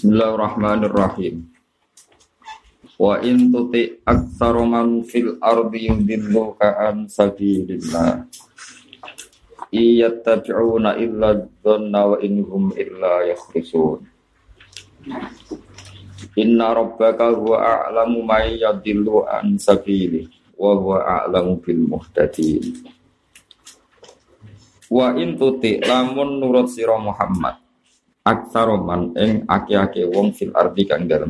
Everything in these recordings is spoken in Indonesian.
Bismillahirrahmanirrahim. Wa in tuti aktsara man fil ardi yudilluka an sabilillah. Iyattabi'una illa dhanna wa innahum illa yakhrusun. Inna rabbaka huwa a'lamu may yadillu an sabilihi wa huwa a'lamu bil muhtadin. Wa in tuti lamun nurut sira Muhammad aksaroman ing aki-aki wong fil ardi kang dalem.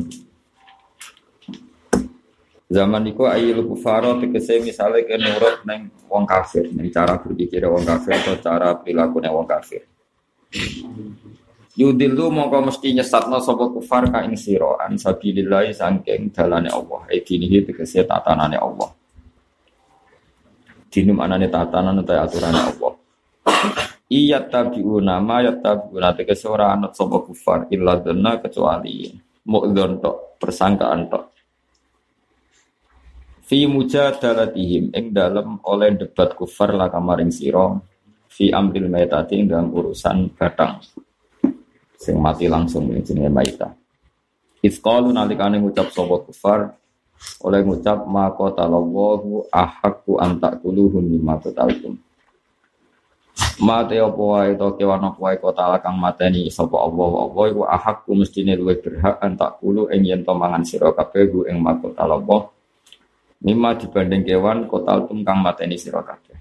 Zaman iku ayyul kufara tegese misale ke nurut ning wong kafir, ning cara berpikir wong kafir atau cara prilakune wong kafir. Yudillu mongko mesti nyesatno sapa kufar ka ing sira an sabilillah saking dalane Allah. Dinihi tegese tatanane Allah. Dinum anane tatanan utawa aturane Allah. Iyattabi'una ma yattabi'una tegese ora anut sapa kufar illa dhanna kecuali mu'dzon tok persangkaan tok fi mujadalatihim ing dalem oleh debat kufar la kamaring sira fi amril maitati ing dalam urusan batang sing mati langsung jenenge maita isqalu nalikane ngucap sapa kufar oleh ngucap ma qatalallahu ahaqqu an taquluhu mimma qataltum. Mate apa wae to kewan apa wae kota kang mateni sapa Allah iku ahakku mestine luwih berhak antak kulo ing yen to mangan sira kabeh ku ing makota Allah mimma dibanding kewan kota kang mateni sira kabeh.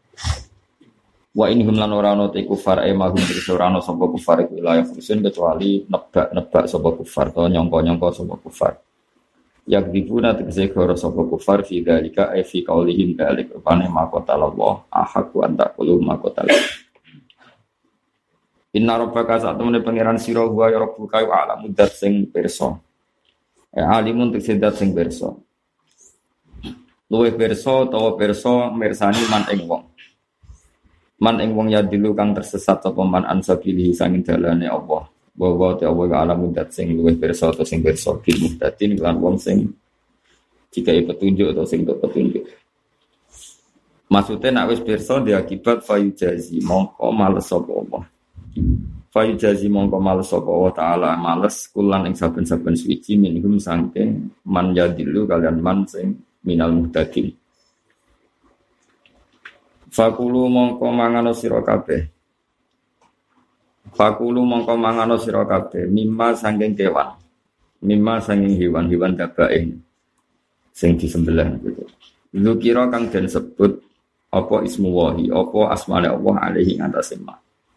Wa inhum lan ora ana te kufar mahum ora ana sapa kufar iku la yafusun kecuali nebak sapa kufar to nyangka-nyangka sapa kufar. Yak dibuna tegese goro sapa kufar fi dalika fi qaulihim dalik rupane makota Allah ahaqu anta qulu makota. Inna rabbaka satamune pangeran sira wa ya rabbuka wa alamu dat sing pirsa. Alimun tegese dat sing pirsa. Luwih pirsa utawa pirsa mirsani man ing wong. Man ing wong ya dilu kang tersesat sapa man ansabilihi sanging dalane Allah. Bahwa Allah alamu dat sing luwih pirsa atau sing pirsa bil muhtadin lan wong sing dikai petunjuk atau sing tok petunjuk. Maksudnya nek wis pirsa diakibat fayujazi mongko males sapa Allah. Fayujazi mongko males sapa Allah taala males kulan ing saben-saben suci minhum saking man yadilu kalian man sing minal muhtadin. Fakulu mongko mangano sira kabeh. Fakulu mongko mangano sira kabeh mimma sanging kewan. Mimma sanging hewan-hewan dabain sing disembelih gitu. Zukira kang den sebut apa ismu wahi, apa asmane Allah alaihi atase ma.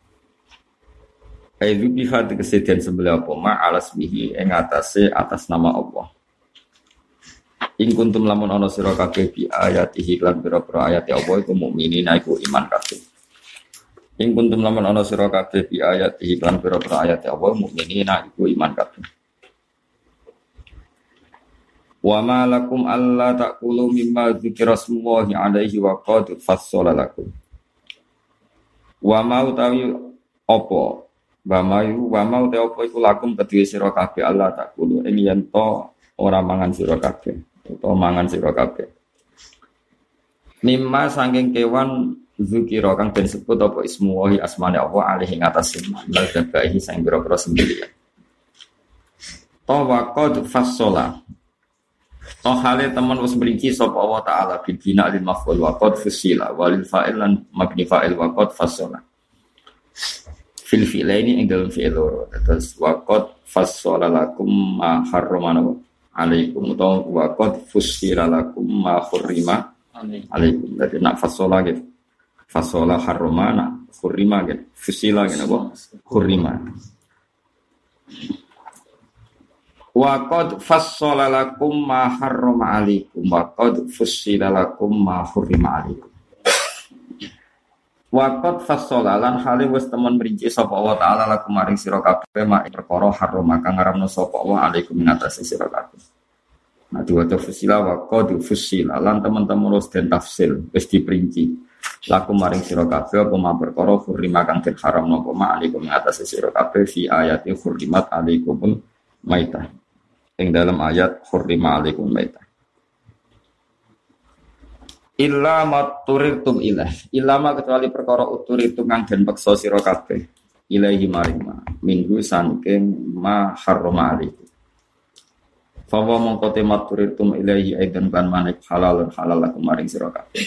Aizu biha tegese den sembelih apa ma alas bihi ing atase atas nama Allah. Ing kuntum lamun ana sira kabeh bi ayatihi lan pira-pira ayat Allah iku mukminin iku iman kabeh. Ing kuntum lamun ana sira kabeh bi ayat iklan pira-pira ayat Allah mukminina iku iman kabeh. Wa ma lakum alla taqulu mimma dzikra smullahi alaihi wa qad fassala lakum. Wa ma utawi apa wa ma utawi apa iku lakum kedue sira kabeh alla taqulu ing yen to ora mangan sira kabeh utawa mangan sira kabeh. Mimma sanging kewan zikira kang den sebut apa ismu wahi asmane Allah alaihi ngatasé lan dabahi sang boro-boro sendiri. Tawaqad fassola. Hale teman wis mriki sapa Allah taala bil bina lil maf'ul wa qad fusila walil fa'il lan mabni fa'il wa qad fassola. Fil fi'laini ing dalem fi'il loro. Terus wa qad fassola lakum ma harramana alaikum wa qad fusila lakum ma hurrima alaikum. Dadi nak fassola gitu. Fasola harromana khurrima gitu. Fusila gitu apa? Khurrima. Wa qad fassala lakum ma harrama alaikum wa qad fusila lakum ma hurrima alaikum. Wa qad fassala lan hale wis temen mrinci sapa Allah taala lakum maring sira kabeh mak perkara harrama kang ngaramno sapa Allah alaikum ngatasi sira kabeh. Nah diwaca fusila wa qad fusila lan teman-teman wis den tafsir wis diperinci. Laku maring sira kabeh apa ma perkara hurrima kang den haramno apa ma alaikum ngatasi sira kabeh fi ayati hurrimat alaikumul maitah. Ing dalam ayat hurrima alaikum maitah. Illa maturitum ilah. Illa ma kecuali perkara uturitum kang den peksa sira kabeh. ilaihi maring ma minggu saking ma harrama alaihi fawa mongko tematuritum ilaihi aidan kan manik halal lakum maring sira kabeh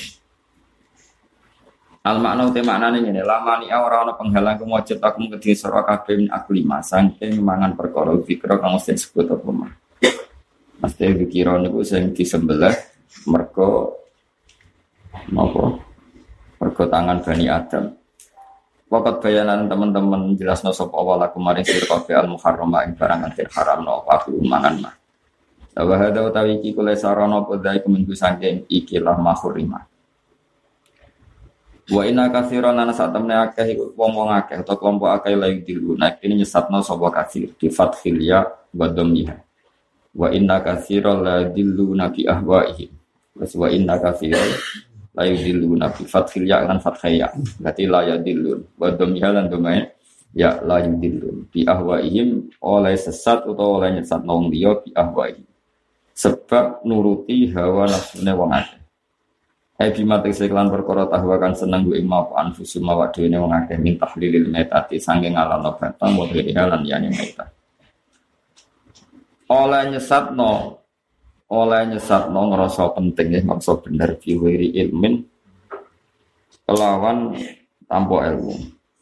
al makna te maknane ngene lamani ora ana penghalang kemujud aku kedhi sira kabeh min aklima saking mangan perkara fikra kang mesti disebut apa mah mesti fikira niku sing disembelih mergo napa mergo tangan Bani Adam. Wakat bayanan teman-teman jelasno sapa awal aku maring sira kabeh al muharrama ing barang kang haramno aku mangan mah. Wa hadza utawi iki kula sarana podai keminggu saking ikilah mahurima. Wa inna katsiran ana satamne akeh wong-wong akeh utawa kelompok akeh layu dilu nek ini nyesatno sapa katsir di fathil ya wa dhammiha. Wa inna katsiran la dillu nabi ahwaihim. Wa inna katsiran la yudilluna bi fathil ya lan fathaya berarti la yudillun wa dhammiha lan dhamai ya la yudillun bi ahwaihim oleh sesat utawa oleh nyesat nang liya bi ahwaihim sebab nuruti hawa nafsune wong akeh bimate seklan perkara tahwa kan seneng gue mau anfusu mawadene wong akeh min tahlilil metati sanging alano batang wa lan yani meta oleh nyesatno ngerasa penting ya maksud bener fiwiri ilmin kelawan tanpa ilmu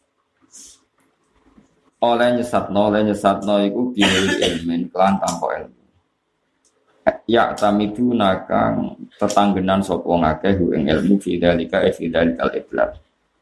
oleh nyesatno iku fiwiri ilmin kelawan tanpa ilmu ya tamidu nakang tetanggenan sapa ngakeh ing ilmu fidzalika al-iblad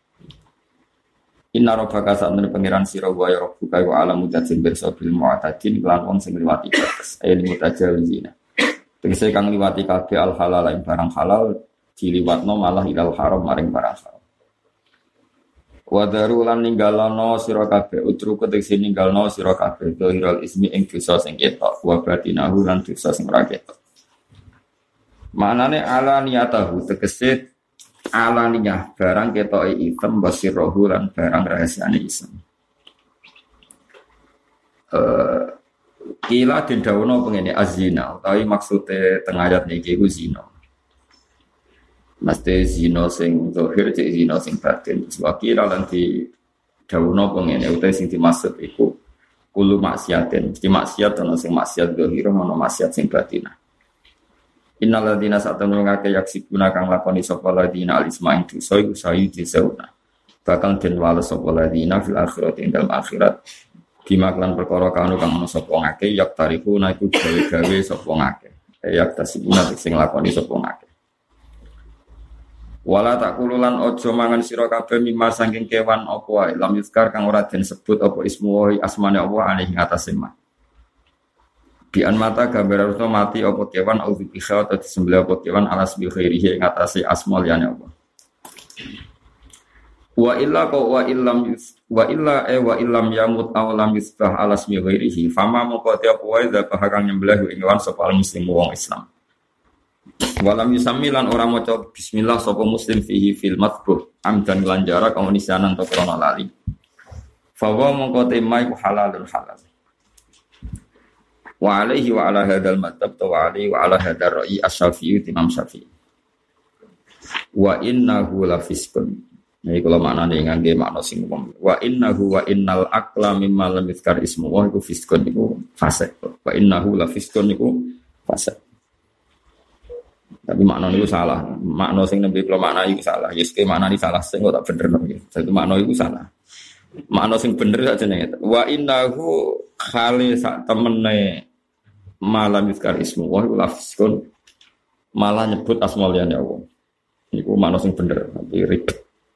inna rabbaka sa'atun pangeran sira wa ya rabbuka wa alamu dzatsin birsabil mu'tadin lan wong sing liwati batas ayat mutajawizina tegese kang liwati kabeh al halal ing barang halal diliwatno malah ilal haram maring barang haram wa daru lan ninggalano sira kabeh utruku tegese ninggalno sira kabeh dohiral ismi ing dosa sing ketok wa batinahu lan dosa sing ora ketok manane ala niyatahu tegese ala niyah barang ketoke item basirahu lan barang rahasiane isem kila den dawono pengene azina utawi maksude teng ayat niki ku zina mesti zina sing zahir cek zina sing batin wakila lan di dawono pengene utawi sing dimaksud iku kulo maksiaten mesti maksiat ana sing maksiat zahir ana maksiat sing batin innal ladzina satanu ngake yaksibuna kang lakoni sapa ladzina alisma ing dosa iku sayu disauna bakal den wales sapa ladzina fil akhirati ing dalem akhirat dimaklan perkara kanu kang ana sapa ngake yak tarifu naiku gawe-gawe sapa ngake yak tasibuna sing lakoni sapa ngake wala takululan ojo mangan sira kabeh mimma saking kewan apa wae lam yuzkar kang ora den sebut apa ismu asmane apa alih ngatasé mah bian mata gambar harus mati apa kewan auzu biha atau disembelih apa kewan alas bi khairihi ngatasé asma liyane apa wa illam yamut aw lam yusbah alas bi khairihi fama moko te apa wae da kang nyembelih ing kewan sapa muslim wong Islam walam yusamilan orang maca bismillah sapa muslim fihi fil matbuh amdan lan jarak omnisanan to krana lali fa wa mongko temai ku halalun halal wa alaihi wa ala hadzal madhab wa alaihi wa ala hadzal ra'i asy-syafi'i Imam Syafi'i wa innahu la fiskun iki kula maknane ngangge makna sing umum wa innahu wa innal aqla mimma lam yuzkar ismu wa iku fiskun iku fasik wa innahu la fiskun iku fasik. Tapi makna itu salah. Makna sing nembe kula makna iku salah. Yes ke makna iki salah sing kok tak bener nggih. Dadi makna iku salah. Makna sing bener sak jenenge. Wa innahu khali sak temene malam yuzkar ismu wa lafiskun malah nyebut asma liyane Allah. Niku makna sing bener tapi ribet.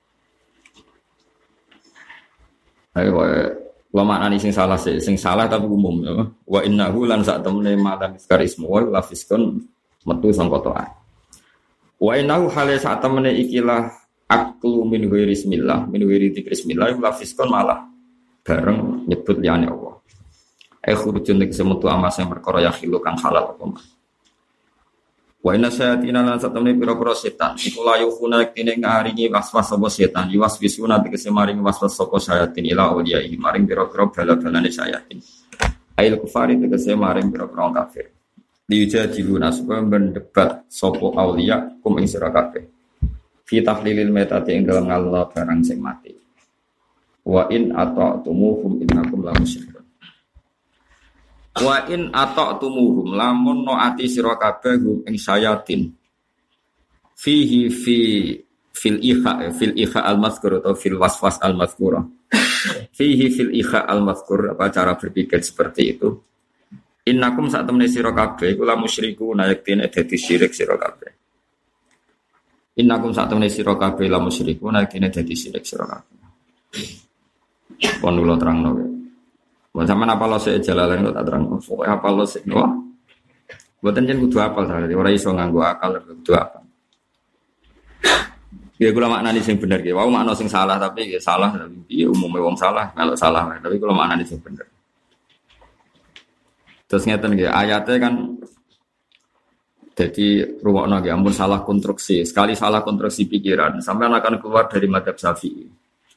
Ayo kula maknani sing salah sing salah tapi umum ya. Wa innahu lan sak temene malam yuzkar ismu wa lafiskun metu sangka to'at. Wa innahu hale sak temene ikilah aklu min ghairi bismillah, min ghairi dzikrismillah lafiskon malah bareng nyebut liyane Allah. Khurujun nek semetu amas yang perkara ya khilu kang halal apa mah. Wa inna sayatina lan sak temene pira-pira setan iku layu kuna kene ngaringi waswas sapa setan, waswisuna tegese maring waswas sapa sayatin ila awliya maring pira-pira bala-balane sayatin. Ail kufari tegese maring pira-pira kafir. Diujadiluna supaya mendebat sopo aulia kum ing sira kabeh fi tahlilil metati ing dalem ngallah barang sing mati Wa in ata'tumuhum innakum la musyrikun. Wa in ata'tumuhum lamun noati sira kabeh hum ing sayatin. Fihi fil ikha al-mazkur atau fil waswas al-mazkurah. Fihi fil ikha al-mazkur, apa cara berpikir seperti itu? Innakum sak temene sira kabeh iku la musyriku nayektine dadi syirik sira kabeh. Innakum sak temene sira kabeh la musyriku nayektine dadi syirik sira kabeh. Pon kula terangno. Mun sampean apa lo sik jalalan kok tak terangno. Pokoke apa lo sik wah. Mboten jen kudu apal dadi ora iso nganggo akal kudu apal. Ya kula maknani sing bener ki. Wau makna sing salah tapi ya salah tapi piye umume wong salah kalau salah tapi kula maknani sing bener. Terus ngeten nggih ayate kan jadi ruwakno nggih ampun salah konstruksi. Sekali salah konstruksi pikiran sampean akan keluar dari madzhab Syafi'i.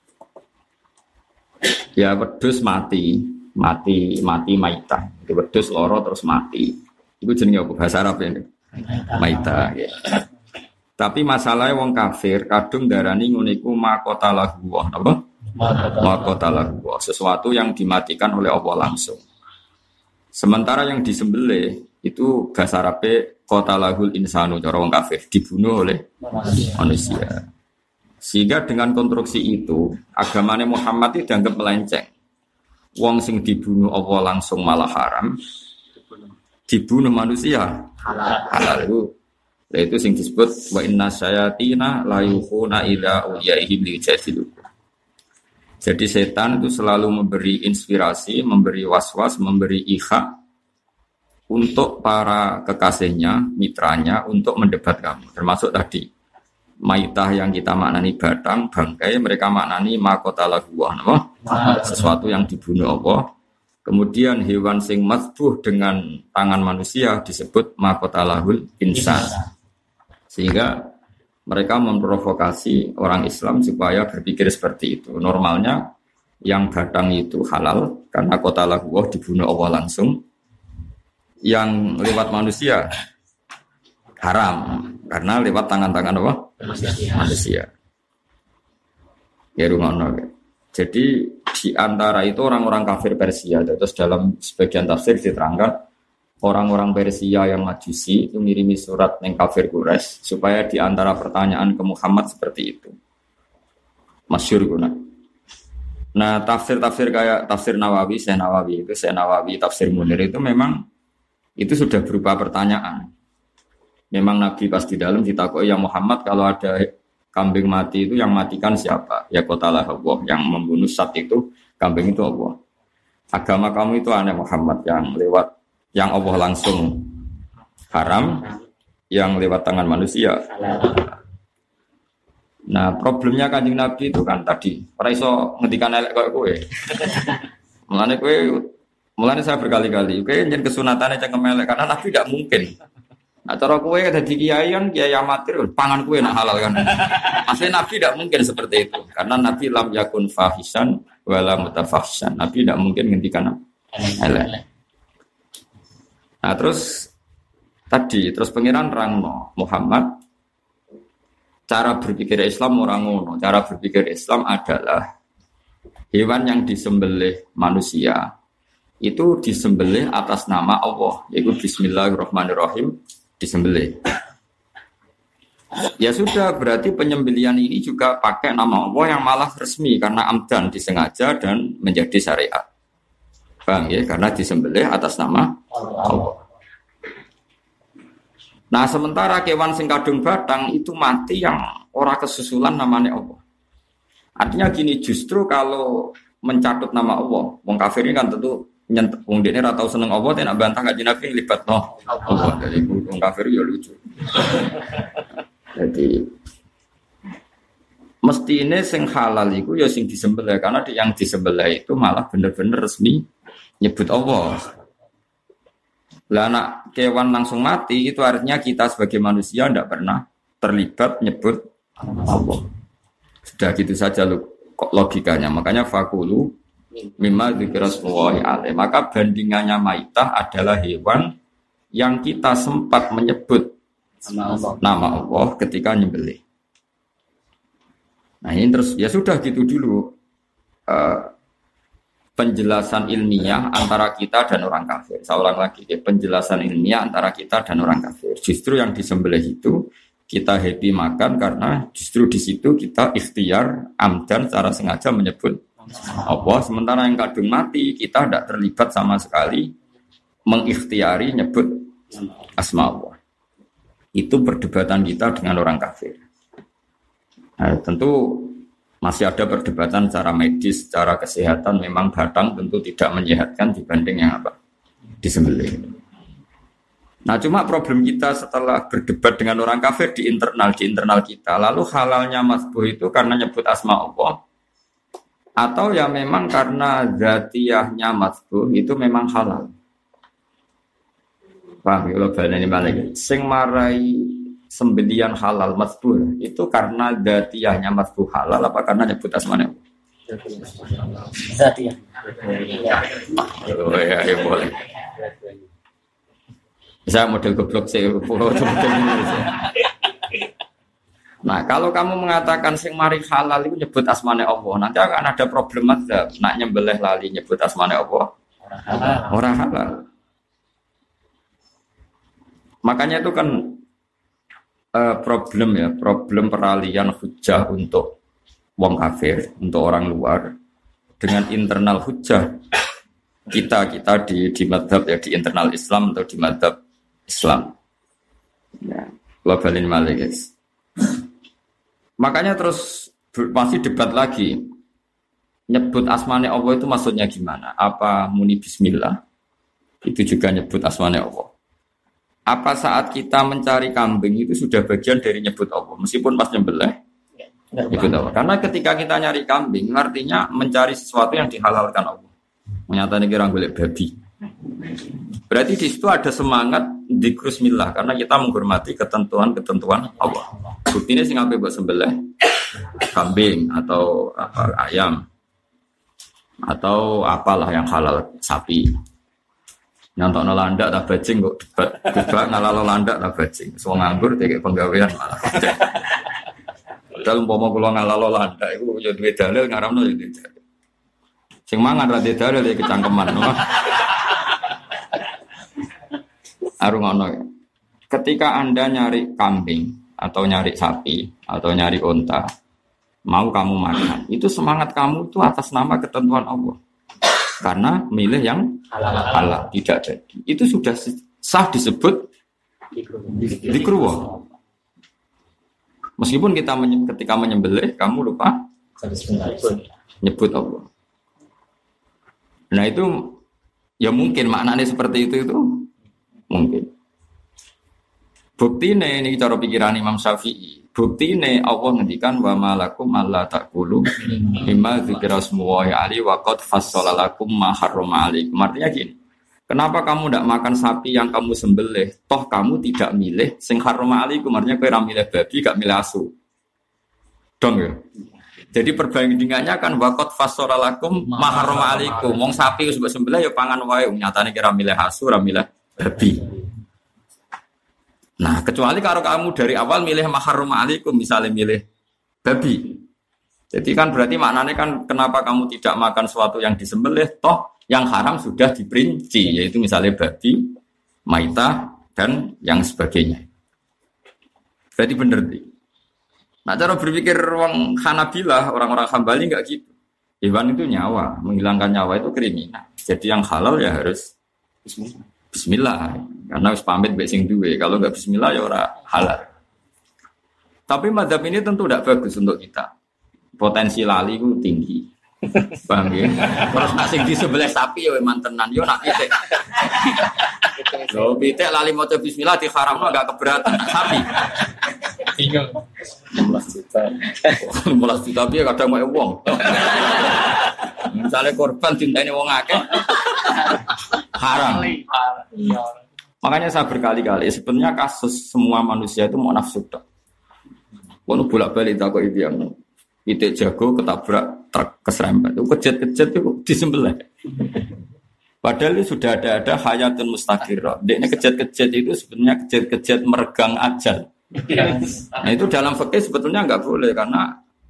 Ya wedhus mati maitah. Itu wedhus lara terus mati. Iku jenenge apa bahasa Arab ini? Maitah ya. Tapi masalahnya wong kafir kadung darani ngono iku maqatalahu wa napa? Maqatalahu wa sesuatu yang dimatikan oleh Allah langsung. Sementara yang disembelih itu bahasa Arabe qatalahul insanu cara wong kafir dibunuh oleh manusia. Sehingga dengan konstruksi itu agamanya Muhammad itu dianggap melenceng. Wong sing dibunuh Allah langsung malah haram. Dibunuh manusia halal. Itu sing disebut wa inna syayatina la yukhuna ila uyaihim lijadilukum. Jadi setan itu selalu memberi inspirasi, memberi waswas, memberi ikha untuk para kekasihnya, mitranya untuk mendebat kamu. Termasuk tadi maitah yang kita maknani batang, bangkai, mereka maknani maqatalahu wa sesuatu yang dibunuh Allah. Kemudian hewan sing mazbuh dengan tangan manusia disebut maqatalahul insan. Sehingga mereka memprovokasi orang Islam supaya berpikir seperti itu. Normalnya yang batang itu halal karena qatalahu dibunuh Allah langsung. Yang lewat manusia haram karena lewat tangan-tangan Allah manusia. Ya rungono. Jadi di antara itu orang-orang kafir Persia. Terus dalam sebagian tafsir diterangkan orang-orang Persia yang Majusi itu ngirimi surat yang kafir Quraisy supaya di antara pertanyaan ke Muhammad seperti itu. Masyhur guna. Nah, tafsir-tafsir kayak tafsir Nawawi, Syekh Nawawi, tafsir Munir itu memang itu sudah berupa pertanyaan. Memang Nabi pas di dalam ditakoi ya Muhammad kalau ada kambing mati itu yang matikan siapa? Ya qatalah Allah, yang membunuh sat itu kambing itu Allah. Agama kamu itu aneh Muhammad yang Allah langsung haram, yang lewat tangan manusia. Nah, problemnya Kanjeng Nabi itu kan tadi, ora iso ngendikan elek koyo kowe. Mulane saya berkali-kali, kowe njen kesunatane cengkem elek karena Nabi tidak mungkin. Nah, cara kowe dadi kiai kan kiai amatir, pangan kowe nak halal kan. Asli Nabi tidak mungkin seperti itu, karena Nabi lam yakun fahisan wala mutafahsan. Nabi tidak mungkin ngendikan elek. Nah terus pengiran rangno Muhammad cara berpikir Islam orang ngono. Cara berpikir Islam adalah hewan yang disembelih manusia itu disembelih atas nama Allah, yaitu Bismillahirrahmanirrahim disembelih. Ya sudah, berarti penyembelihan ini juga pakai nama Allah yang malah resmi karena amdan disengaja dan menjadi syariat. Bang ya, karena disembelih atas nama Allah. Nah, sementara kewan sing kadung batang itu mati yang ora kesusulan namanya Allah. Artinya gini, justru kalau mencatut nama Allah, wong kafir ini kan tentu nyentuh wong dene ora tau seneng Allah, nak bantah kanjeng Nabi libatno Allah. Jadi wong kafir ya lucu. Jadi mesti ini sing halal iku ya sing disembelih karena yang disembelih itu malah bener-bener resmi nyebut Allah. Lah anak kewan langsung mati itu artinya kita sebagai manusia tidak pernah terlibat nyebut Allah. Sudah gitu saja logikanya. Makanya fakulu mimma dzikrasmullahi alaih. Maka bandingannya maitah adalah hewan yang kita sempat menyebut nama Allah ketika nyembelih. Nah ini terus ya sudah gitu dulu. eh, penjelasan ilmiah antara kita dan orang kafir. Saya ulang lagi, penjelasan ilmiah antara kita dan orang kafir. Justru yang disembelih itu kita happy makan karena justru di situ kita ikhtiar amdan secara sengaja menyebut Allah. Sementara yang kadung mati kita tidak terlibat sama sekali mengikhtiari nyebut asma Allah. Itu perdebatan kita dengan orang kafir. Nah, tentu masih ada perdebatan secara medis, secara kesehatan memang batang tentu tidak menyehatkan dibanding yang apa? Disembelih. Nah, cuma problem kita setelah berdebat dengan orang kafir di internal kita, lalu halalnya masbuh itu karena nyebut asma Allah atau ya memang karena zatiyahnya masbuh itu memang halal. Paham ya, kalau baleni balik. Sing marai sembelian halal masbuh itu karena dzatiyahnya masbuh halal apa karena nyebut asmane? Dzatiyah. Oh ya boleh. Saya model goblok sih, Nah, kalau kamu mengatakan sing mari halal itu nyebut asmane Allah, nanti akan ada problem madzhab. Nak nyembelih lali nyebut asmane Allah. Orang halal. Makanya itu kan problem peralihan hujah untuk wong kafir, untuk orang luar dengan internal hujah kita di madhab ya, di internal Islam atau di madhab Islam. Ya, globalin malih guys. Makanya terus masih debat lagi. Nyebut asmane Allah itu maksudnya gimana? Apa muni bismillah? Itu juga nyebut asmane Allah. Apa saat kita mencari kambing itu sudah bagian dari nyebut Allah? Meskipun pas nyembelih nyebut Allah. Karena ketika kita nyari kambing, artinya mencari sesuatu yang dihalalkan Allah. Menyatakan kira golek babi. Berarti di situ ada semangat dzikrusmillah karena kita menghormati ketentuan-ketentuan Allah. Buktinya sing ape mbok sembelih kambing atau ayam atau apalah yang halal, sapi. Nyantokno landak ta bajing kok debat ngalalo landak ta bajing. Wong nganggur dikek penggawean malah. Padahal umpama kula ngalalo landak iku ya duwe dalil ngaramno ya duwe dalil. Sing mangan ra duwe dalil ya kecangkeman. Arungono. Ketika Anda nyari kambing atau nyari sapi atau nyari unta, mau kamu makan, itu semangat kamu itu atas nama ketentuan Allah. Karena milih yang halal tidak jadi. Itu sudah sah disebut dzikruh. Meskipun kita ketika menyembelih kamu lupa nyebut Allah. Nah itu ya mungkin maknanya seperti itu mungkin. Bukti ini cara pikiran Imam Syafi'i. Bukti ini Allah ngendikan wa malakum alla taqulu mimma dzikra smullahi alaihi wa qad fassala lakum ma harrama alaikum. Artinya gini. Kenapa kamu tidak makan sapi yang kamu sembelih? Toh kamu tidak milih sing harrama alaikum. Artinya kowe ra milih babi, gak milih asu. Dong ya. Jadi perbandingannya kan wa qad fassala lakum ma harrama alaikum. Wong sapi wis mbok sembelih ya pangan wae. Nyatane kira milih asu, ra milih babi. Nah, kecuali kalau kamu dari awal milih maharum alaikum, misalnya milih babi. Jadi kan berarti maknanya kan kenapa kamu tidak makan sesuatu yang disembelih, toh yang haram sudah diperinci, yaitu misalnya babi, maitah, dan yang sebagainya. Berarti benar. Nah, cara berpikir orang Hanabilah, orang-orang Hambali enggak gitu. Hewan itu nyawa, menghilangkan nyawa itu kriminal. Jadi yang halal ya harus bismillah, karena harus pamit mbek sing duwe. Kalau enggak bismillah ya ora halal. Tapi mazhab ini tentu tidak bagus untuk kita. Potensi lali itu tinggi. Paham ya? Terus nak sing di sebelah sapi ya mantenan yo nak pitik. Lho pitik lali maca bismillah diharamno enggak keberatan sapi. Bingung. 16 juta. 16 juta piye kadang wae wong. Misalnya korban cintane wong akeh haram. Makanya saya berkali-kali sebenarnya kasus semua manusia itu mau nafsu tok. Wono bolak-balik takok iki yang pitik jago ketabrak truk keserempet. Itu kejet-kejet itu disembelih. Padahal itu sudah ada hayatun mustaqirah. Dekne kejet-kejet itu sebenarnya kejet-kejet meregang ajal. Nah itu dalam fikih sebetulnya enggak boleh karena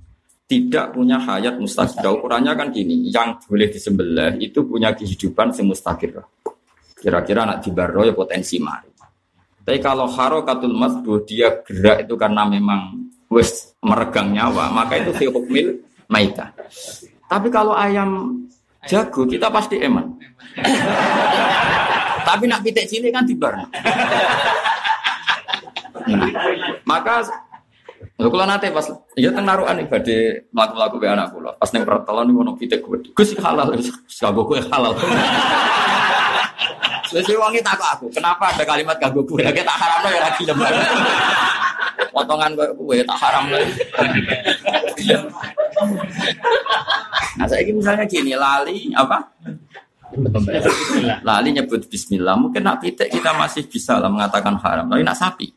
tidak punya hayat mustaqir. Ukurannya kan gini, yang boleh disembelih itu punya kehidupan yang mustaqir. Kira-kira anak dibarro ya potensi mati. Tapi kalau harokatul masbuh dia gerak itu karena memang wis meregang nyawa, maka itu fi hukmil maitah. Tapi kalau ayam jago kita pasti eman. Tapi nak pitik cilik kan dibar. Nah, maka kalau nanti pas ya teng narukan ibadah mlaku-mlaku be anak kula. Pas ning pertelon niku ono pitik gede. Gus halal wis kanggo kowe halal. Wis wonge takok aku, kenapa ada kalimat kanggo kowe? Lah tak haramno ya ra gelem. Potongan kowe tak haramno. Nah, saiki misalnya gini, lali apa? Lali nyebut bismillah. Mungkin nak pitik kita masih bisa lah mengatakan haram. Tapi nak sapi.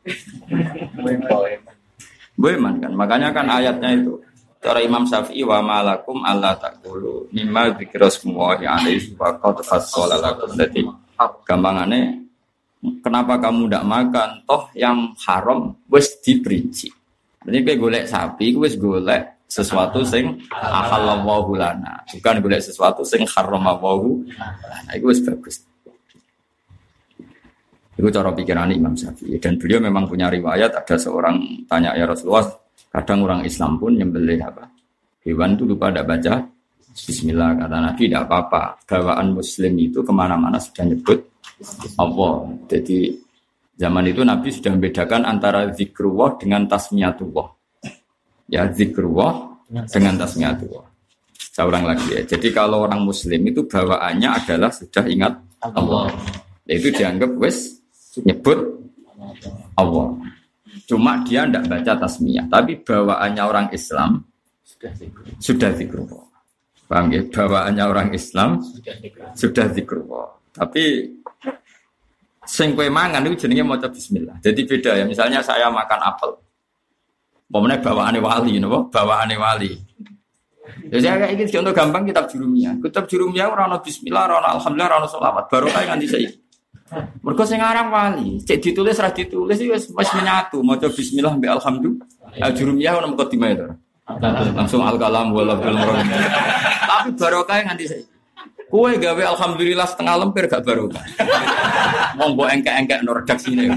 Boeman kan. Makanya kan ayatnya itu cara Imam Syafi'i wa malakum alla taqulu mimma dzikrasmullahi alaihi wa qad fassala lakum. Jadi gampangannya kenapa kamu ndak makan toh yang haram wis diperinci. Jadi kowe golek sapi wis golek sesuatu sing ahallallahu lana, bukan golek sesuatu sing haramallahu lana. Itu wis bagus. Itu cara pikiran Imam Syafi'i. Dan beliau memang punya riwayat, ada seorang tanya ya Rasulullah, kadang orang Islam pun nyembelih apa? Hewan itu lupa tidak baca bismillah, kata Nabi tidak apa-apa. Bawaan muslim itu kemana-mana sudah nyebut Allah. Jadi zaman itu Nabi sudah membedakan antara zikrullah dengan tasmiyatullah. Ya zikrullah dengan tasmiyatullah. Saya ulang lagi ya. Jadi kalau orang muslim itu bawaannya adalah sudah ingat Allah. Itu dianggap wis nyebut Allah. Cuma dia tidak baca tasmiyah. Tapi bawaannya orang Islam sudah zikrullah. Paham ya? Bawaannya orang Islam sudah zikrullah. Tapi sing kowe mangan itu jenenge maca bismillah. Jadi beda ya. Misalnya saya makan apel. Pokoknya bawaannya wali, napa? Bawaannya wali. Jadi kayak ini contoh gampang kitab Jurumiyah. Kitab Jurumiyah ora ono bismillah, ora ono alhamdulillah, ora ono selawat. Barokah nganti saiki. Mergo sing aran wali, cek ditulis ra ditulis wis menyatu, maca bismillah mbek alhamdulillah. Jurumiyah ono mukadimah itu. Langsung al-kalam wal bil murad. Tapi barokah nganti saiki. Kowe gawe alhamdulillah setengah lemper gak barokah. Monggo engkek-engkek no redaksine.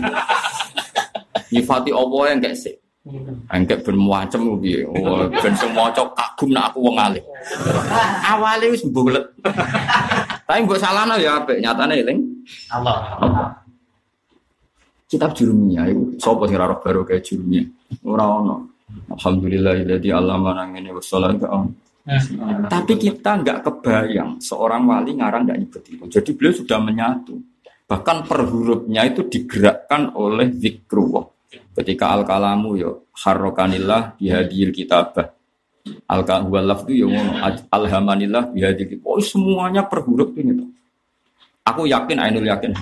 Nyifati Allah engkek sik. Angkat ben macem piye. Oh, ben sing maca kagum nek aku wong alim. Awale wis mbulet. Tapi mbok salahno ya apik, nyatane eling Allah. Kitab Jurumiyah iku sapa sing ora baru kaya Jurumiyah? Ora ono. Alhamdulillahilladzi 'allamana ngene wassalatu. Tapi kita enggak kebayang seorang wali ngarang enggak nyebut itu. Jadi beliau sudah menyatu. Bahkan per hurufnya itu digerakkan oleh zikrullah. Ketika al-kalamu yo harrokanillah bihadil kitabah. Al-huwal lafdu yo alhamanillah bihadil kitabah. Oh semuanya per huruf ini tuh. Aku yakin, ainul yakin.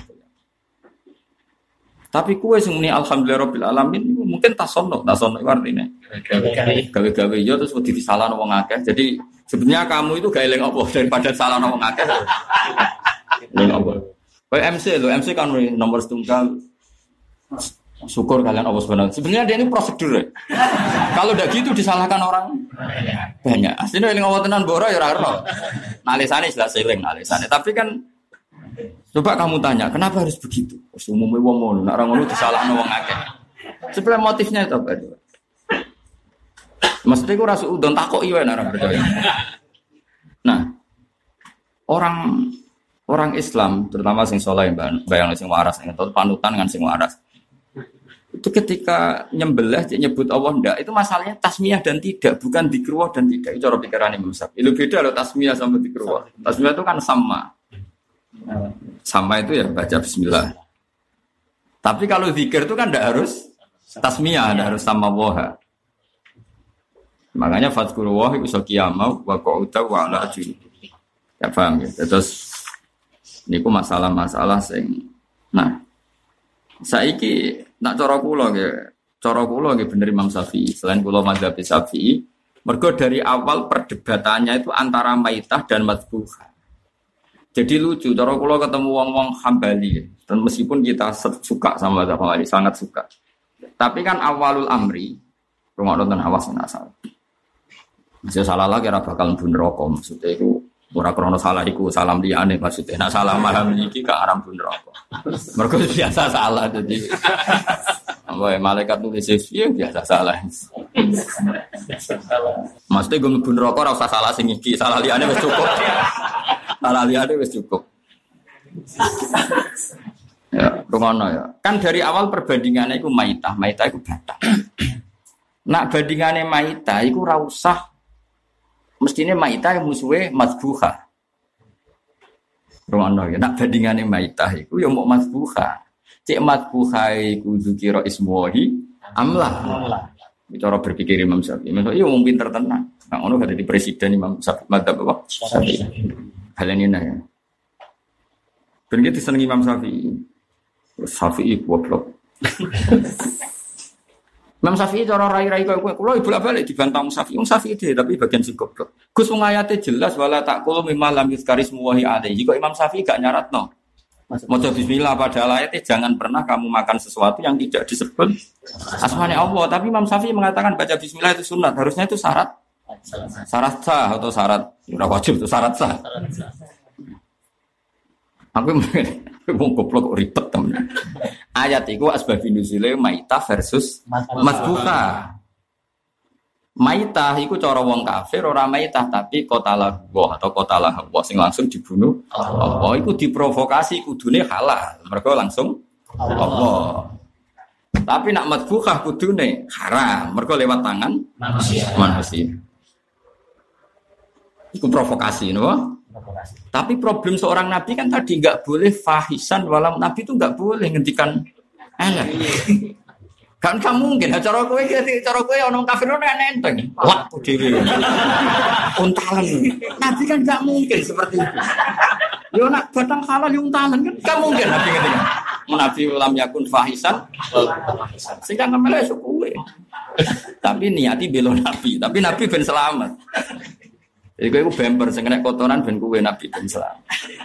Tapi kue semuni alhamdulillah rabbil alamin mungkin tasono artinya. Gawe-gawe yo terus wedi disalahno wong akeh. Jadi sebenarnya kamu itu gawe eling apa daripada salahno wong akeh. Eling apa? Kayak MC kan nomor setunggal. Syukur kalian Allah Subhanahu. Sebenarnya dia ini prosedur. Kalau udah gitu disalahkan orang banyak. Aslinya eling Allah tenan boro ya ora ero. Nalisane jelas eling nalisane. Tapi kan coba kamu tanya, kenapa harus begitu? Umumnya wong ngono, nek ora ngono disalahno wong akeh. Sebenarnya motifnya itu apa? Mesti ku rasu udon takoki wae nek ora percaya. Nah, orang Islam terutama sing saleh bayang sing waras ning panutan kan sing waras. Itu ketika nyembelih nyebut Allah ndak itu masalahnya tasmiyah dan tidak, bukan dzikrullah dan tidak. Itu cara pikiran Imam Syafi'i. Itu beda loh tasmiyah sama dzikrullah. Tasmiyah itu kan sama. Sama itu ya baca bismillah. Tapi kalau zikir itu kan ndak harus tasmiyah, ndak harus sama waha. Makanya fadzkurullah iku qiyamah wa qu'uda wa ala ajri. Ya paham ya. Terus niku masalah-masalah sing saiki nak cara kula nggih bener Imam Syafi'i. Selain kula mazhab Syafi'i, mergo dari awal perdebatannya itu antara maitah dan madbuhah. Jadi lucu, cara kula ketemu wong-wong Hambali, dan meskipun kita suka sama mazhab Hambali, sangat suka. Tapi kan awalul amri, rumah nonton awas asal. Bisa salah lagi ora bakal mlebu neraka. Maksudnya iku ora krana salah iku salam liyane maksudnya. Nek salah paham iki gak aran mlebu neraka. Mergo biasa salah dadi. Ambo malaikat nulis ya biasa salah. Maksudnya gue mlebu neraka ora usah salah sing iki, salah liyane wis cukup. Salah liyane wis cukup. Ya, rungono ya. Kan dari awal perbandingannya iku maitah iku batak. Nak bandingane maitah iku ora usah mestine maitah musuhe mazbuha. Rungono ya, nak bandingane maitah iku ya mau mazbuha. Cek mazbuha iku dzikira ismuhi amlah. Cara berpikir Imam Syafi'i. Imam Syafi'i wong pinter tenan. Nah, ngono gak dadi presiden Imam Syafi'i madzhab apa? Syafi'i. Halanina ya. Ben iki disenengi Imam Syafi'i. Syafi'i goblok. Imam Syafi'i cara rai-rai kowe kula bolak-balik dibantah Syafi'i. Syafi'i dhewe tapi bagian sing goblok. Gus wong ayate jelas wala taqulu mimma lam yuzkarismu wa alaihi. Kok Imam Syafi'i gak nyaratno. Maca bismillah pada ayatnya jangan pernah kamu makan sesuatu yang tidak disebut asmanya Allah. Tapi Imam Syafi'i mengatakan baca bismillah itu sunat. Harusnya itu syarat sah atau syarat wajib itu syarat sah. Aku mau goblok ribet temen. Ayat itu asbabun nuzule maitah versus mazbuka. Maitah iku cara wong kafir ora maitah tapi qatalah wa atau qatalah wa sing langsung dibunuh. Allah iku diprovokasi kudune halal. Mergo langsung Allah. Tapi nak madbukhah kudune haram. Mergo lewat tangan manusia. Iku provokasi no? Tapi problem seorang nabi kan tadi enggak boleh fahisan walam nabi itu enggak boleh ngendikan elek. Kan gak mungkin, cara kowe ana kafir ono enteng. Wah, dhewe. Untalan. Nabi kan gak mungkin seperti itu. Yo nak batang halal yo untalan kan gak mungkin nabi ngerti. Nabi ulam yakun fahisan. Sing kan ngemele kowe. Tapi niati belo nabi, tapi nabi ben selamat. Jadi kowe bemper sing kena kotoran ben kowe nabi ben selamat.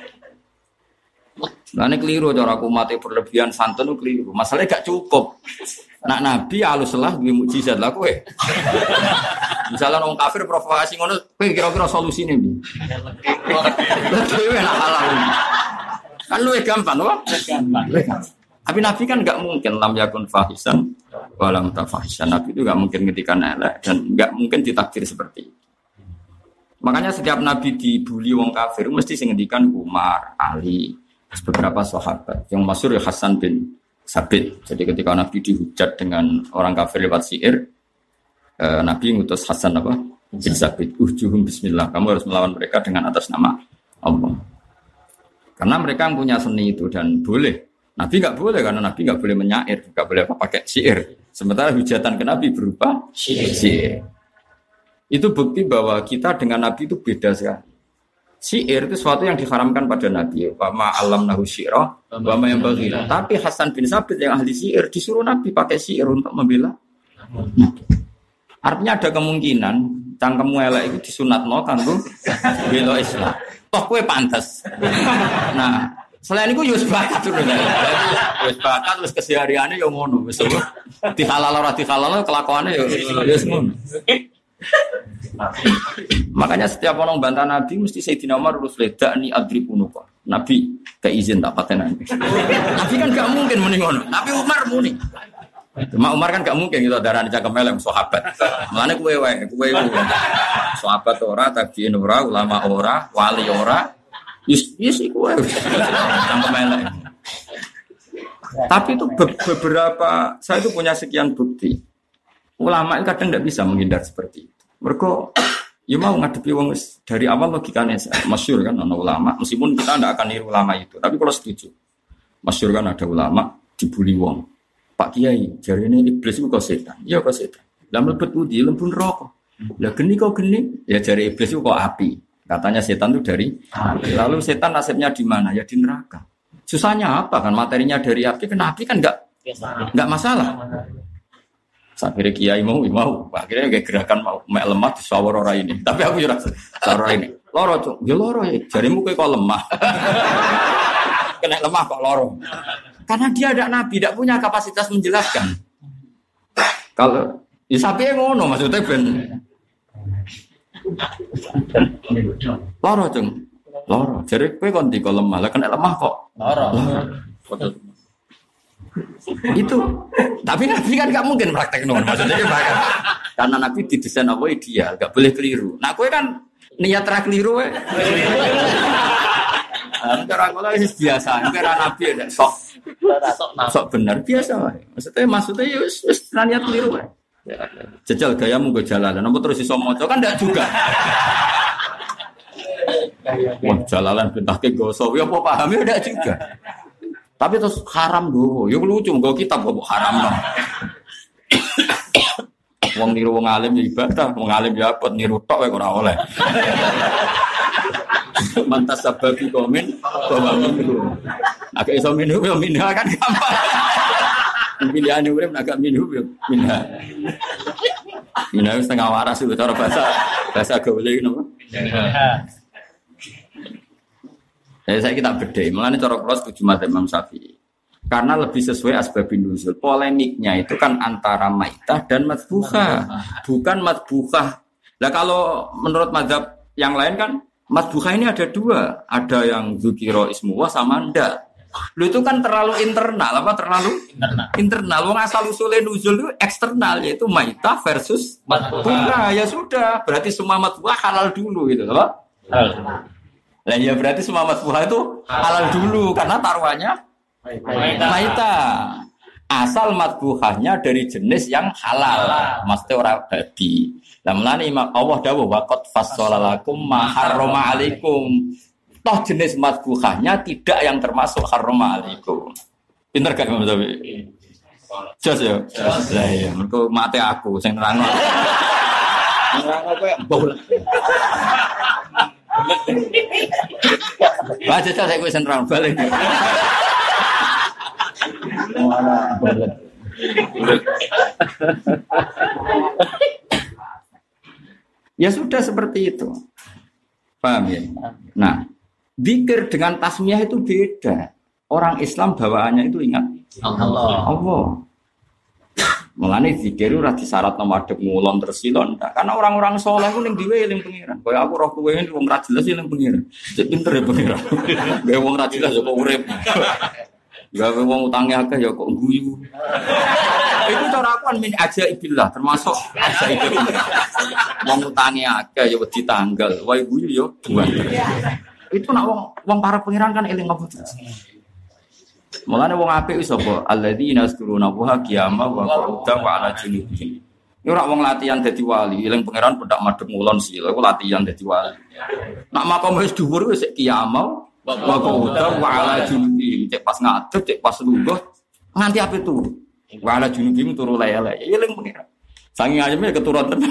Nah ini keliru cara aku mati berlebihan santun keliru. Masalahnya gak cukup. Nak nabi alus lah duwe mukjizat lah kowe. Misalnya orang kafir provokasi ngono, kowe kira-kira solusine piye? Kowe nak halal. Kan luwih gampang, loh. Tapi nabi kan enggak mungkin lam yakun fahisan walam tafahisan. Nabi itu enggak mungkin ngetikan elek dan enggak mungkin ditakdir seperti itu. Makanya setiap nabi dibuli wong kafir mesti sing ngendikan Umar, Ali, beberapa sahabat. Yang masyhur ya Hasan bin Sabit. Jadi ketika Nabi dihujat dengan orang kafir lewat syair, Nabi ngutus Hasan apa? Bin Sabit. Uhjuhum bismillah. Kamu harus melawan mereka dengan atas nama Allah. Karena mereka punya seni itu dan boleh. Nabi nggak boleh karena Nabi nggak boleh menyair, nggak boleh pakai syair. Sementara hujatan ke Nabi berupa syair. Itu bukti bahwa kita dengan Nabi itu beda sekali. Syair itu sesuatu yang diharamkan pada Nabi. Wa ma alamnahu syi'ra wa ma yanbaghi. Tapi Hasan bin Sabit yang ahli syair disuruh Nabi pakai syair untuk membela. Artinya ada kemungkinan cangkemmu elek itu disunatno kanggo bela Islam. Toh kowe pantes. Nah, selain itu yo sebakat lho. Wis bakat wis kesehariane yo ngono, wis dihalal ora dihalal kelakuane yo wis ngono. Makanya setiap orang bantah Nabi mesti Sayyidina Umar urus ledak ni adribunuka. Nabi gak izin tak patenan. Nabi kan gak mungkin muni ngono. Nabi Umar muni. Cuma Umar kan gak mungkin gitu darah cangkem elek sahabat. Mulane kowe wae, kowe sahabat ora, tabiin ora, ulama ora, wali ora. Yes iku wae. Cangkem elek. Tapi itu beberapa saya itu punya sekian bukti. Ulama itu kadang tidak bisa menghindar seperti itu. Mereka, ya mau ngadepi wong dari awal logikanya masyhur kan ana ulama. Meskipun kita tidak akan niru ulama itu, tapi kalau setuju, masyhur kan ada ulama dibully wong. Pak Kiai, jari ini iblis itu kok setan. Iya kok setan. Lah mlebet budi lembun rokok. Lah geni kok geni. Ya jari iblis itu kok api. Katanya setan itu dari api. Lalu setan nasibnya di mana? Ya di neraka. Susahnya apa kan materinya dari api? Kena api kan enggak masalah. Akhirnya kiai mau, akhirnya kayak gerakan mau lemah di sawar orang ini. Tapi aku juga sawar ini, loro cok, ya loro ya. Jarimu kayak kok lemah, kena lemah kok loro. Karena dia ada nabi, tidak punya kapasitas menjelaskan. Kalau ya sapi yang ngono maksudnya ben. Loro Cung. Loro. Jare kowe kon di lemah. Lah kena lemah kok. Loro. Itu. Tapi Nabi kan gak mungkin praktek ngono. Maksudnya kan karena Nabi didesain apa ideal, gak boleh keliru. Nah, kowe kan niat ra keliru wae. Cara ngono wis biasa. Kira Nabi nek sok bener biasa wae. Maksudnya ya wis niat keliru wae. Jajal gayamu go jalalan, apa terus iso maca kan ndak juga. Wah, jalalan bentake goso, ya apa paham ya ndak juga. Tapi terus haram dowo, ya lucu nggo kitab kok haram no. Wong niru wong alim ya ibadah, wong alim ya apa niru tok wae ora oleh. Mantas sababi komen bahwa minum. Agak iso minum ya minum kan gampang. Pilihan urip agak minum ya minum. Minum setengah waras itu cara bahasa gaul iki napa? Saya kita bedai, mengenai cara kula setuju madzhab Imam Syafi'i. Karena lebih sesuai asbabun nuzul. Polemiknya itu kan antara maitah dan madbuhah, bukan madbuhah. Lah kalau menurut madzhab yang lain kan madbuhah ini ada dua, ada yang dzukira ismuwa sama ndak. Lu itu kan terlalu internal, apa terlalu internal. Wong asal usulnya nuzul itu eksternal, yaitu maitah versus madbuhah. Ya sudah, berarti semua madbuhah halal dulu gitu, apa? Lah ya berarti semua madbuhah itu halal dulu karena taruhannya maitah. Asal madbuhahnya dari jenis yang halal, maksudnya orang babi. Lah mulane Allah dawuh waqad fassalalakum ma harrama alaikum. Toh jenis madbuhahnya tidak yang termasuk harrama alaikum. Pinter gak Imam Syafi'i? Jos ya. Lah ya, engko mate aku sing nerangno. Nerangno kowe mbol. Wah, jajal saya kuwi nerang balik. Ya sudah seperti itu. Paham ya? Nah, zikir dengan tasmiyah itu beda. Orang Islam bawaannya itu ingat Allah. Mulane zikir ora disyaratno madhep ngulon tersilon. Karena orang-orang saleh ku ning diwe eling pengiran. Kaya aku roh kowe wong ra jelas eling pengiran. Cek pinter ya pengiran. Gawe wong ra jelas kok urip. Gawe wong utange akeh ya kok guyu. Itu cara aku kan min ajaibillah termasuk ajaibillah. Wong utange akeh ya wedi tanggal. Wae guyu ya buan. Itu nak wong para pengiran kan eling apa terus. Mulane wong apik wis apa alladzina yazkuruna Allaha qiyaman wa qu'udan wa 'ala junubihim. Ya ora wong latihan dadi wali, eling pangeran pendak madhep ngulon sila iku latihan dadi wali. Nak makom wis dhuwur wis qiyaman wa qu'udan wa 'ala junubihim, cek pas ngadeg, cek pas lungguh nganti ape turu. Wa 'ala junubihim turu lele. Ya eling pangeran. Saking ayeme keturun tenan.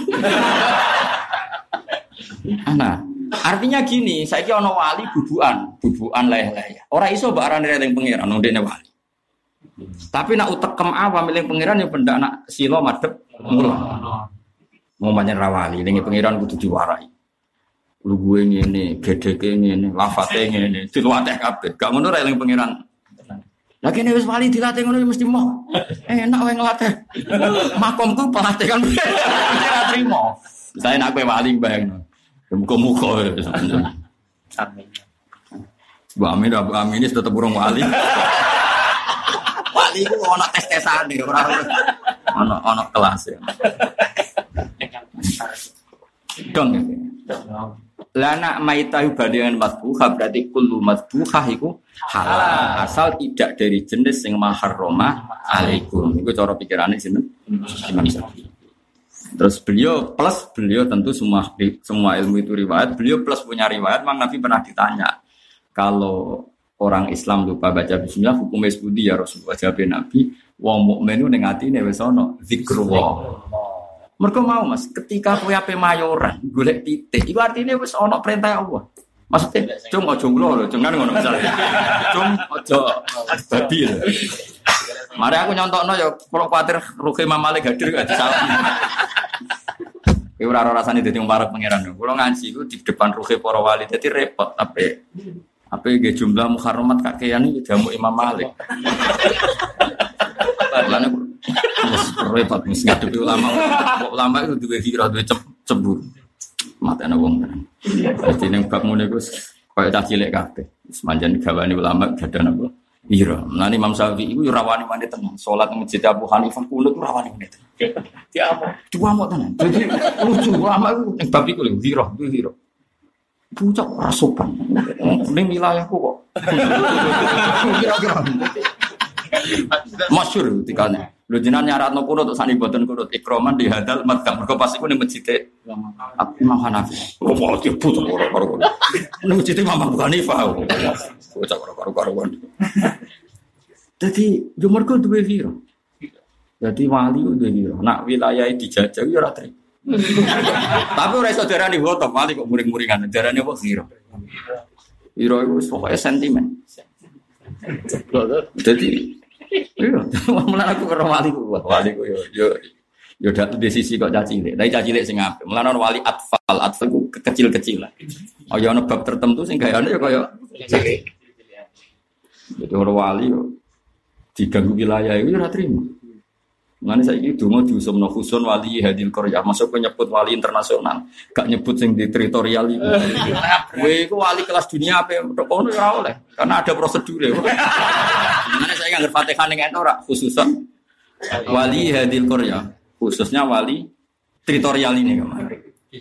Nah, artinya gini, saiki ana wali bubukan leleh. Ora iso mbok arane eling pangeran ndekne wali. Tapi nak utekem awam eling pangeran ya pendak nak sila madhep mula. Mau panjen ra wali, eling pangeran kudu diwarai. Lugue ngene, gedeke ngene, lafate ngene, dilatih kabeh. Gak ngono ra eling pangeran. Lah kene wis wali dilatih ngono mesti mau. Enak wae nglatih. Makomku pelatih kan ora trimo. Saya nak kowe wali bayangno. Muka-muka ya. Amin. Bu Amin ini tetap burung wali. Wali itu ada tes-tesan nih, ada kelas ya. Dong ya. Lana maitahu badingan madbuhah berarti kullu madbuhah itu halal asal tidak dari jenis yang maharroma alaikum. Itu cara pikirannya sini. Imam Syafi'i. Terus beliau tentu semua ilmu itu riwayat. Beliau plus punya riwayat. Mang Nabi pernah ditanya, kalau orang Islam lupa baca bismillah hukumnya sebudi ya Rasulullah. Jawab Nabi, wong mukmin itu ning atine wis ana zikrullah. Mergo mau Mas, ketika kowe ape mayoran golek titik, iku artine wis ana perintah Allah. Maksudnya, cung aja ngulo lho, jangan ngono misale. Cung aja babi lho. Mari aku nyontokno ya, kalau kuwatir rugi Imam Malik hadir gak disalah. Kowe ora rasane dadi wong parek pangeran. Kulo ngaji iku di depan rugi para wali dadi repot ape nggih jumlah muharramat kakean iki jamu Imam Malik. Lan repot mesti ngadepi ulama. Ulama itu duwe hira, duwe cemburu. matene wong tenan. Dadi ning bab ngene iku kaya cah cilik kabeh. Semanjan gawane ulama gadan apa? Ira. Lan Imam Syafi'i iku ora wani-wani tenan. Salat nang masjid Abu Hanifah kunut ora wani-wani tenan. Diamuk tenan. Dadi lucu ulama iku ning bab iku lho, zira. Pucak ora sopan. Ning wilayahku kok. Kira-kira. Masyhur tikane. Lho jenengan nyaratno kunut sak boten kunut ikroman di hadal madhab. Mergo pas iku ning masjid Imam Hanafi. Oh, malah dibut karo-karo. Ning masjid Imam Abu Hanifah. Pucak karo-karo. Dadi yo mergo duwe wira. Dadi wali duwe wira. Nak wilayah dijajah yo ora trimo. Tapi ora iso darani foto wali kok muring-muringan. Darane apa wira. Wira iku pokoke sentimen. Jadi, iya, malah aku karo waliku yo dak di sisi kok cacilik. Tapi cacilik sing apik. Mulane wali atfal ku kecil-kecilan. Oh ya ana bab tertentu sing gayane ya kaya cilik. Jadi ora wali yo diganggu wilayah iku ora trimo. Mulane saiki donga diusumno khusun wali hadil qaryah, masuk nyebut wali internasional, gak nyebut sing di teritorial iku. Kowe iku wali kelas dunia apa tok kono ora oleh, karena ada prosedure. Mulane saya nganggo Fatihah ning ora khususan wali hadil qaryah, khususnya wali teritorial ini kemarin.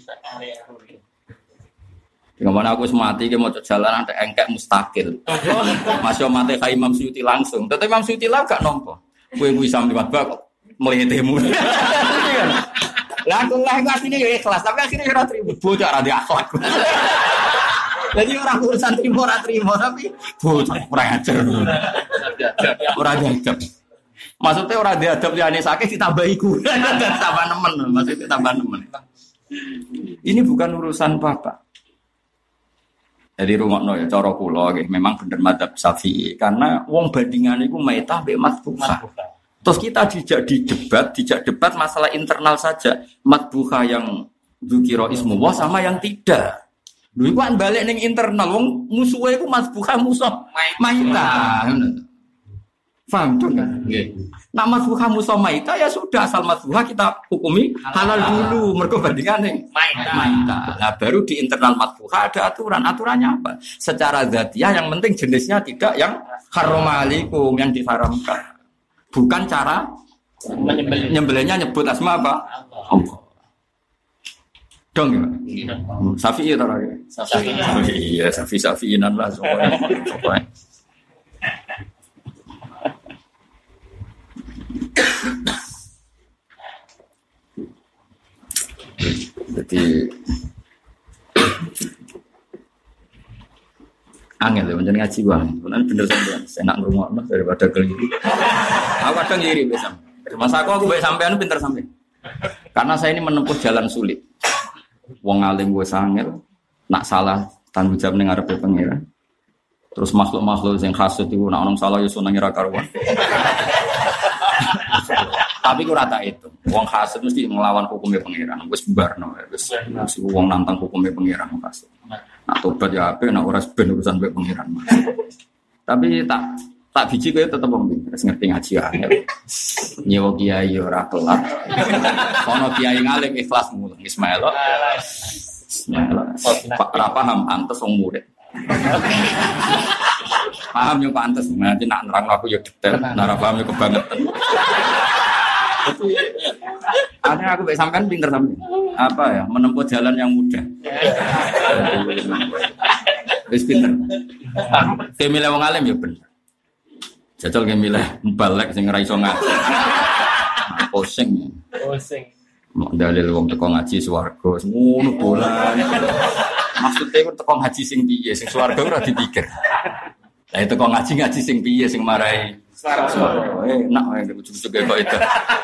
Gimana aku semati ke mau jalan ada engkek mustakil. Masih mati kayak Imam Suyuti langsung. Tetapi Imam Suyuti lah gak nompo. Kue bisa melihat bak melihatimu. Lah aku lah aslinya ya ikhlas, tapi akhirnya ora trimo bocah ra akhlak. Jadi orang urusan trimo ora trimo tapi bocah ora ajar. Ora diadab. Maksudnya ora diadab liyane sakit ditambah iku. Tambah nemen, maksudnya tambah nemen. Ini bukan urusan bapak. Jadi rungokno ya cara kula nggih memang bener madzhab Syafi'i karena wong bandingane iku maitah mbek matbukhah. Terus kita dijak debat masalah internal saja. Matbukhah yang dzukira ismullah sama yang tidak. Lho iku kan balik ning internal wong musuhe iku matbukhah musuh maitah. Paham tuh kan? Nggih. Nak matbukhah musuh maitah ya sudah asal matbukhah kita hukumi halal dulu mergo bandingane maitah. Nah baru di internal matbukhah ada aturan. Aturannya apa? Secara dzatiyah yang penting jenisnya tidak yang haram alaikum yang diharamkan. Bukan cara nyembelihnya nyebut asma apa? Allah. Dong ya? Syafi'i atau lagi? Syafi'i. Iya, Syafi'inan lah soalnya. Jadi angel ya, menjadi ngaji bang. Benar bener sampean, saya nak ngrungokno daripada keliru. Aku kadang ngiri besam. Masa aku baik sampean pinter sampean. Karena saya ini menempuh jalan sulit. Wong alim gue sangel, nak salah tanggung jawab ning ngarepe pangeran. Terus makhluk-makhluk sing hasud iku nak ono salah yo seneng ora karuan. Tapi ku rata itu. Wong hasud mesti ngelawan hukumnya pangeran. Wis barno wis wong nantang hukumnya pangeran hasud. Nak tobat ya ape, nak ora ben urusan mbek pangeran. Tapi tak biji kowe tetep wong pinter, ngerti ngaji ae. Nyewa kiai ora kelat. Ono kiai ngalim ikhlas mulut Ismail. Pak ra paham antes wong murid. Paham yo pantes, nanti nak nerang aku yo detail, nak paham yo kebangetan. Akhirnya aku baik sampean pinter sampean. Apa ya? Menempuh jalan yang mudah. Wis pinter. Kayak milih wong alim ya bener. Jajal kayak milih mbalek sing ora iso ngaji. Pusing. Dalil wong teko ngaji swarga ngono bolan. Maksudnya ku teko ngaji sing piye? Sing swarga ora dipikir. Lah itu kok ngaji sing piye sing marai swarga. Enak wae ujug-ujug kok itu.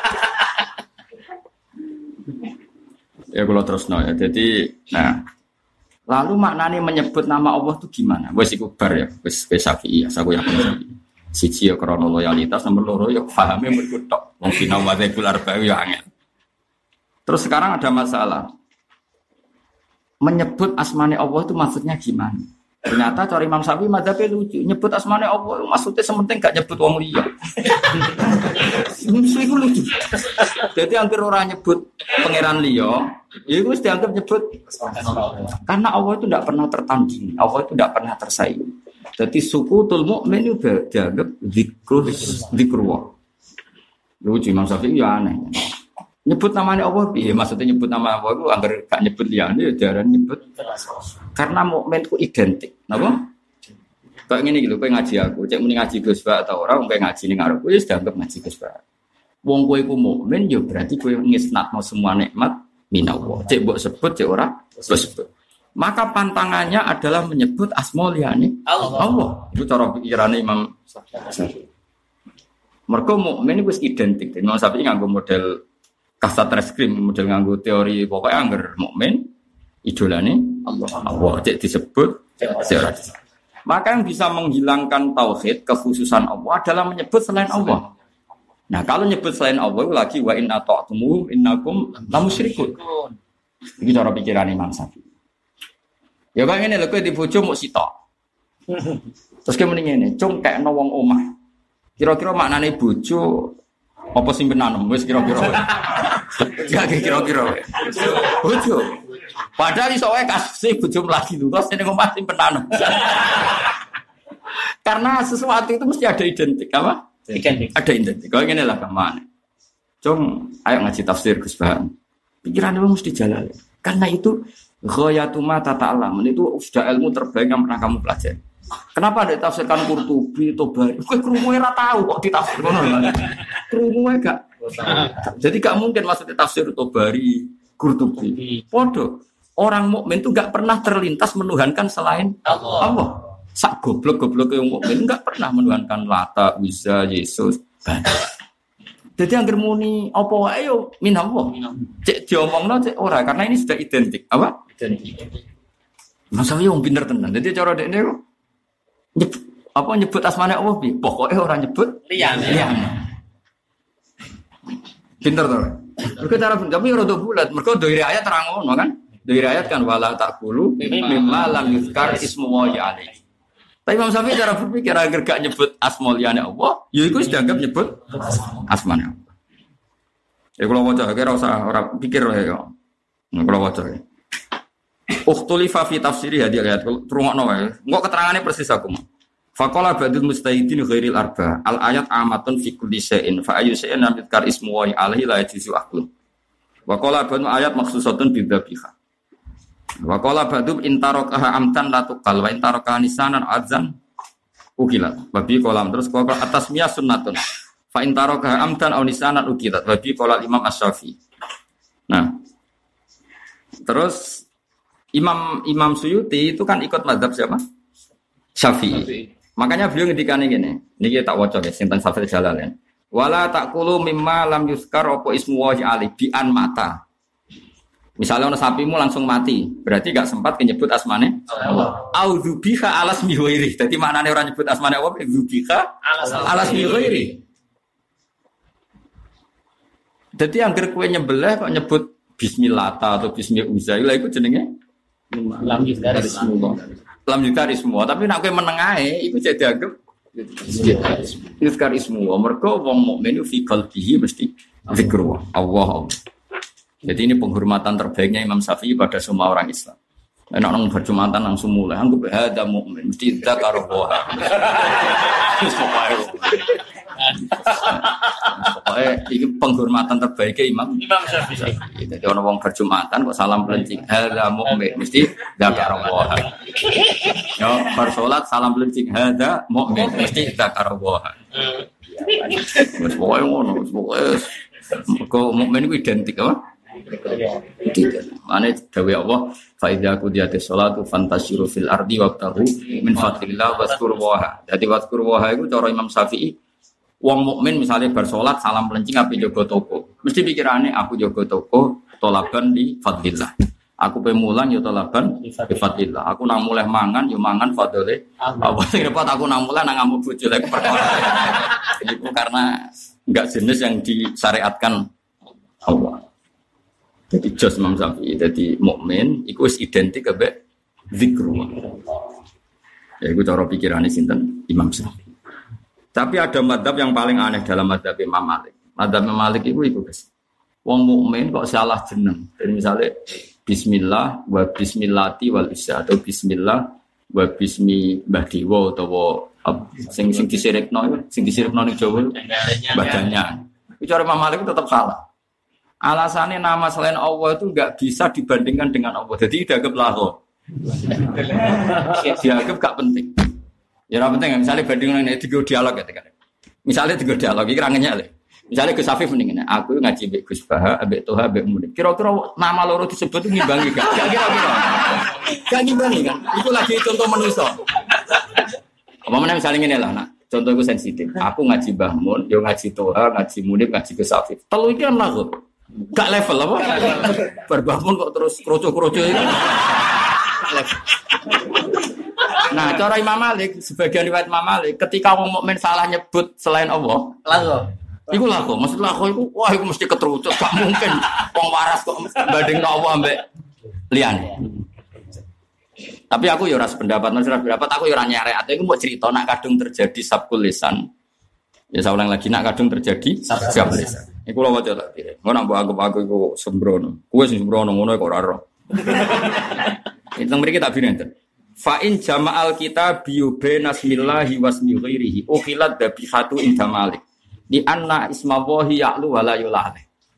Ya kalau terus ya. Jadi, nah, lalu maknanya menyebut nama Allah itu gimana? Wes iku bar ya, wes Syafi'i ya, aku yakin Syafi'i. Siji ya krana loyalitas, nomor loro ya pahame mergo tok. Wong sinau madzhabul arba'i ya angel. Terus sekarang ada masalah. Menyebut asmane Allah itu maksudnya gimana? Ternyata cara Imam Syafi'i madzhabnya lucu, nyebut asmane Allah maksudnya sementing gak nyebut wong liya. Itu lucu. Jadi hampir orang nyebut pangeran liya, ya itu dianggap nyebut karena Allah itu tidak pernah tertandingi, Allah itu tidak pernah tersaingi. Jadi sukutul mukmin itu dianggap zikrullah. Lucu Imam Syafi'i ya aneh. Nyebut namanya Allah, iya maksudnya nyebut nama Allah itu agar gak nyebut liane ya jarang nyebut. Karena mukmin itu identik, napa? Kayak ngene iki lho, kowe ngaji aku, cek muni ngaji Gus Ba atau ora, kowe ngaji ning arep wis dianggap ngaji Gus Ba. Wong kowe iku mukmin ya berarti kowe ngisnatno semua nikmat minallah. Cek mbok sebut cek ora sebut. Maka pantangannya adalah menyebut asma liyane Allah. Itu cara pikirane Imam Syafi'i. Mergo mukmin wis identik. Imam Syafi'i nganggo model kasat reskrim, model nganggo teori pokoknya angger mukmin idolane Allah cek disebut secara disebut. Maka yang bisa menghilangkan tauhid kekhususan Allah adalah menyebut selain Allah. Nah kalau nyebut selain Allah lagi wa inna ta'tumu innakum lamusyrikun. Iki cara pikiran Imam Syafi'i. Ya kok ngene lho kowe dibojo muk sitok. Terus ke mending ngene, cung kekno wong omah. Kira-kira maknane bojo apa simpenan wis kira-kira. Ya kira-kira. Bojo. Padahal iso wae kasih bojo mlagi terus ning omah simpenan. Karena sesuatu itu mesti ada identik apa? Identik. Ada identik. Kok ngene lah gamane. Cung, ayo ngaji tafsir Gus Bahan. Pikiran lu mesti jalan. Karena itu ghayatu ma tata'allam. Itu sudah ilmu terbaik yang pernah kamu pelajari. Kenapa ada tafsirkan Qurtubi, Tobari? Kowe krungu ora tahu kok ditafsir ngono. Krungu gak. Jadi gak mungkin maksudnya tafsir Tobari, Qurtubi. Podo. Orang mukmin itu gak pernah terlintas menuhankan selain Allah. Sak goblok-goblok yang mukmin gak pernah menuhankan Lata, Uzza, Yesus. Jadi angger muni apa wae yo min Allah. Cek diomongno cek ora karena ini sudah identik. Apa? Identik. Masalah wong pinter tenan. Jadi cara dekne nyebut asmane Allah piye? Pokoke ora nyebut liyane. Pinter to. Mergo cara tapi ora do bulat. Mergo doire ayat terang ngono kan? Doire ayat kan wala taqulu mimma lam yuzkar ismu wa alaihi. Tapi Imam Syafi'i cara berpikir agar gak nyebut asma liyane Allah, ya iku dianggap nyebut asmane Allah. Ya kalau waca kira ora pikir ya. Kalau waca. Ukhtulifa fi tafsiri hadhihi ayat rungokno wae. Engko keterangane persis aku. Faqala ba'dul mustahidin ghairil arba. Al ayat amatun fi kulli shay'in fa ayyu shay'in lam yuzkar ismu wa alaihi la yajuzu aklu. Wa qala ba'dul ayat makhsusatun bidzabiha. Wa qala ba'dum intarakaha amtan la tuqal wa intarakaha nisanan adzan ukilat. Babi kolam terus qala atasmiyah sunnatun. Fa intarakaha amtan aw nisanan ukilat. Babi qala Imam Asy-Syafi'i. Nah. Terus Imam Suyuti itu kan ikut mazhab siapa? Syafi'i. Makanya beliau ngendikane ngene. Niki tak waca guys, sinten Safir Jalalain. Wala taqulu mimma lam yuzkar apa ismu wa ali bi an mata. Misalnya ono sapimu langsung mati, berarti gak sempat menyebut asmane Allah. Auzubiha alas mihoiri. Jadi maknane orang nyebut asmane Allah, auzubiha alas mihoiri. Jadi angger kowe nyembelih kok nyebut bismillah atau bismi uzailah iku jenenge lam yuzkarismu. Tapi nek kowe menengahe iku jadi dianggap yuzkarismu. Mergo wong mukmin fi qalbihi mesti zikrullah Allah. Jadi ini penghormatan terbaiknya Imam Syafi'i pada semua orang Islam. Enak nang berjumatan langsung mulai. Anggap hada mukmin mesti dzakarullaha. Pokoknya ini penghormatan terbaiknya Imam Syafi'i. Jadi orang wong berjumatan kok salam pelencing hada mukmin mesti dzakarullaha. Yo bersolat salam pelencing hada mukmin mesti dzakarullaha. Wes pokoke ngono, pokoke kok mukmin itu identik apa? Tidak. Mane dawuh Allah, fa idza qudiyatis sholatu fantashiru fil ardi wabtaghu min fadlillah wazkurwaha. Dadi wazkurwaha iku cara Imam Syafi'i wong mukmin misalnya bar salat salam pelencing ape jaga toko. Mesti pikirane aku jaga toko tolaban di fadlillah. Aku pemulang ya tolaban di fadlillah. Aku nang mulih mangan ya mangan fadlile. Apa sing repot aku nang mulih nang ngamuk bojo lek perkara. Itu karena enggak jenis yang disyariatkan Allah. Jadi jos Imam Syafi'i, jadi mukmin, itu identik dengan zikrullah. Ya itu cara pikirane sinten Imam Syafi'i. Tapi ada madzhab yang paling aneh dalam madzhab Imam Malik. Madzhab Imam Malik itu guys. Wong mukmin kok salah jeneng. Jadi misalnya bismillah wa bismillati wal isya atau bismillah wa bismi mbah dewa utawa sing disirikno ning Jawa badannya. Itu cara Imam Malik tetap salah. Alasannya nama selain Allah itu enggak bisa dibandingkan dengan Allah. Jadi dianggap laho. Dianggap gak penting. Ya ora penting misalnya bandingkan ini tiga dialog ya kan. Misalnya tiga dialog iki rangennya le. Misalnya Gus Afif mendingin aku ngaji mbek Gus Baha, mbek Toha, mbek Munib. Kira-kira nama loro disebut ngimbangi gak? Kira-kira. Gak ngimbangi kan? Itu lagi contoh manusia. Apa mana misalnya ngene lah nak. Contoh itu sensitif. Aku ngaji Mbah Mun, yo ngaji Toha, ngaji Munib, ngaji Gus Afif. Telu iki kan lagu. Gak level apa? Berbangun kok terus kroco-kroco itu. Gak level. Nah, cara Imam Malik, sebagian riwayat Imam Malik, ketika orang mukmin salah nyebut selain Allah, lagu. Iku lagu, maksud lagu itu, wah itu mesti keterucut, gak mungkin. Wong waras kok banding Allah ambek liyane. Tapi aku ya ora sependapat, aku ya ora nyarek. Aku mau cerita nak kadung terjadi sabkul lisan. Ya saya ulang lagi nak kadung terjadi sabkul lisan. Iku lho waca tak kira. Ngono mbok aku iku sembrono. Kuwi sing sembrono ngono kok ora ora. Itu mriki tak binenten. Fa in jama'al kitab bina bismillahi wasmi ghairihi ukhilat dabihatu inda Malik. Di anna ismallahi ya'lu wa la yulal.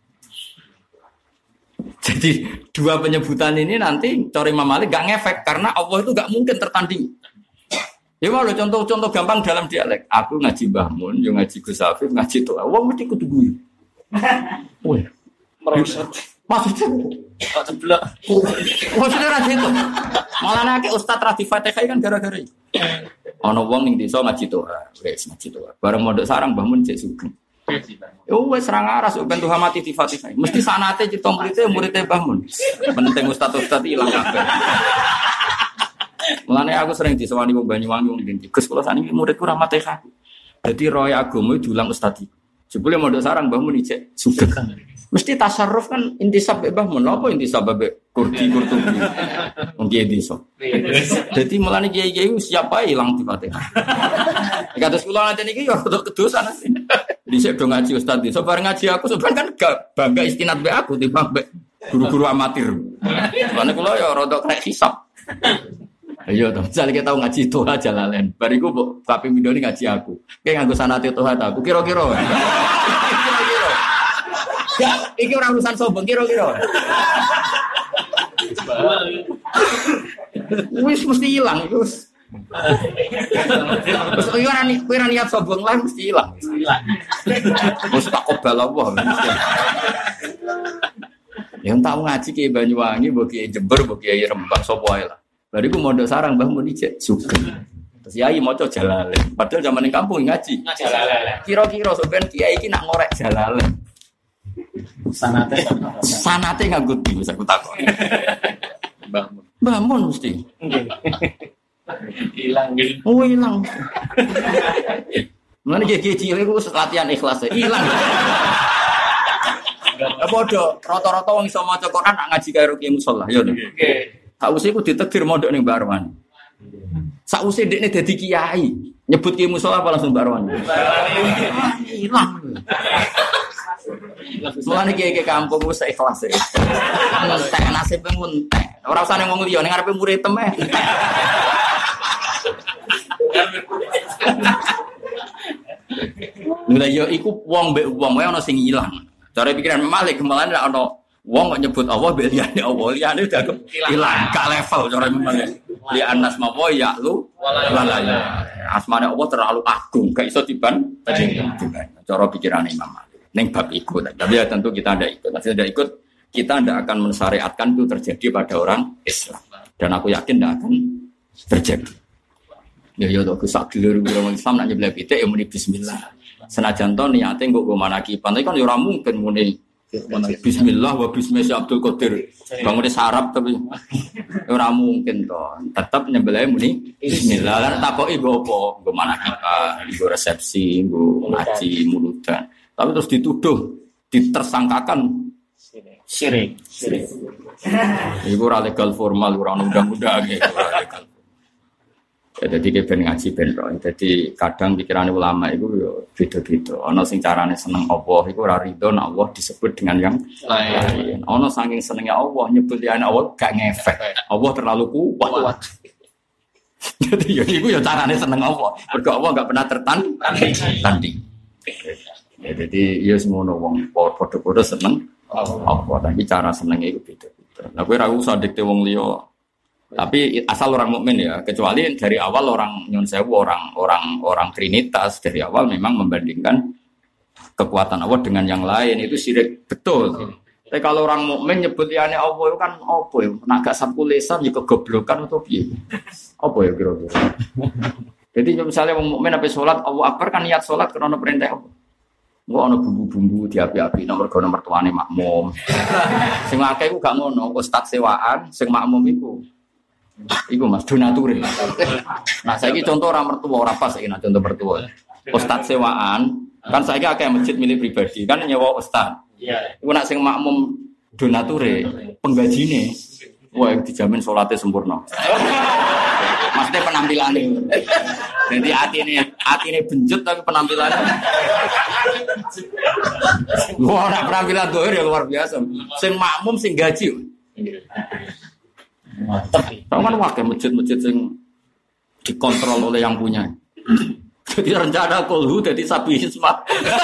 Jadi dua penyebutan ini nanti cara Imam Malik gak ngefek karena Allah itu gak mungkin tertanding. Ya walau contoh-contoh gampang dalam dialek. Aku ngaji Mbah Mun, yo ngaji Gus Afif, ngaji Toha. Wong mesti kudu guyu. Woi. Maksudnya ceblok. Maksudnya ra itu. Malah nek ustaz ra di Fatihah kan gara-gara iki. Ana wong ning desa ngaji Toha, wis ngaji Toha. Bareng mondok sarang Mbah Mun cek sugeng. Yo wis ra ngaras ben Tuhan mati di Fatihah. Mesti sanate cita murid-murid Mbah Mun. Penting ustaz-ustaz ilang kabeh. Mulane aku sering disewani wong Banyuwangi wong ndi. Gus kula saniki muridku ra Fatihah. Dadi roy agama diulang ustaz iki. Jebule mondok sarang Mbah Mun cek sugeng. Mesti tasarruf kan intisab mbek Mbah Mun. Apa intisab mbek kurdi kurtubi. Wong kiye desa. Dadi mulane kiai-kiai siapa ilang di Fatihah. Kados kula nanti niki ya rada kedosan sih. Dhisik do ngaji ustaz desa bareng ngaji aku sebenarnya kan bangga istinad mbek aku timbang mbek guru-guru amatir. Mulane kula ya rada krek hisab. Ayo to, misale kita tahu ngaji Toha Jalalain. Bariku mbok kaping video ngaji aku. Kayak nganggo sanate Toha ta aku kira-kira. Ya, iki ora urusan sombong kira-kira. Wis mesti hilang wis. Wis ora niat sombong lah mesti hilang. Wis tak kobal apa. Yang tahu ngaji ki Banyuwangi, mbok ki Jember, mbok ki Rembang sapa wae lah. Bariku mondok sarang Mbah Mun ijek sugeng. Terus yai maca Jalalain. Padahal zaman ning kampung ngaji. Jalalain. Kira-kira sampean kiai iki nak ngorek Jalalain. Sanate nganggo di wis aku takon. Mbah Mun mesti. Hilang gitu. Oh hilang. Mulane kiai cilik ku latihan ikhlas hilang. Ya padha rata-rata wong iso maca Quran nak ngaji karo kiai musala ya. Nggih. Sakwise ku ditegir mondok ning Mbak Arwan. Sakwise ndekne dadi kiai, nyebut kiai musala apa langsung Mbak Arwan. Hilang. Mulane kiai kampung wis ikhlas e. Entek nasib entek. Ora usah ning wong liya ning ngarepe murid temeh. Lha yo iku wong mbek wong wae ana sing ilang. Cara pikiran Malik malah ana wong kok nyebut Allah mbek liyane Allah, liyane dianggap ilang, gak level cara Malik. Li anas mawa ya lu walaya. Asmane Allah terlalu agung, gak iso dibanding. Cara pikirane Imam Malik. Ning bab iku, tapi ya tentu kita ndak ikut. Masih ndak ikut, kita ndak akan mensyariatkan itu terjadi pada orang Islam. Dan aku yakin ndak akan terjadi. Ya to sak dulur orang Islam nak nyebleh pitik ya muni bismillah. Senajan to niate nggo manakipan, tapi kan ya ora mungkin muni bismillah wa bismillah Abdul Qadir. Bangune sarap tapi ora mungkin to. Tetep nyembelih muni bismillah. Lan takoki nggo apa? Nggo manakipan, nggo resepsi, nggo ngaji muludan. Tapi terus dituduh, ditersangkakan syirik. Iku ora legal formal, ora undang-undang iki, ora legal. Ya jadi ben ngaji ben roh. Jadi kadang pikiran ulama itu yo beda-beda. Ana sing carane seneng Allah iku ora rido nek Allah disebut dengan yang lain. Ana saking senenge Allah nyebut liyane Allah gak ngefek. Allah terlalu kuat. Jadi ya iku ya carane seneng Allah. Mergo Allah gak pernah tertanding. Ya jadi ya semono wong padha-padha seneng Allah. Tapi cara senenge iku beda-beda. Lah kowe ora usah dikte wong liya. Tapi asal orang mukmin ya, kecuali dari awal orang nyun sewu orang trinitas dari awal memang membandingkan kekuatan Allah dengan yang lain itu syirik betul. Tapi kalau orang mukmin nyebut liyane Allah itu kan apa ya? Nek gak sapu lisan ya kegoblokan atau piye? Apa ya kira-kira? Jadi misalnya wong mukmin ape salat Allah Akbar kan niat salat karena perintah Allah. Engko ana bumbu-bumbu diapi-api nomor tuane makmum. Sing akeh iku gak ngono, ustaz sewaan, sing makmum iku iku Mas donature. Nah, saiki contoh orang mertua ora pas saiki contoh mertua. Ustaz sewaan, kan saiki akeh masjid milik pribadi, kan nyewa ustaz. Iya. Iku nek sing makmum donature, penggajine wah dijamin salatnya sempurna. Maksudnya penampilannya. Jadi atine benjut tapi penampilannya. Wah, nek penampilan doer ya luar biasa. Sing makmum sing gaji. Tahu kan wakil masjid-masjid yang dikontrol oleh yang punya. Jadi rencana kulhu jadi sapi hismat.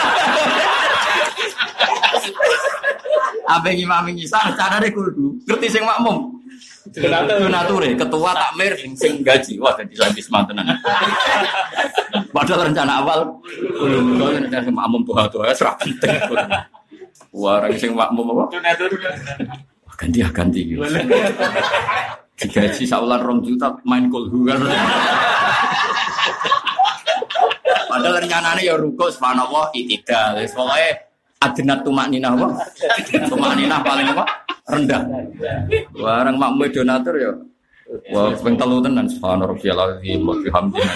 Abang Imam Isa rencana deh kulhu. Ngerti sing makmum. Donature ketua takmir sing gaji. Wah jadi sapi hismat tenan. Padahal rencana awal kulhu kan sing makmum doa-doa serah penting. Wah orang sing makmum apa? Donatur. Ganti gitu. Digaji saulan 2 juta main kulhu kan. Padahal rencananya ya ruko subhanallah itidal. Soalnya adnat tumakninah apa? Tumakninah paling apa? Rendah. Barang makmum donatur ya. Wah, ping 3 tenan subhanallah rabbiyal azim wa bihamdihi.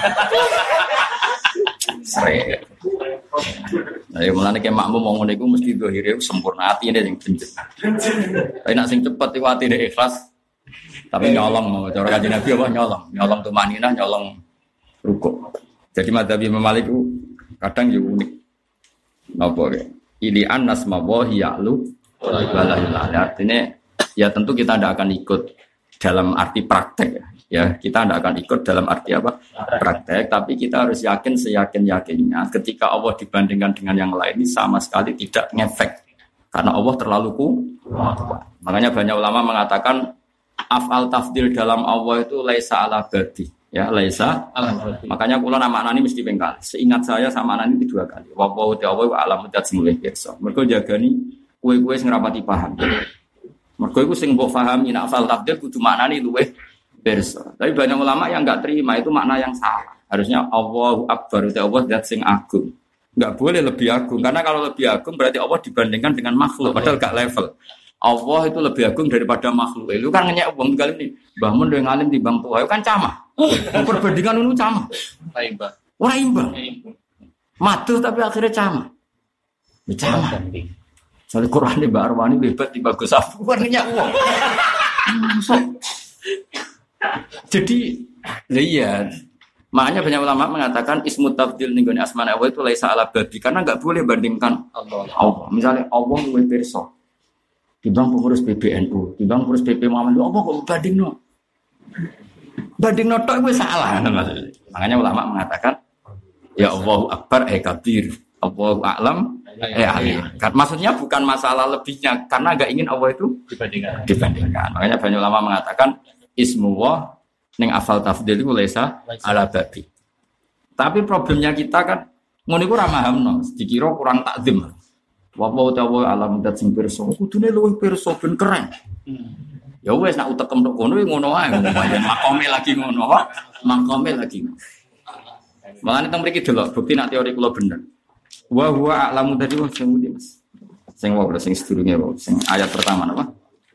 Sre. Nah, ya mulane ke makmum wong ngene iku mesti zahire sempurna atine sing benjut. Tapi nek sing cepet iku atine ikhlas. Tapi nyolong cara Kanjeng Nabi apa nyolong tumaninah, nyolong rukuk. Jadi madzhab Imam Malik itu kadang ya unik. Napa ya? Ilian nasma wa ya'lu wala ilaha. Artinya ya tentu kita tidak akan ikut dalam arti praktek ya. Ya, kita tidak akan ikut dalam arti apa? Praktek, tapi kita harus yakin seyakin-yakinnya ketika Allah dibandingkan dengan yang lain ini sama sekali tidak ngefek. Karena Allah terlalu kuat. Makanya banyak ulama mengatakan af'al tafdil dalam Allah itu laisa ala badi. Ya, laisa ala badi. Makanya kula nama ini mesti pengkali. Seingat saya sama ini 2 kali. Wa ta'ala wa alam mudat semulih pirsa. Mergo jagani kowe-kowe sing rapati paham. Mergo iku sing mbok pahami nek af'al tafdil kudu maknane luwih perso. Tapi banyak ulama yang enggak terima itu makna yang salah. Harusnya Allahu Akbar, Allah zat sing agung. Enggak boleh lebih agung karena kalau lebih agung berarti Allah dibandingkan dengan makhluk padahal enggak level. Allah itu lebih agung daripada makhluk. Itu kan ngenyek wong kali ini. Mbah mun do ngalim timbang tuwa kan camah. Perbandingan itu camah. Ora imbang. Matuh tapi akhirnya camah. Camah. Soal Quran Mbak Arwani hebat di bagus apa kan ngenyek wong. Jadi, iya. Makanya banyak ulama mengatakan ismu tafdil ning gone asma Allah itu laisa ala babi karena enggak boleh bandingkan Allah. Misalnya Allah luwih pirsa. Timbang pengurus PBNU, timbang pengurus PP Muhammad, apa kok bandingno? Bandingno tok wis salah maksudnya. Makanya ulama mengatakan ya Allahu Akbar kabir. Allahu a'lam alim. Maksudnya bukan masalah lebihnya karena enggak ingin Allah itu dibandingkan. Makanya banyak ulama mengatakan ismullah ning afal tafdil iku laisa ala babi. Tapi problemnya kita kan ngono iku ora mahamno, dikira kurang takzim. Wa ta'ala alam dat sing pirsa, kudune luwih pirsa ben keren. Ya wis nek utekem tok kono ngono wae, makome lagi ngono, makome lagi. Malane teng mriki delok bukti nek teori kula bener. Wa huwa a'lamu tadi wong sing ngendi Mas. Sing wae sing sedurunge wae, sing ayat pertama napa?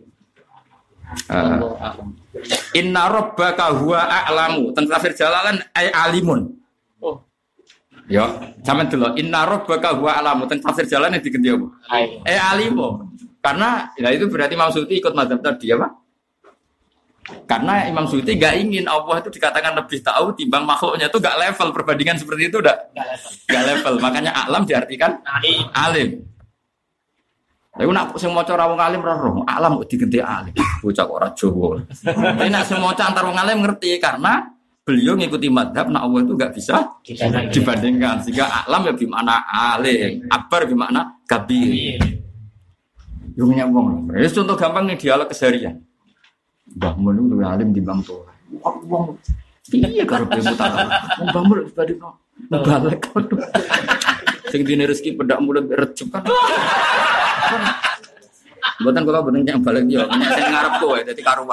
Inna rabbaka huwa a'lamu. Teng tafsir Jalalan ay alimun. Oh. Ya, sampean delok inna rabbaka huwa a'lamu. Teng tafsir Jalalan diganti apa? Alimu. Karena ya itu berarti maksudnya ikut mazhab tadi apa? Karena Imam Suyuti nggak ingin Allah itu dikatakan lebih tahu timbang makhluknya, itu nggak level, perbandingan seperti itu nggak level. Makanya alam diartikan alim. Lalu nak sing maca ra wong alim roh alam kok digenti alim. Bocah kok ora Jawa. Tapi nak sing maca antar wong alim ngerti karena beliau ngikuti madhab nak Allah itu nggak bisa dibandingkan. Sehingga alam ya bimana alim, akbar bimana kabir. Yo nyambung. Ini contoh gampang nih dialog keseharian. Mbah Mun luwih alim timbang tuwa. Wong piye karo bemu tak. Mbah Mun dibandingno balik. Sing dine rezeki pedak mulut recep kan. Mboten kula boten nyang balik yo, sing ngarep kowe dadi karuan.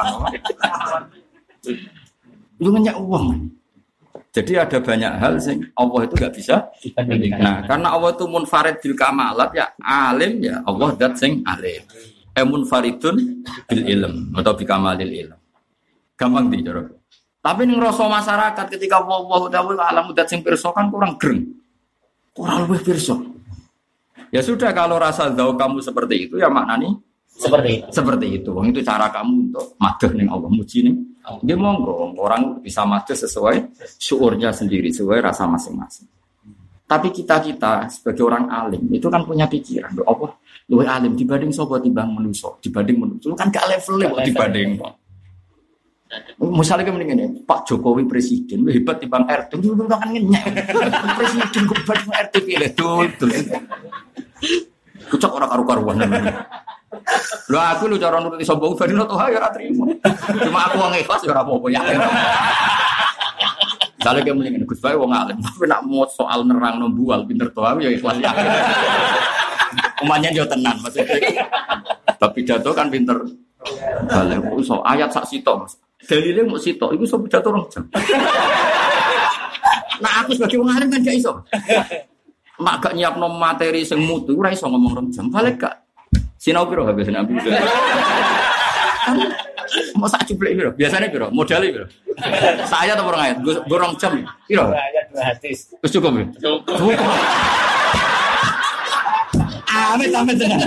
Lu nyak uang. Jadi ada banyak hal sing Allah itu enggak bisa dibandingkan. Nah, karena Allah itu munfarid bil kamalat ya alim ya Allah zat sing alim. Munfaridun bil ilm atau bi kamalil ilm. Gampang di cara. Tapi ning rasa masyarakat ketika Allah ta'ala alam zat sing pirsa kan kurang greng. Kurang luwih pirsa. Ya sudah kalau rasa zau kamu seperti itu ya maknanya seperti itu. Wong itu cara kamu untuk madheh ning Allah muji ning. Nggih monggo orang bisa madheh sesuai syuurnya sendiri, sesuai rasa masing-masing. Tapi kita sebagai orang alim itu kan punya pikiran, Allah luwih alim dibanding sapa timbang manusa, dibanding manusa kan gak level kok dibanding. Misalnya kayak begini, Pak Jokowi presiden hebat timbang RT, dulu kan ngenyek. Presiden kok banding RT pilih dul. Kucak orang karu-karuan. Lho aku lu cara nuruti sombong ben to ya ora trimo. Cuma aku wong ikhlas ya ora apa-apa yakin. Misalnya kayak begini, Gus Bae wong alim, tapi nak mau soal nerang nombual pinter to ya ikhlas yakin. Umanya yo tenan maksudnya. Tapi pidato kan pinter. Balik iso ayat sak sitok. Dalile mung sitok iku iso pidato 2 jam. Nah aku sebagai wong alim kan gak iso. Mak gak nyiapno materi sing mutu ora iso ngomong 2 jam. Balik gak sinau piro habis nabi. Mau sak cuplek piro? Biasane piro? Modale piro? Saya atau orang ayat? Gue 2 jam. Piro? Ayat 2 hadis. Wis cukup. Cukup. Amit tenan.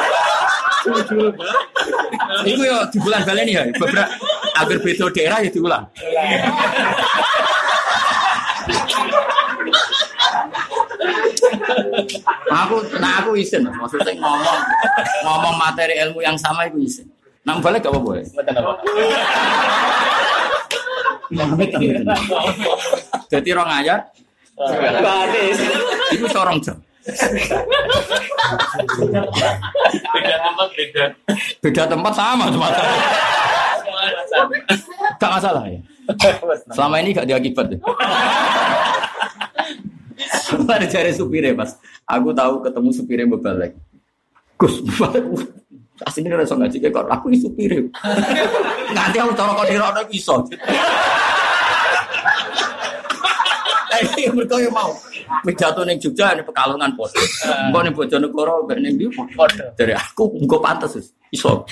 Iku yo di bulan baleni ya. Beberapa agar beda daerah ya diulang. Aku isin, maksudnya ngomong materi ilmu yang sama itu isin. Nang balik gak apa-apa. Mboten apa. Jadi 2 ayat. Hadis. Itu 2 jam. Beda tempat sama cuma. Gak masalah ya. Selama ini gak diakibat. Ada cari supirnya Mas. Aku tahu ketemu supirnya balik. Gus, aslinya rasa ngaji kayak aku ini supirnya. Nanti aku taruh kau di roda bisa. Ini mereka yang mau. Pidato ning Jogja ini Pekalongan pos. Engko ning Bojonegoro mbek ning ndi pos. Dari aku engko pantes iso.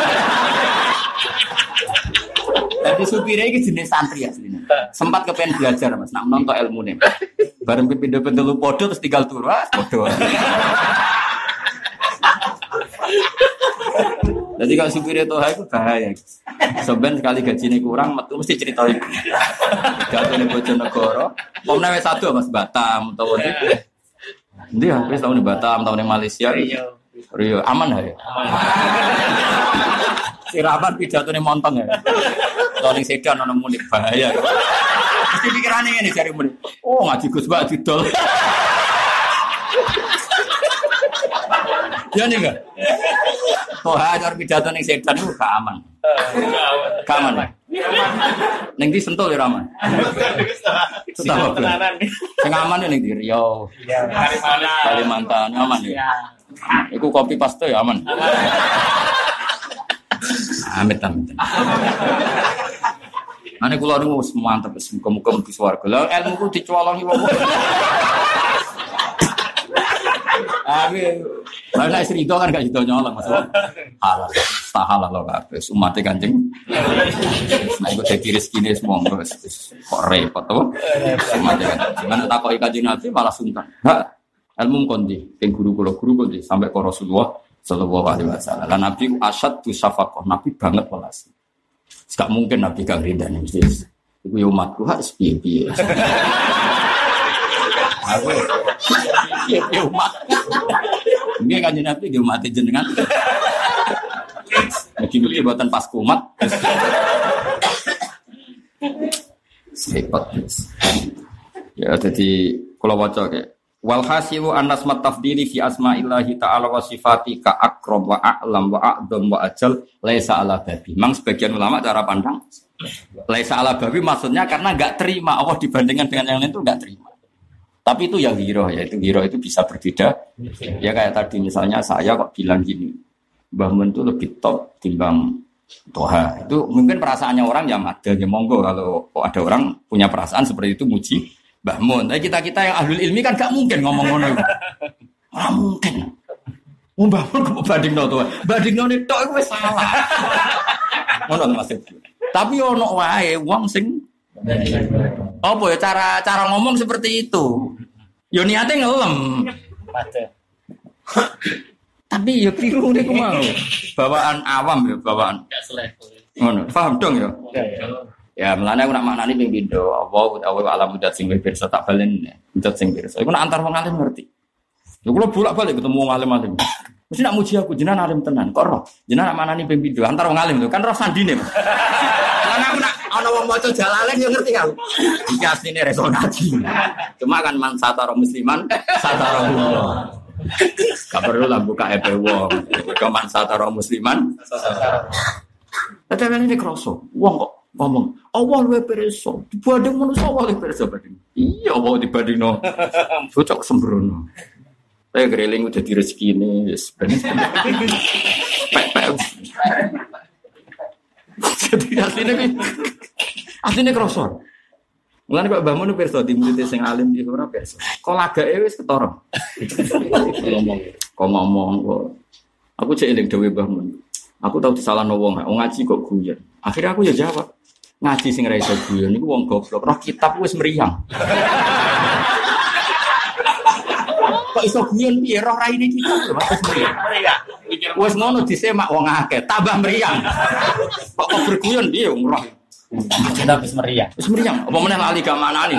Tapi supirnya ini jenis santri aslinya. Sempat kepengen belajar Mas, nak nonton ilmune. Bareng pindah-pindah lu podo terus tinggal turu, podo. Jadi kalau supirnya toha itu bahaya. Sebenarnya sekali gajinya kurang, metu mesti ceritain. Jatuh nih Bojonegoro. Pomnya wes 1 Mas Batam, tahu itu. Dia habis tahun di Batam, tahun di Malaysia. Rio, aman ya? Sirapan pidato nih montong ya. Tahun sedan ono munik bahaya. Mesti pikirane ngene jare munik. Oh, ngaji Gus Mbak didol. Ya nih enggak? Oh, hajar pidato ning sedan itu gak aman. Gak aman. Ning di Sentul ya aman. Sentul tenanan. Sing aman ning di Riau. Kalimantan aman ya. Iku kopi paste ya aman. Amit. Ane kula niku wis mantep wis muga-muga mlebu swarga. Lah ilmuku dicolongi wong. Amin. Lah nek srido kan gak sido nyolong Mas. Halal. Halal lho kabeh umate Kanjeng. Nek kok dadi rezekine monggo kok repot to. Umate Kanjeng. Mana takoki Kanjeng Nabi malah sungkan. Ha, ilmu kondi, ping guru kondi sampai ke Rasulullah sallallahu alaihi wasallam. Lah Nabi asyad tu syafaqah, Nabi banget welas. Gak mungkin Nabi gak ridani mesti. Iku yo umatku harus piye-piye. Aku piye umat. Nggih Kanjeng Nabi nggih umat jenengan. Mungkin buatan pas kumat. Hebat. Ya jadi kalau waca kayak wal hasilu annas matafdili fi asma'illahi ta'ala wa sifati ka akram wa a'lam wa a'dham wa ajal laisa ala babi. Memang sebagian ulama cara pandang laisa ala babi maksudnya karena enggak terima Allah dibandingkan dengan yang lain itu enggak terima. Tapi itu yang hiro ya, itu hiro itu bisa berbeda. Ya kayak tadi misalnya saya kok bilang gini, Mbah Mun itu lebih top timbang Toha. Itu mungkin perasaannya orang ya ada ya monggo kalau ada orang punya perasaan seperti itu muji Mbah Mun. Tapi kita yang ahlul ilmi kan gak mungkin ngomong ngono. Ora mungkin. Mbah Mun kok bandingno to. Bandingno tok iku wis salah. Ngono Mas. Tapi ono wae wong sing apa ya cara ngomong seperti itu. Yo niate ngelem. Tapi ya keliru niku mau. Bawaan awam ya, bawaan. Enggak selevel. Ngono, paham dong ya? Ya. Ya, melane aku nak maknani ping pindho, apa alam mudat sing pirsa tak balen, mudat sing pirsa. Iku nak antar wong alim ngerti. Lha kula bolak-balik ketemu wong alim-alim. Mesti nak muji aku jenengan alim tenan. Kok roh? Jenengan nak maknani ping pindho antar wong alim lho, kan roh sandine. Lan aku nak ana wong maca jalalen yo ngerti aku. Iki asline reso ngaji. Cuma kan man satara musliman, satara Allah. Gak perlu lah buka EP wong. Keman satara musliman. Tapi ini kroso. Wong kok ngomong, Allah luwih pirsa. Dibanding manusa Allah luwih pirsa banding. Iya, Allah dibandingno. Cocok sembrono. Saya greling udah di rezekine wis ben. Pek. Jadi asline kroso. Mulane kok Mbah Mun pirsa di murid sing alim di ora pirsa. Kok lagake wis ketara. Ngomong kok. Aku cek eling dhewe Mbah Mun. Aku tau disalahno wong ngaji kok guyon. Akhirnya aku ya jawab. Ngaji sing ra iso guyon niku wong goblok. Roh kitab wis meriang. Kok iso guyon piye roh raine kitab wis meriang. Wis ngono disemak wong akeh, tambah meriang. Kok berguyon piye wong roh. Kita wis meriang. Wis meriang. Apa meneh lali gak manani.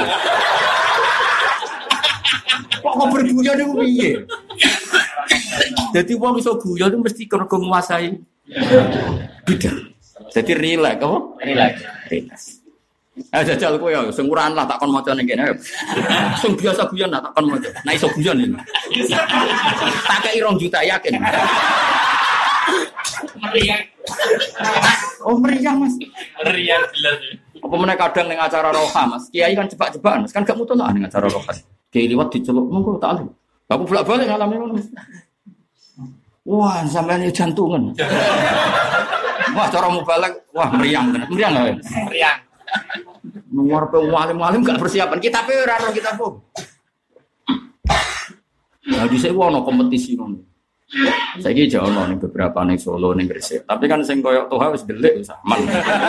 Kok berguyon niku piye? Jadi wong iso guyon itu mesti kergo nguasai bidang. Jadi relax apa? Relax. Jajal kowe ya sing urahan lah takon maca ning kene. Sing biasa guyon tak takon maca. Nah iso guyon iki. Tak kei 2 juta yakin. Meriang. Oh meriang Mas. Meriang jelas. Apa meneh kadang ning acara roha Mas. Kiai kan jebak-jebakan Mas kan gak mutolah ning acara roha. Kiai liwat diceluk monggo tak alim. Aku bolak-balik ngalami ngono Mas. Wah, sampeyan jantungan. Wah, cara mubalak, wah meriang tenan. Meriang enggak? Meriang. Nomor alim-alim gak persiapan. Kita pe ora ro kita po. Nah, dhisik ono kompetisi ngono. Saiki jek ono ning beberapa ning Solo ning Gresik. Tapi kan sing koyo Toha wis delik wis aman.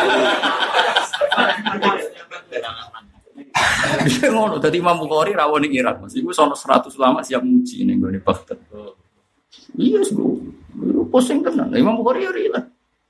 Bisa ngono dadi Imam Bukhari rawon ning Irak. Mas iku sono 100 ulama siap muji ning gone Baghdad. Iya, pusing tenan. Imam Bukhari ya rela.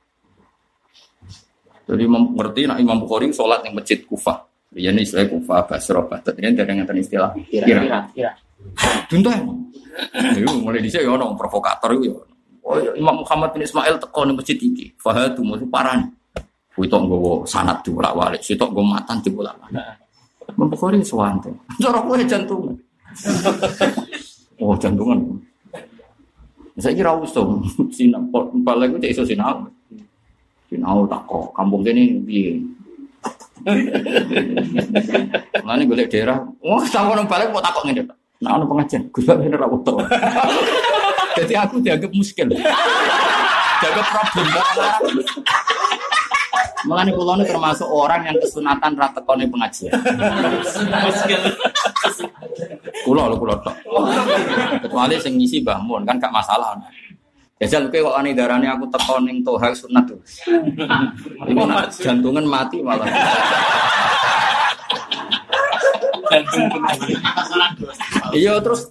Jadi ngerti nak Imam Bukhari sholat yang masjid Kufah. Dia ini istilah Kufah, Basrah, Baghdad. Ini ada yang istilah Kira. Tuntuh. Itu mulai dhisik ya ono provokator itu ya. Oh Imam Muhammad bin Ismail teko ning masjid iki. Fahadu mesti parani. Kuwi tok nggowo sanad dibolak-balik, sitok nggo matan dibolak-balik. Imam Bukhari suwante. Cara kowe jantungan. Oh jantungan. Saya kira usum sinau balik itu iso sinau tak kok kampung kene piye ngene golek daerah sampeyan balik kok takok ngene nek ana pengajian Gus Bak bener ra utuh dadi aku dianggap muskil dianggap problem Mulane kula niku termasuk orang yang kesunatan ra tekone pengajian. Muskil. Kula tok. Kecuali sing ngisi Mbah Mun kan gak masalah. Jajal kowe kok ane darane aku teko ning Toha sunat to. Iku jantungan mati malah. Iya terus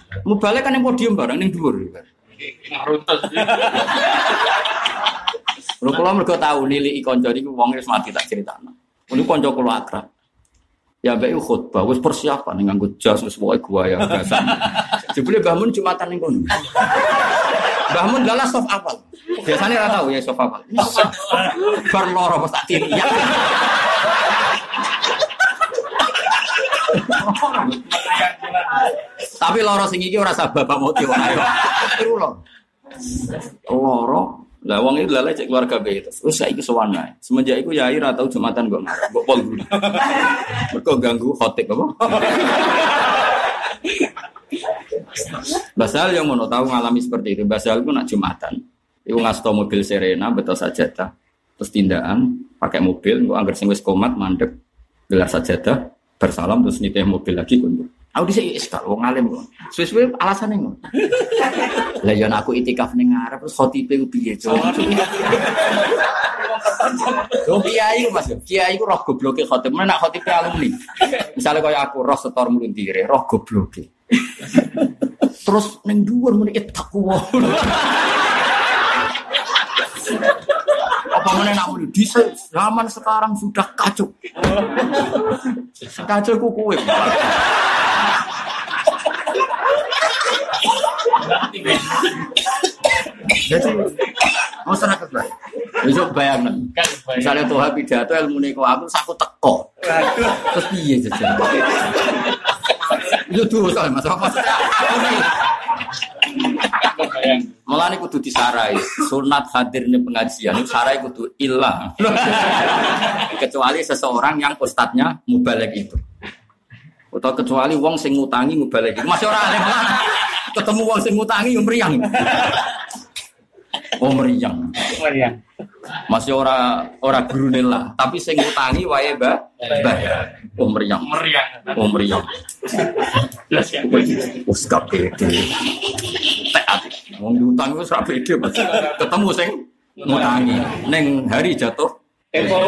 mubalek kan ning podium bareng ning dhuwur. Runtus. Lho kula mergo tau niliki kanca niku wong wis mati tak critakno. Niku kanca kula akrab. Ya mbek khutbah wis persiapan nganggo jas wis pokoke guaya gasan. Jebule Mbah Mun Jumatan ning kono. Mbah Mun lalas sof apal. Biasane ora tau ya sof apal. Bar loro pas tak tiri. Tapi loro sing iki ora sabab bapak moti wae. Iku loro. Lah wong iki lale cek keluarga bae terus. Wis saiki sowan ae. Semenjak iku yai ra tau Jumatan kok ngarep. Kok pol guru. Mergo ganggu khotib apa? Basal yang ngono tahu ngalami seperti itu. Basal iku nak Jumatan. Iku ngasto mobil Serena betul sajadah. Terus tindakan pakai mobil, engko anggar sing wis komat mandek gelar sajadah, bersalam terus nitih mobil lagi kundur. Aku dhisik wis gak wong alim kok. Suwe-suwe alasane ngono. Lah yen aku itikaf ning ngarep terus khotibe ku piye, Cuk? Yo kiai ku Mas, kiai ku roh gobloke khotib. Menak khotibe alumni. Misale kaya aku roh setor mulintire, roh gobloke. Terus ning dhuwur muni takwa. Apa meneh nak muni di zaman sekarang sudah kacau. Kacau ku kowe. Jadi masyarakat baik. Besok bayangkan. Misalnya Tuhan pidato ilmu niku aku saku teko. Terus piye jajan? Itu tuh soal masalah. Mulane kudu disarai. Sunat hadirnya pengajian itu sarai kudu ilang. Kecuali seseorang yang ustadznya mubaligh itu. Atau kecuali wong sing ngutangi mubaligh itu. Masih ora alim lan. Ketemu wong sing ngutangi yo mriyang. Oh mriyang. Masih ora gurune lah, tapi sing ngutangi wae bayar. Oh mriyang. Oh mriyang. Wes kabeh. Wong diutang wis ra pede Mas. Ketemu sing ngutangi ning hari jatuh tempo.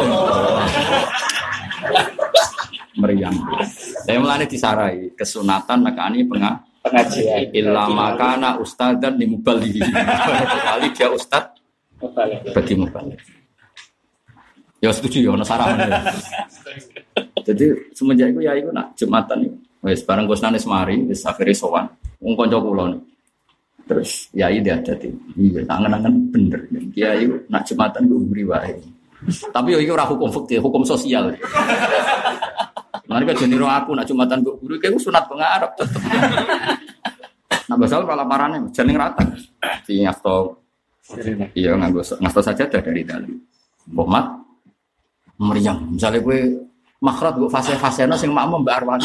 Meriang. Saya mulane disarai kesunatan nekani pengajian. Illa makana ustadzan li muballigh. Kali dia ustaz bagi muballigh. Ya setuju ya ono sarahan. Jadi semenjak iku ya iku nak Jumatan iki. Wis bareng Gusnane semari wis akhire sowan. Wong kanca kula terus yai dia dadi. Iya, tangan-tangan bener. Kiai nak Jumatan ku mburi wae. Tapi yo iki ora hukum fikih, hukum sosial. Mereka jeniro aku nak Jumatan kok guru kayak sunat pengarap tetep. Nah basal malah parane jeneng rata. Di ngasto. Iya ngasto saja dari dalam. Bomat meriang. Misalnya gue makhraj gue fase-fasena sing makmum Mbak Arwan.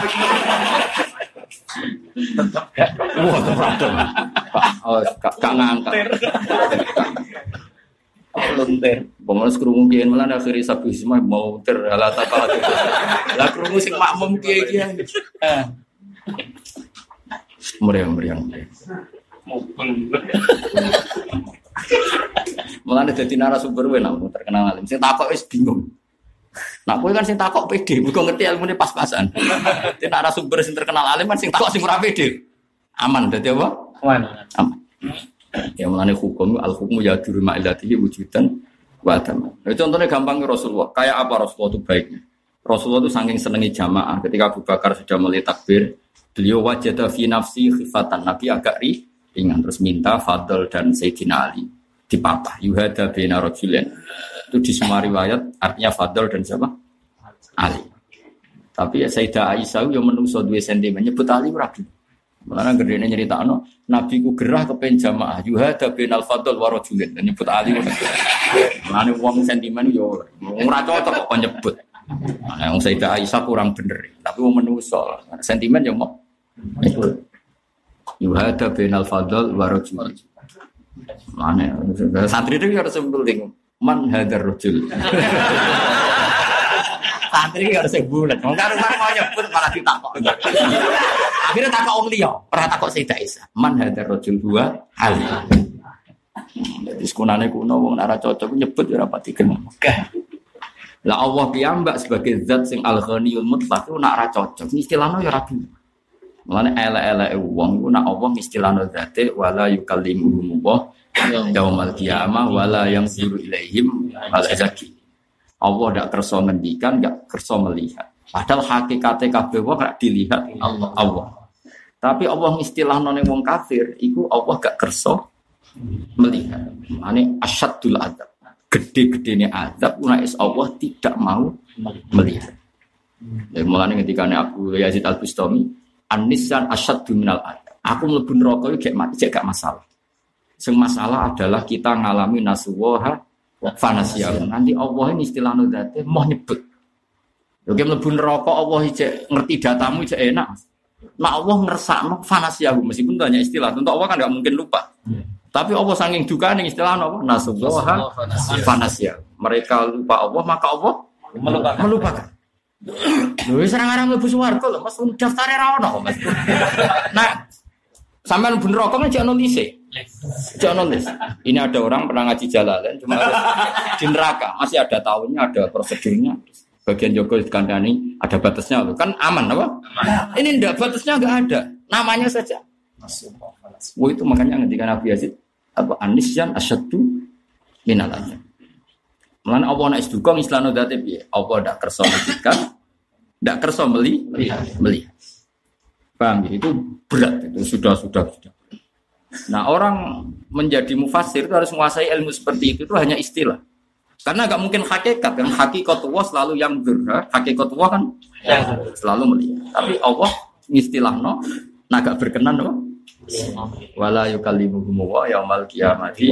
Wah terpradon. Oh gak ngangkat. Lonter. Pemoles krungu kiyen melan akhire sabu semua mau terhalata pala. Lah krungu sing makmum kiye-kiye. Meriang. Mopeng. Mulane dadi narasumber wae nang terkenal alim. Sing takok wis bingung. Nak kowe kan sing takok pede, muga ngerti ilmune pas-pasan. Dadi narasumber sing terkenal alim kan sing takok sing ora pede. Aman dadi apa? Aman. Ya mulane hukum al-hukmu yadur ma'ilatihi wujudan wa adaman. Nah, contohnya gampang Rasulullah. Kayak apa Rasulullah itu baiknya? Rasulullah itu saking senengi jamaah. Ketika Abu Bakar sudah mulai takbir, beliau wajada fi nafsi khifatan. Nabi agak ringan terus minta Fadl dan Sayyidina Ali dipapah. Yuhada bina rajulain. Itu di semua riwayat artinya Fadl dan siapa? Ali. Tapi ya Sayyidah Aisyah yang menungso 2 cm nyebut Ali rabi. Mulane gedene nyeritakno Nabi ku gerah kepen jamaah yuhada binal fadl wa rajulin dan nyebut Ali. Mulane wong sentimen yo ora cocok kok nyebut. Nah, wong Sayyidah Aisyah kurang bener, tapi wong menungso sentimen yo mau nyebut. Yuhada binal fadl wa rajulin. Mulane santri itu harus penting man hadar rajul. Santri harus bulat. Wong karo mau nyebut malah ditakok. Akhirnya takok wong liya, ora takok Sayyidah Aisyah. Man hadar rajul huwa Ali. Dadi sekunane kuno wong ora cocok nyebut ora pati kenal. Lah Allah piyambak sebagai zat sing al-ghaniyul mutlaq ora ora cocok. Istilahno ya rabi. Mulane elek-eleke wong iku nek Allah istilahno zate wala yukallimuhum Yaumal qiyamah wala yanzuru ilaihim wala yazaki. Allah ndak kersa ngendikan, ndak kersa melihat. Padahal hakikate kabeh wong gak dilihat Allah. Tapi Allah istilahno ning wong kafir iku Allah gak kersa melihat. Mane asyaddul adzab. Gede-gedene azab nek Allah tidak mau melihat. Ya mulane ketika Abu Yazid Al-Bustami an-nisyan asyaddu minal adzab. Aku mlebu neraka iki gak masalah. Sing masalah adalah kita ngalami nasuwaha fanasiyah. Nanti Allah ini istilahno zate mau nyebut. Oke mlebu neraka Allah iki ngerti datamu iki enak. Nah Allah ngersakno fanasiyah meskipun banyak istilah. Tentu Allah kan enggak mungkin lupa. Tapi Allah saking dukane istilahno apa? Nasuwaha fanasiyah. Mereka lupa Allah maka Allah melupakan. Lho wis arang-arang mlebu swarga lho Mas daftare ra ono Mas. Nah sampean mlebu neraka kan jek ono lise. Jangan nulis. Ini ada orang pernah ngaji Jalalain cuma di neraka masih ada tahunnya, ada prosedurnya. Bagian Joko dikandani ada batasnya loh. Kan aman apa? Aman. Ini enggak batasnya enggak ada. Namanya saja. Itu makanya ketika Nabi Yazid apa anisyan asyaddu minal adzab. Mulane Allah nek sedukung islano dzate piye? Allah ndak kersa ngendikan, ndak kersa melihat. Paham ya? Itu berat itu sudah. Nah orang menjadi mufassir itu harus menguasai ilmu seperti itu hanya istilah. Karena nggak mungkin hakikat kan hakikatullah selalu yang dzurra, hakikatullah kan selalu melihat. Tapi Allah istilahno naga berkenan loh. Wala yukallimuhum wa yaumal qiyamati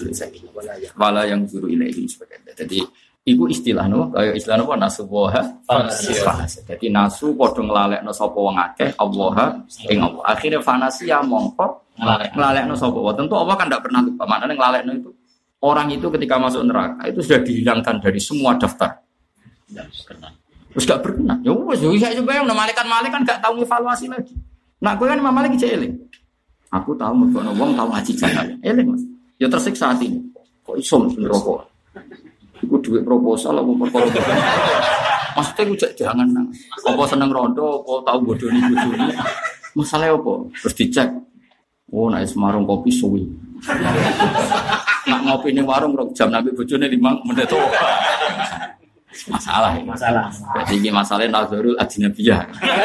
wala yang zuru ilaihim sebagainya. Jadi iku istilah no, kaya istilah no nasuwaha fanasiyah. Jadi nasu padha nglalekno sapa wong akeh Allah ing Allah. Akhire fanasiyah mongko nglalekno sapa wae. Tentu Allah kan tidak pernah lupa. Maknane nglalekno itu orang itu ketika masuk neraka itu sudah dihilangkan dari semua daftar. Terus gak berkenan. Ya wis bisa bayang malaikat-malaikat kan gak tahu evaluasi lagi. Nak kowe kan malaikat iki eling. Aku tahu mergono wong tahu ngaji jalan. Eling Mas. Ya tersiksa hati. Kok iso neraka? Iku duit proposal apa perkara gitu. Maksudnya gue jangan nang. Apa seneng rondo, apa tahu bodoni. Masalah apa? Terus dicek. Oh, nek semarung kopi suwi. Nak ngopi ning warung rong jam nabi bojone 5 menit to. Masalah. Berarti iki masalahe nazarul ajnabiyah.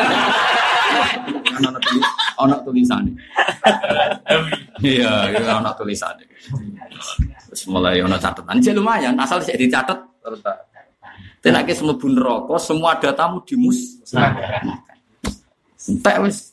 Ana tulisane. Iya, ana tulisane. Terus mulai ono catatan, jadi lumayan. Asal saya dicatat, tenak ke semua bun rokok, semua datamu dimusnahkan. Entek wis,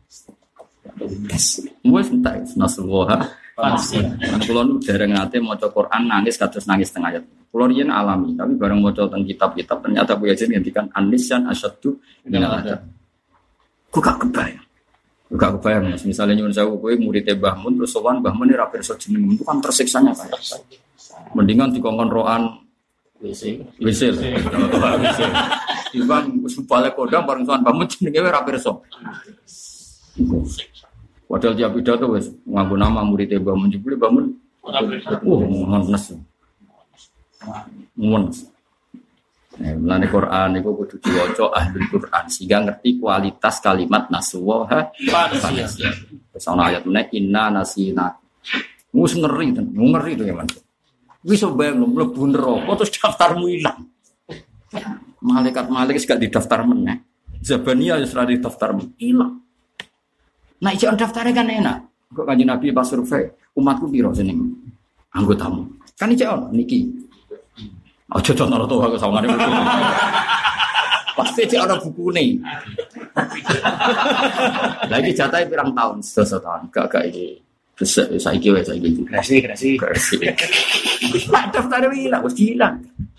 entek nasuwaha. Kalau nu dereng nate maca Quran nangis kados nangis tengah ayat. Kulo riyen alami, tapi bareng maca teng kitab-kitab ternyata Bu Yazid ngendikan anisyan asyaddu minal adzab. Ku gak kebayang. Mas. Misalnya nyuwun sewu kowe murid Mbah Mun terus sowan Mbah Mun ora pirsa jeneng itu kan tersiksanya kayak. Mendingan dikongkon roan wisil. Dibang wis balik kodang bareng sowan Mbah Mun jenenge ora pirsa. Padahal dia pidato wis nganggo nama murid Mbah Mun jebule Mbah Mun. Ngones. Mulane Quran iku kudu diwaca ahli Quran sehingga ngerti kualitas kalimat nasuwaha fanasiyah. Terus ana ayat meneh inna nasina. Wis ngeri itu ya, Mas. Wis bayang mlebu neraka terus daftarmu ilang. Malaikat gak didaftar meneh. Zabaniyah wis ora didaftar ilang. Nah, iki daftare kan enak. Kok Kanjeng Nabi pas survei umatku piro jeneng anggotamu. Kan iki ono niki. Aja contoh to aku sawangane buku. Pasti cek ana bukune. Lagi jatahe pirang tahun, 1 tahun. Gak iki. Saiki wis saiki. Kreasi. Daftare ilang, wis hilang.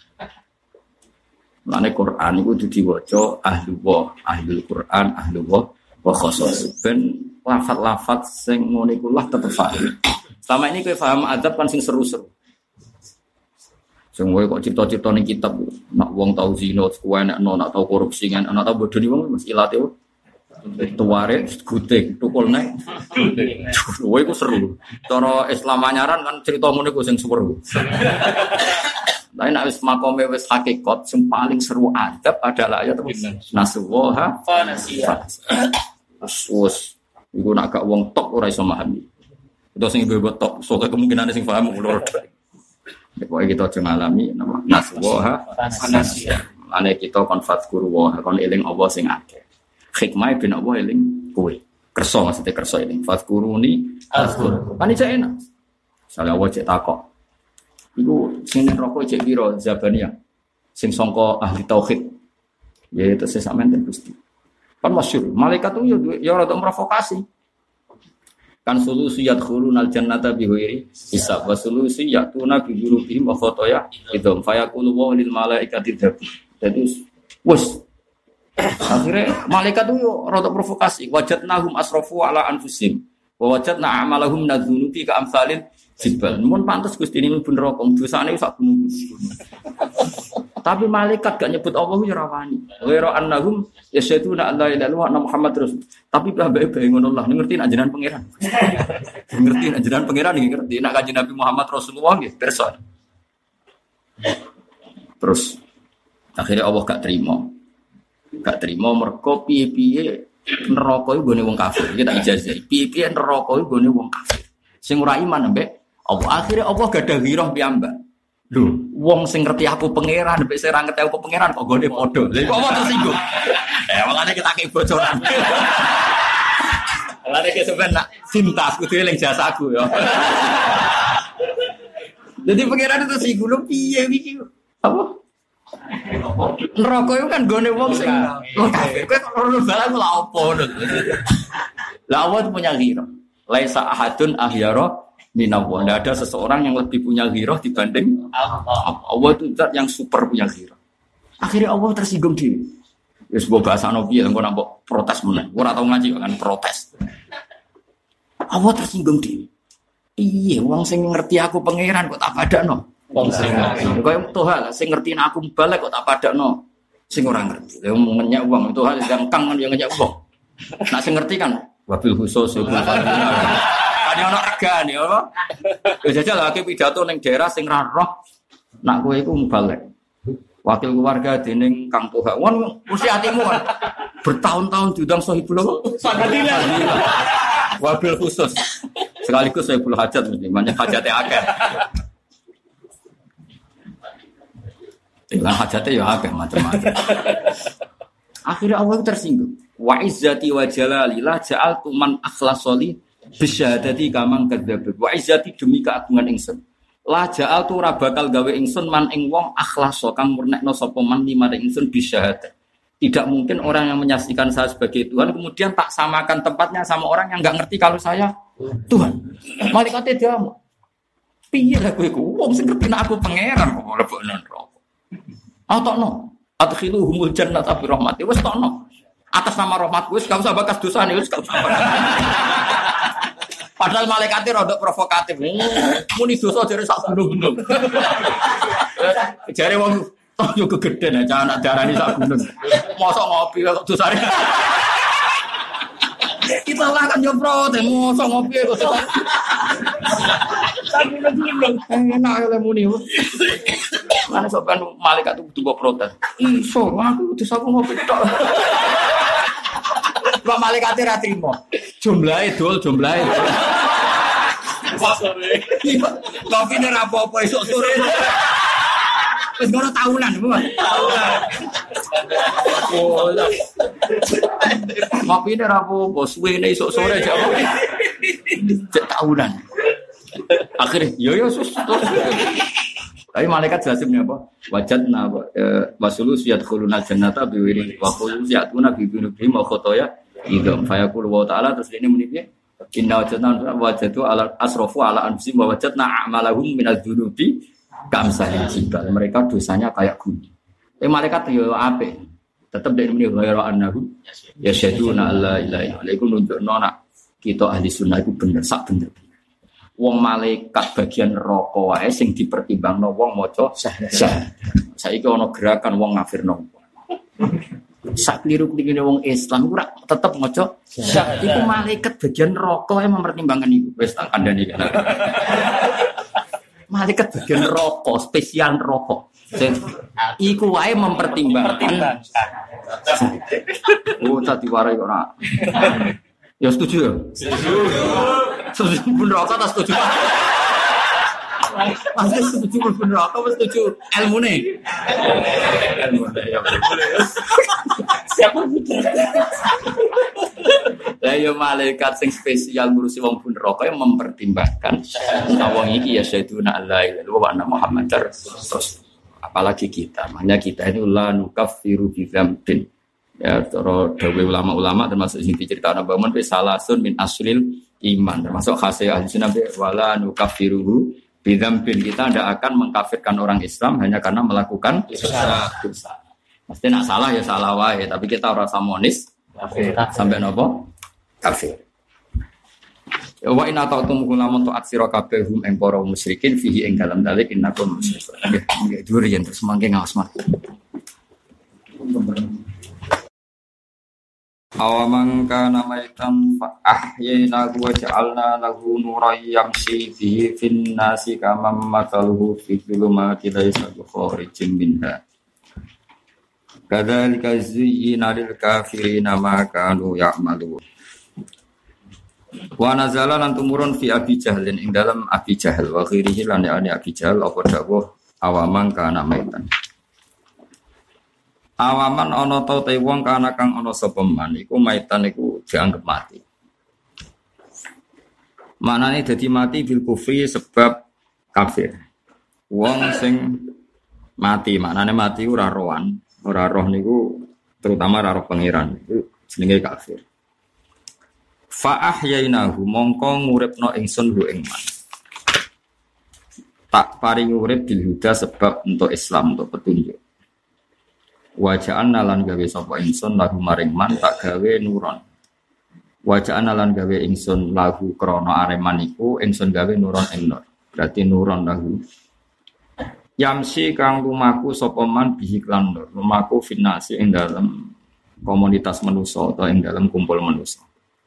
Mane Quran iku kudu diwaca ahlul Quran, ahlullah wa khassas. Ben lafaz-lafaz sing ngono iku lah tetep paham. Selama ini kowe paham adab kan sing seru-seru. Sing wae kok cipta-cipta ning kitab nak wong tau zina kuwi nak tau korupsi kan nak tau bodoni wong mesti ilate tuware guting tukul nek wae ku seru cara Islam anyaran kan cerita ngono ku sing seru. Lah nek wis makome wis hakikat sing paling seru adab adalah ayat nasuwaha fanasiyah. Wis iku nak gak wong tok ora iso memahami. Itu sing ibu tok, soalnya kemungkinan sing paham ulur. Pokoknya kita aja ngalami nama naswoha anasia. Ane kita kon fadkuru wa kon eling Allah sing akeh. Hikmah ben Allah eling kowe. Kersa maksudnya kersa eling. Fadkuruni azkur. Kan iki enak. Sale Allah cek takok. Iku sing neraka cek piro Zabaniyah. Sing sangka ahli tauhid. Ya itu sesamen ten Gusti. Kan masyhur. Malaikat itu ya rada provokasi. Kan solusi yadkhulunal jannata bighairi hisab wa solusi yatuna bi dzunubihim wa khataya idhum fayaqulu wa lil malaikati dzabun. Jadi wes akhirnya malaikat itu rada provokasi wajadnahum asrafu ala anfusihim wa wajadna a'malahum nadzunubi ka amsalin jibal. Mun pantes Gusti ini mlebu neraka dosane sak gunung. Tapi malaikat gak nyebut Allah ya rawani. Wa annahum yasyaduna alla ilaha illallah Muhammad rasul. Tapi bae-bae ngono lah ngerti nek jenengan pangeran. Ngerti nek jenengan pangeran ngerti nek kanjeng Nabi Muhammad Rasulullah nggih pirsa. Terus akhirnya Allah gak terima. Gak terima mergo piye-piye neraka iku gone wong kafir. Iki tak ijazah. Piye-piye neraka iku gone wong kafir. Sing ora iman mbek apa akhirnya Allah gadah ghirah piyambak. Lho, wong sing ngerti aku pangeran, mbek sing ora ngerti aku pangeran kok gone padha. Lha kok apa tersinggung? Makane kita kei bocoran. Lare ke sampean nak cintas kudu eling jasaku ya. Jadi pangeran itu tersinggung lho piye iki? Apa? Neraka itu kan gone wong sing kafir. Kowe kok ora balang lha opo lho. Lah Allah punya ghirah. Laisa ahadun ahyara minallah. Tidak ada seseorang yang lebih punya ghirah dibanding Allah. Allah itu zat yang super punya ghirah. Akhirnya Allah tersinggung diri. Ya sebuah bahasa Nabi yang kau nampak protes menang. Kau tahu ngaji kan protes. Allah tersinggung diri. Iya, wong sing ngerti aku pangeran kok tak padakno. Wong sing kaya Tuhan sing ngerti aku balik kok tak padakno. Sing ora ngerti. Lah ngenyek wong itu hal yang kang yang ngenyek wong. Nak sing ngerti kan wabil khusus iku. Kan ono regane apa? Ya jajal lagi pidato ning daerah sing ra roh. Nak kowe iku mubalek. Wakil keluarga dening Kang Toha. Wong mesti atimu kan. Bertahun-tahun diundang Sohibul Fadilah. Wabil khusus. Sekaligus Sohibul Hajat mesti banyak hajate akeh. Dengan hajate ya akeh macam-macam. Akhirnya Allah tersinggung. Wa izzati wa jalali la ja'altu man akhlasoli bisyahadati kamang kadzdzab. Wa izzati demi keagungan ingsun. La ja'altu ora bakal gawe ingsun man ing wong akhlaso kang murnekno sapa man limaring ingsun bisyahadat. Tidak mungkin orang yang menyaksikan saya sebagai Tuhan kemudian tak samakan tempatnya sama orang yang enggak ngerti kalau saya Tuhan. Malaikate diamu. Piye lah kowe ku wong sing ngerti aku pangeran kok lebokno neraka. Atokno. Adkhiluhumul jannata bi rahmati. Wis tokno. Atas nama rahmatku wis gak usah bakas dosane wis gak usah. Padahal malaikate rodok provokatif. Muni dosa jare sak gunung-gunung. Jare wong yo kegeden aja anak darani sak gunung. Mosok ngopi kok dosane. Kita lah kan yo protes, mosok ngopi kok dosane. Sak gunung-gunung. Enak le muni. Mana sok kan malaikat itu butuh protes. Iso aku dosaku ngopi tok. Kok malaikate ra trimo. Jumlahe dol jumlahe. Sore. Kopi ne ra apa-apa esuk sore. Wis ngono tahunan, Bu. Tahunan. Oh. Kopi ne ra apa-apa suwene esuk sore jek apa. Jek tahunan. Akhirnya yo sus. Tapi malaikat jelasin apa? Wajadna wasulus yadkhulunal jannata biwiri wa khulus yatuna bi binubihim wa khotoya idham fayaqulu wa ta'ala terus ini muni piye? Inna wajadu ala asrafu ala anfusihim wa wajadna a'malahum minadz dzunubi kamsalil jibal. Mereka dosanya kayak gunung. Tapi malaikat yo apik. Tetep dek muni ghairu annahum yasyaduna alla ilaha illallah. Iku nunjukno nak kita ahli sunnah iku bener sak bener. Wong malaikat bagian neraka wae sing dipertimbangno wong maca syahadat. Saiki ana gerakan wong ngafirno. Sak kliru-klirune wong Islam ora tetep maca syahadat. Iku malaikat bagian neraka wae mempertimbangkan iku. Wis tak kandhani kan. Malaikat bagian neraka, spesial neraka. Iku wae mempertimbangkan. Oh, tadi warai ora. Ya setuju ya? Setuju pun rokok tak setuju. Masih setuju pun rokok apa setuju ilmu nih? Ilmu ya. Siapa Lah malaikat sing spesial ngurusi wong pun rokok yang mempertimbangkan wong iki ya sayyiduna Allah wa anna Muhammadar Rasul. Apalagi kita, makanya kita ini la nukaffiru bi dzambin. Ya, cara dawuh ulama-ulama termasuk sing diceritakan Mbah Mun salasun min aslil iman, termasuk khasih ahli sunnah wala nukaffiruhu bi dzambin. Kita tidak akan mengkafirkan orang Islam hanya karena melakukan dosa. Mesti nak salah ya salah wae, tapi kita ora samonis sampai nopo kafir. Wa in ata'tum kulamun ta'at sira kabeh hum ing para musyrikin fihi ing dalam dalik innakum musyrikun. Nggih durian terus mangke ngaos mat. Awaman kana maitan fa ahyayna wa ja'alna lahu nuran yamshi bihi fin nasi kama mathaluhu fi dhulumati laysa kharijin minha. Kadzalika zuyyina lil kafirina ma kanu ya'malun. Wa nazala lan tumurun fi Abi Jahlin ing dalam Abi Jahal wa ghirihi lan yani Abi Jahal apa dawuh awaman kana maitan. Awaman ana ta te wong kana kang ana sapa man iku maitan iku dianggep mati. Manane dadi mati bil kufri sebab kafir. Wong sing mati maknane mati ora rohan, ora roh niku terutama ora roh pangeran iku jenenge kafir. Fa ahyainahu mongko nguripno ingsun hu ing man. Tak paring urip bil huda sebab untuk Islam untuk petunjuk. Waja'an lan gawe sapa ingsun lahu maring man tak gawe nuron. Waja'an lan gawe ingsun lahu krana areman iku ingsun gawe nuron ing nur. Berarti nuron lahu. Yamsi kang lumaku sapa man bihi lan nur. Lumaku finasi ing dalam komunitas manusa atau ing dalam kumpul manusa.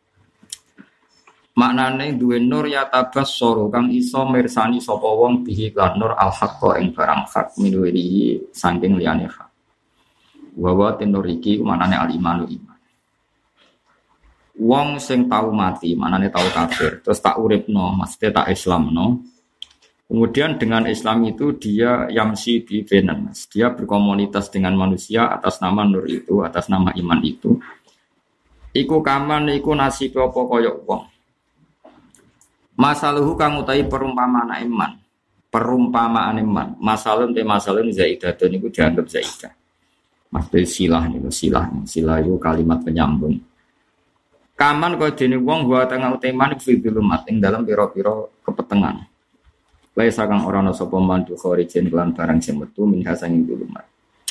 Maknane duwe nur ya tabassara kang iso mirsani sapa wong bihi lan nur al haqqa ing barang hak minuwi saking liyane hak. Wa tenur iki maknane al imanu iman. Wong sing tau mati maknane tau kafir terus tak uripno maksudnya tak Islamno. Kemudian dengan Islam itu dia yamsi bi benas. Dia berkomunitas dengan manusia atas nama nur itu, atas nama iman itu. Iku kaman iku nasib apa kaya wong. Masaluhu kang utahi perumpamaan iman. Perumpamaan iman. Masalun te masalun zaidatun iku dianggap zaidah. Maksudnya silah niku silah. Silah itu kalimat penyambung. Kaman kaya dene wong wa tengah uteman fi dulumat ing dalam pira-pira kepetengan. Laisa kang ora ana sapa mandu kharijen lan barang sing metu min hasanging dulumat.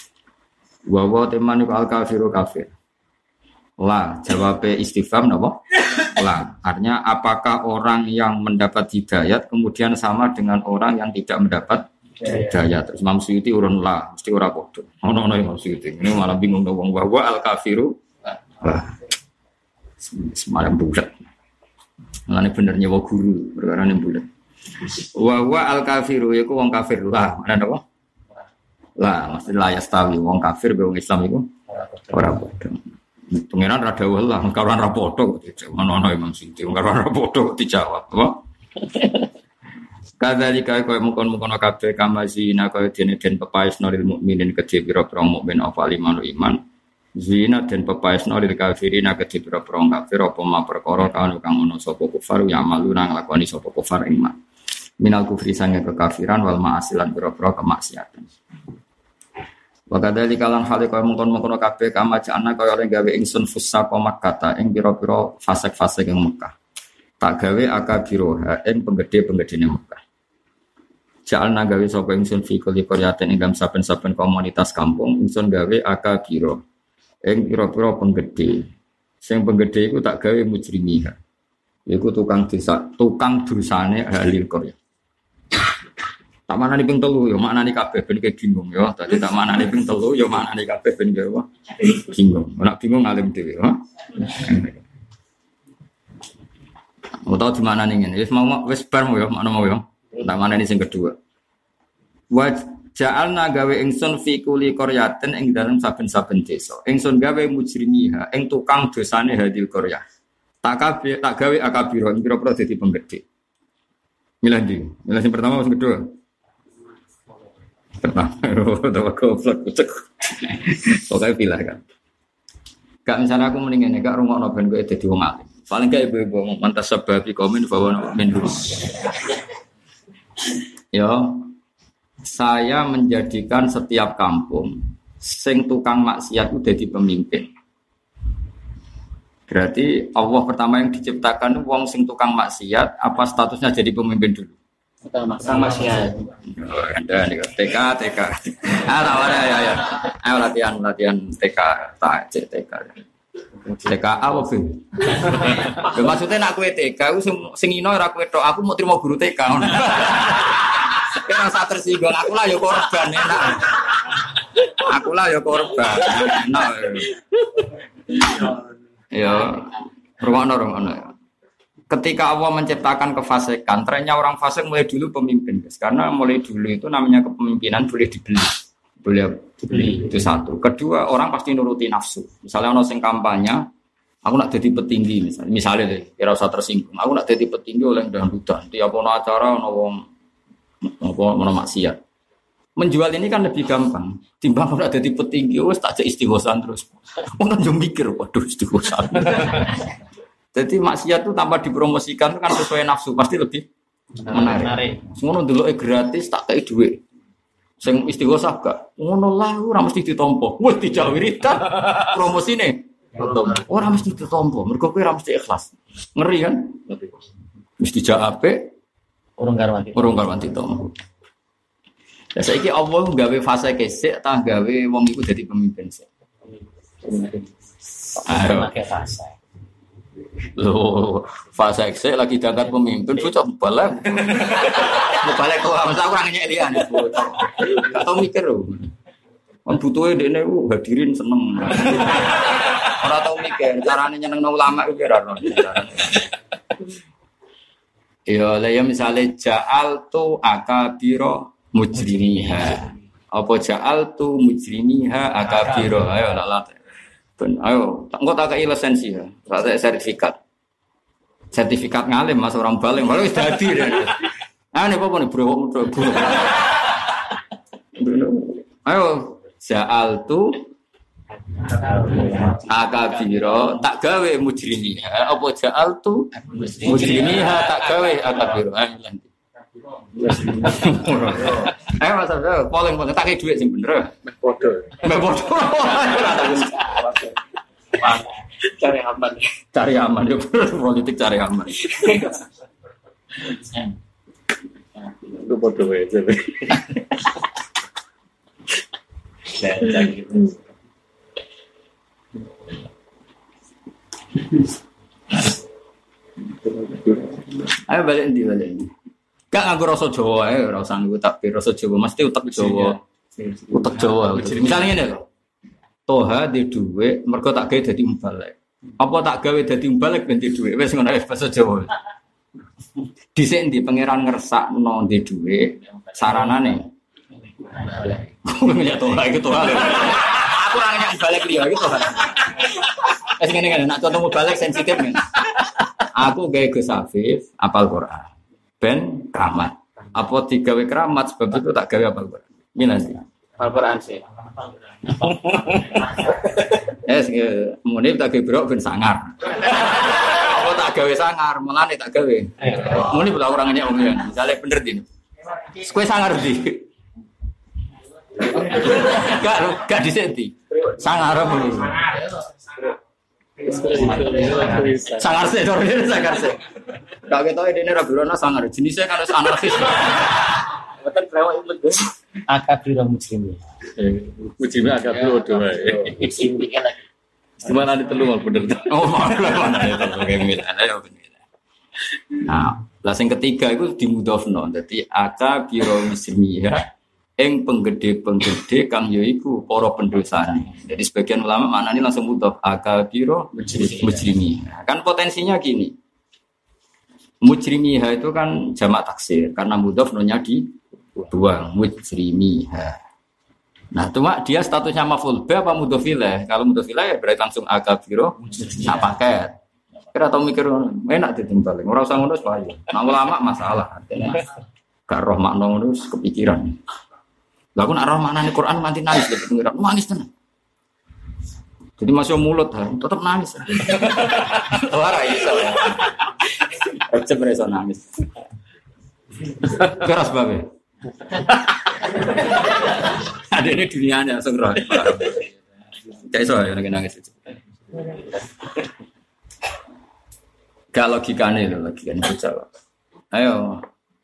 Wa wa teman iku al kafiru kafir. La, jawabnya istifham napa? La, artinya apakah orang yang mendapat hidayat kemudian sama dengan orang yang tidak mendapat hidayat? Terus Imam Suyuti urun la, mesti ora padha. Ono Imam Suyuti. Ini malah bingung wong wa al kafiru. Lah. Semalam bulat. Mulane bener nyewa guru, perkara ne bulat. Wa al kafiru iku wong kafir. Lah, ana napa? Lah, mesti la yastawi wong kafir be wong Islam iku ora padha. Pengiran rada lah, karuan rapoto kok dijawab. Mana Imam Suyuti, karuan rapoto kok dijawab. Apa? Kadzalika kaya mungkon-mungkon kabeh kamazina kaya dene den pepaesno lil mukminin kedhe pira-pira mukmin apa limanu iman. Zina den pepaesno lil kafirina kedhe pira-pira kafir apa ma perkara kang ono sapa kufar ya malu nang lakoni sapa kufar iman. Minal kufri sange kekafiran wal ma'asilan pira-pira kemaksiatan. Wakadali kalang hale kaya mungkon-mungkon kabeh kama jana kaya oleh gawe ingsun fusa komak kata ing pira-pira fasek-fasek ing Mekah. Tak gawe akabiroha ing penggede-penggedene Mekah. Jalna gawe sapa ingsun fi kulli qaryatin ing saben-saben komunitas kampung ingsun gawe akabiro ing pira-pira penggede. Sing penggede iku tak gawe mujrimiha. Iku tukang dosane ahli qarya. Tak manani ping 3 ya maknane kabeh ben bingung ya. Dadi tak manani ping 3 ya maknane kabeh ben bingung. Nek bingung alim dhewe ya. Utawa di manani ngene. Wis bar mau ya makna mau ya. Tak manani sing kedua. Wa ja'alna gawe ingsun fi kulli qaryatin ing dalem saben-saben desa. Ingsun gawe mujrimiha ing tukang dosane hadil qaryah. tak gawe akabiro pira-pira dadi penggede. Milih ndi? Milih sing pertama sing kedua. Pertama, utawa goblok kucek. Pokoke pilih kan. Gak misalnya aku mendingan gak rungokno ben kowe dadi wong alim. Paling gak ibu-ibu mantas sebab komen bahwa mendur. Ya, saya menjadikan setiap kampung sing tukang maksiat itu jadi pemimpin. Berarti Allah pertama yang diciptakan wong sing tukang maksiat, apa statusnya jadi pemimpin dulu? Tukang maksiat. Anda nih TK. Ya. Ayo latihan TK, TK. TK apa sih? Maksudnya nak kue TK, aku sing ino ora kue tok, aku mau terima guru TK. Kira rasa tersinggung, aku lah ya korban enak. Aku lah ya korban enak. Ya, rungokno ya. Ketika Allah menciptakan kefasikan, trennya orang fasik mulai dulu pemimpin, guys. Karena mulai dulu itu namanya kepemimpinan boleh dibeli. Itu satu. Kedua, orang pasti nuruti nafsu. Misalnya ono sing kampanye, aku nak jadi petinggi misalnya deh, kira usah tersinggung. Aku nak jadi petinggi oleh dangdutan. Tiap ono acara ono wong ono maksiat. Menjual ini kan lebih gampang. Timbang nak jadi petinggi wis tak istighosan terus. Ono yo mikir, waduh istighosan. Jadi maksiat itu tanpa dipromosikan itu kan sesuai nafsu pasti lebih menarik. Ngono ndeloke gratis tak kei dhuwit. Sing istighosah gak ngono lah ora mesti ditampa. Wis dijak wiridan promosine. Ora mesti ditampa, mergo kowe ora mesti ikhlas. Ngeri kan? Mesti dijak apik urung karwanti to. Lah saiki Allah gawe fase kesik ta gawe wong iku dadi pemimpin sik. Pakai fase. Loh, fase eksek lagi diangkat pemimpin, bocah balik. Balik kok masa aku ora nyek liyan. Gak tau mikir lho. Kan butuhe dekne hadirin seneng. Ora tau mikir carane nyenengno ulama iku ora ono. Ya misale ja'altu akabira mujrimiha. Apa ja'altu mujrimiha akabira. Ayo lalat. Ayo, engko tak kei lisensi ya. Tak sertifikat. Sertifikat ngalim Mas orang baling, malah wis dadi. Ah nek apa nih bro. Ayo, ja'altu akabiro tak gawe mujrimiha. Apa ja'altu mujrimiha tak gawe akabiro. Ayo Mas, polling tak kei dhuwit sing bener. Bodoh. Cari aman ya politik cari aman. Itu bodoh aja. Ayo balik ini. Gak nganggo rasa Jawa ae, ora usah nganggo takbir rasa Jawa, mesti utek Jawa. Utek Jawa. Misalnya ngene lho. Toha di dhuwit mergo tak gawe dadi mubalek. Apa tak gawe dadi mubalek ben di dhuwit wis ngono basa Jawa. Dhisik ndi pangeran ngersakno di dhuwit saranane. Ya toha iki toha. Aku ora nyek mubalek liya iki toha. Wis ngene nak contoh mubalek sensitif men. Aku gawe Gus Afif apal Quran. Ben keramat. Apa digawe keramat sebab itu tak gawe apal Quran. Ngene sih. Al-Quran sih. Munib tak gebrok ben sangar. Apa tak gawe sangar, melane tak gawe. Munib tak orang nyek wong ya. Misale bener din. Kowe sangar ndi? Gak disenti. Sangar apa iki? Sangar sih, sangar sih. Gak ketoke dene ra berono sangar. Jenisnya kan wis anarkis. Betul brewok itu. Akabiro muslimin. Mujime akabiro doa. Muslimin lagi. Gimana di telu mal bener. Oh, mana itu gemil. Nah, lah sing ketiga itu dimudhofno. Dadi akabiro muslimin ing penggede-penggede kang ya iku para pendosane. Jadi sebagian ulama maknane langsung mudhof akabiro mujrimi. Kan potensinya gini. Mujrimiha itu kan jamak taksir karena mudhof nonya dibuang mujrimiha. Nah, cuma dia statusnya maf'ul bi apa mudhof ilaih? Kalau mudhof ilaih ya berarti langsung akabiro sak paket. Kira tau mikir enak ditimbal. Ora usah ngono wae. Nah ulama masalah. Gak roh makna ngono kepikiran. Lah aku nak roh maknane Quran nganti nangis lho pengiran. Nangis tenan. Jadi masih mulut tetap nangis. Ora iso. Recep iso nangis. Keras babe. Ada ini dunianya langsung roh. Kayak iso ya nangis. Gak logikane lho, logikane bocah. Ayo.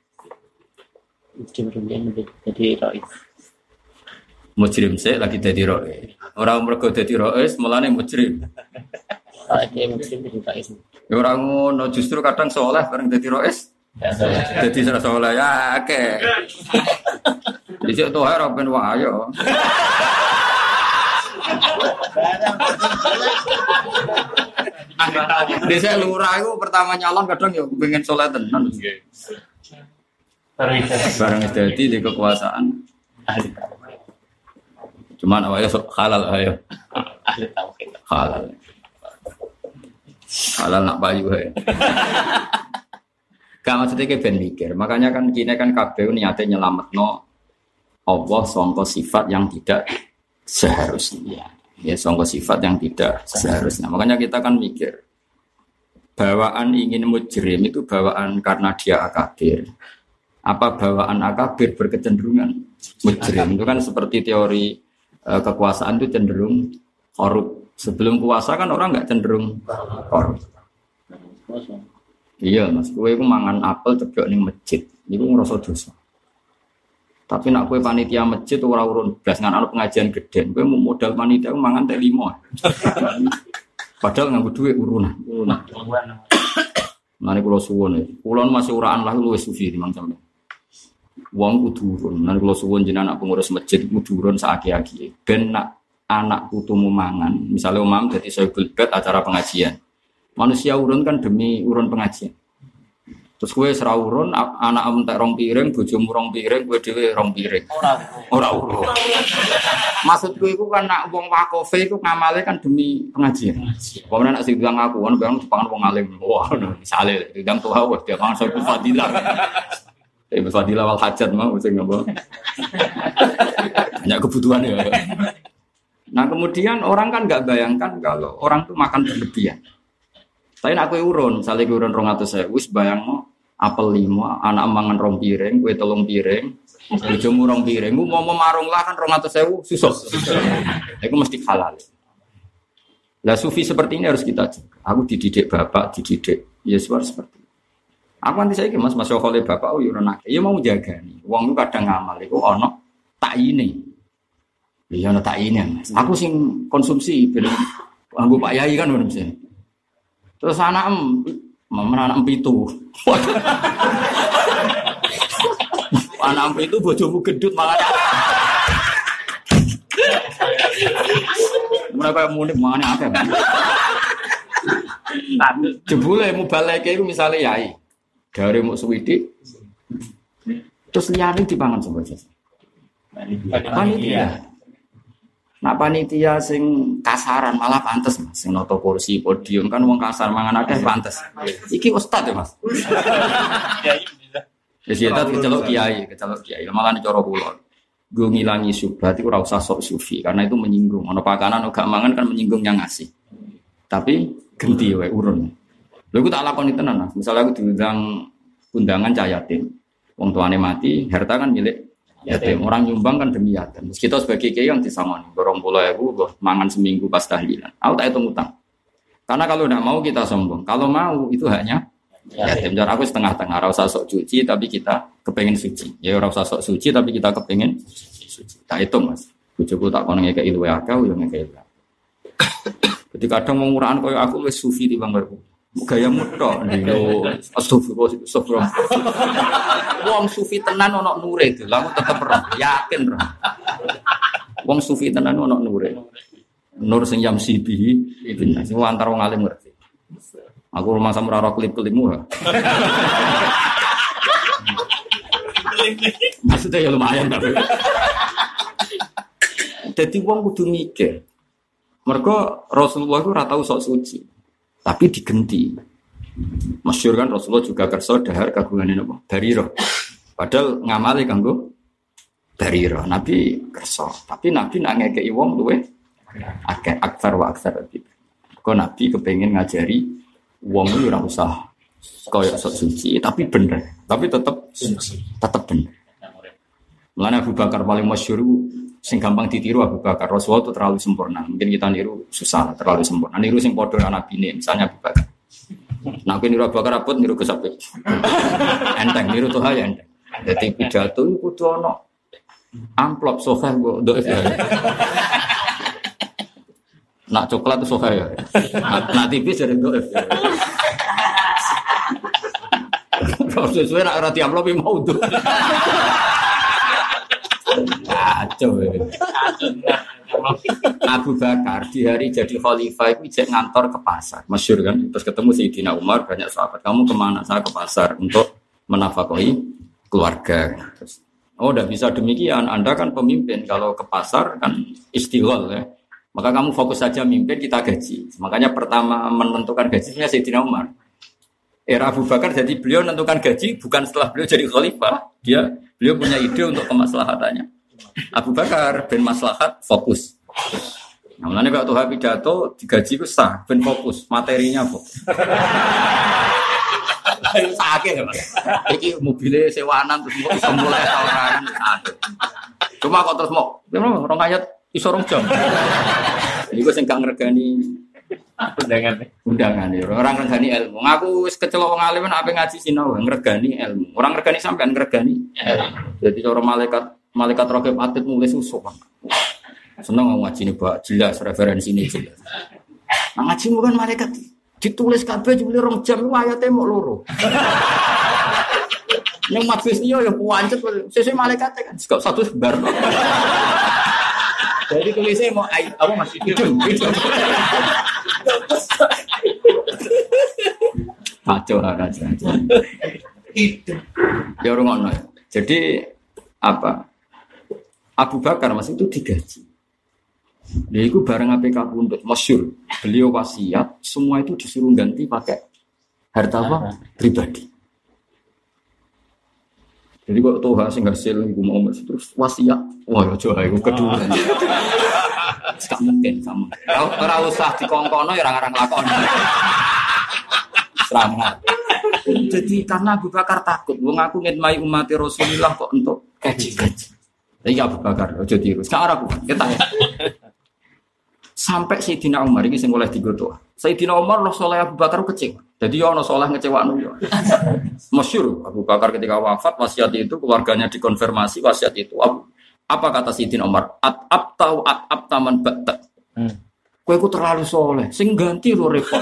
Jadi rois. Mujrim sih lagi dadi rois. Ora mergo dadi rois, mulane mujrim. Dia mujrim jadi rois. Ya ora ngono, justru kadang saleh bareng dadi rois. Dadi saleh ya akeh. Dhisik to ora ben wae ayo. Desa lurah itu pertama nyalon kadang ya pengen soleh tenan. Barang jadi di kekuasaan. Cuman awalnya halal ayo. Halal. Halal nak payu ae. Gak maksudnya kayak ben mikir. Makanya kan kini kan KPU niatnya nyelametno Allah sangka sifat yang tidak seharusnya. Ya sangka sifat yang tidak seharusnya. Makanya kita kan mikir. Bawaan ingin mujrim itu bawaan karena dia akabir. Apa bawaan akabir berkecenderungan mujrim? Itu kan seperti teori kekuasaan itu cenderung korup. Sebelum kuasa kan orang nggak cenderung korup. Iya mas, gue itu mangan apel ceblok ning masjid, itu ngerasa dosa. Tapi nak gue panitia masjid ora urun blas ngan pengajian gede, gue mau modal panitia mangan teh 5. Padahal nganggo dhuwit urunan. Mane kula suwun iki. Kula masih uraan lah luwih sufi timbang sampeyan. Wong kudu urun. Mane kula suwun jenengan pengurus masjid kudu urun saaki-aki. Ben nak anak putumu mangan, misalnya umam dadi saibul bait acara pengajian. Manusia urun kan demi urun pengajian. Terus kowe ora urun, anak entek 2 piring, bojomu 2 piring, kowe dhewe 2 piring. Ora urun. Maksudku iku kan nak wong wakofe iku ngamale kan demi pengajian. Pokoknya nak sing bilang aku kan barang dipangan wong alim. Wah, misale ndang tuwa wis dia pangan sapa fadilah. Fadilah wal hajat mau sing ngopo. Banyak kebutuhan ya. Nah, kemudian orang kan enggak bayangkan kalau orang tuh makan berlebihan. Tapi nak kowe urun, misale kowe urun 200.000 wis bayangno apel 5, anak mangan 2 piring, kowe 3 piring, bojomu 2 piring, mau marung lah kan 200.000 susah. Itu mesti halal. Lah sufi seperti ini harus kita jaga. Aku dididik bapak, dididik Yesus seperti itu. Aku nanti saya mas oleh bapak, oh urun akeh. Ya mau jaga nih. Wong itu kadang ngamal iku ana takine. Iya ana takine, Mas. Aku sing konsumsi ben anggo Pak Yai kan ngono mesti. Terus anak anak 7. Anak itu bojomu gendut malah. Mereka munik mana akeh. Jebule mubaleke iku misale yai. Gare muk suwidik. Terus liyane dipangan sapa saja. Panitia. Nah panitia sing kasaran malah pantes mas, sing noto kursi podium kan wong kasar mangan akeh pantes. Iki ustad ya mas. Ya sih tadi kecelok kiai, malah cara kula. Gue ngilangi syubhat iku ora usah sok sufi karena itu menyinggung. Ono pakanan gak mangan kan menyinggung yang ngasih. Tapi genti wae urun. Lha iku tak lakoni tenan mas. Misale aku diundang undangan cah yatim. Wong tuane mati, harta kan milik yatim. Orang nyumbang kan demi yatim. Kita sebagai kiai yang disangoni 20.000 mangan seminggu pas tahlilan. Aku tak hitung utang. Karena kalau tidak mau kita sombong. Kalau mau itu haknya yatim. Jadi aku setengah-tengah. Ora usah sok suci tapi kita kepengen suci. Ya ora usah sok suci tapi kita kepengen suci. Tak hitung mas. Bojoku tak kono ngekeki luwe akeh yo ngekeki. Jadi kadang mau nguraan koyo aku wis sufi timbang kowe. Gayamu tok lho. Astagfirullah. Wong sufi tenan ana nure itu. Lah aku tetep yakin. Wong sufi tenan ana nure. Nur sing jam sibi itu sing antar wong alim ngerti. Aku rumah sama ora klip-klipmu. Maksudnya ya lumayan tapi. Dadi wong kudu mikir. Mergo Rasulullah itu ora tau sok suci. Tapi digenti. Masyhur kan Rasulullah juga kersa dahar kagungane napa? Barira. Padahal ngamale kanggo Barira. Nabi kersa, tapi Nabi nak ngekeki wong luwe akeh aksar wa aksar. Kok Nabi kepengin ngajari wong itu ora usah kaya sok suci, tapi bener. Tapi tetep bener. Mulane Abu Bakar paling masyhur sing gampang ditiru Abu Bakar. Rasulullah itu terlalu sempurna. Mungkin kita niru susah, terlalu sempurna. Niru sing padha Nabi ini, misalnya Abu Bakar. Nah, aku niru Abu Bakar abot niru Gus Abid. Enteng niru Toha ya enteng. Dadi pidato iku kudu ana amplop soha kok ndok ya. Nak coklat itu soha ya. Nak tipis jadi ndok ya. Kalau sesuai nak rati amplop mau tuh. Kacau ya. Abu Bakar di hari jadi khalifah itu ijek ngantor ke pasar, masyhur kan? Terus ketemu Sayyidina Umar, banyak sahabat. Kamu kemana? Saya ke pasar untuk menafkahi keluarga. Terus, oh, udah bisa demikian. Anda kan pemimpin. Kalau ke pasar kan istighol ya. Maka kamu fokus saja mimpin, kita gaji. Makanya pertama menentukan gajinya Sayyidina Umar. Era Abu Bakar jadi beliau menentukan gaji bukan setelah beliau jadi khalifah. Beliau punya ide untuk kemaslahatannya. Abu Bakar ben maslahat fokus. Nah, mulane kalau Tuhan pidato digaji ku sah, ben fokus, materinya fokus. Sakit ya, Mas. Iki mobilnya sewaanan terus mau iso mulai tawaran sakit. Cuma kok terus mau rong ayat iso rong jam. Iku sing gak ngregani undangan ya. Orang ngregani ilmu. Ngaku wis kecelok wong alim nek ngaji sinau ngregani ilmu. Orang ngregani sampean ngregani. Jadi cara malaikat raqib atid mulai susuk. Seneng ngaji ini Pak, jelas referensi ini jelas. Nah, ngaji bukan malaikat ditulis kabeh jebule 2 jam ayate mok loro. Ning majlis niyo ya puancet sesuk malaikat kan kok satu bar. Jadi tulisnya mau apa masih hidung. Kacau aja. Ya orang ngono. Jadi apa? Abu Bakar Mas itu digaji. Dia itu bareng APK Pundut masyhur. Beliau wasiat semua itu disuruh ganti pakai harta apa? Pribadi. Jadi kok Toha sing hasil iku mau terus wasiat. Wah, aja iku kedua. Sak mungkin sama. Ora usah dikongkono ya ora ngarang lakon. Selamat. Jadi karena Abu Bakar takut, wong aku ngitmai umat Rasulullah kok untuk gaji-gaji. Jadi Abu Bakar aja tiru. Sekarang aku kita sampai Sayyidina Umar ini sing oleh digoto. Sayyidina Umar loh soleh Abu Bakar kecewa. Jadi ono soleh ngecewakno yo. Masyhur Abu Bakar ketika wafat wasiat itu keluarganya dikonfirmasi wasiat itu. Apa kata Sayyidina Umar? At-abta man ba'ta. Kowe ku terlalu soleh, sing ganti lo repot.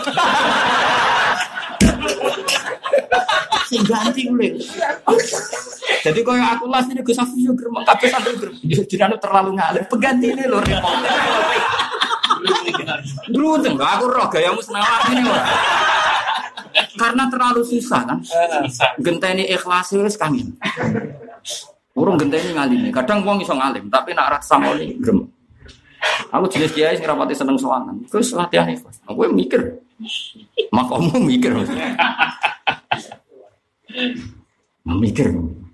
Sing ganti ulil. Jadi koyo aku las ini Gus Afif yo gremeng kabeh sampe gremeng. Jenenge terlalu ngalim. Pengganti ini lho repot. Dulu enggak aku roh gayamu senawar ini ora. Karena terlalu susah kan. Genteni ikhlas wis kangen. Urung genteni ngalime. Kadang wong iso ngalim, tapi nek ora samoni gremeng. Aku jenis kiai sing rapati seneng sowangan. Terus latihan ikhlas. Aku mikir. Makamu mikir. Mikir.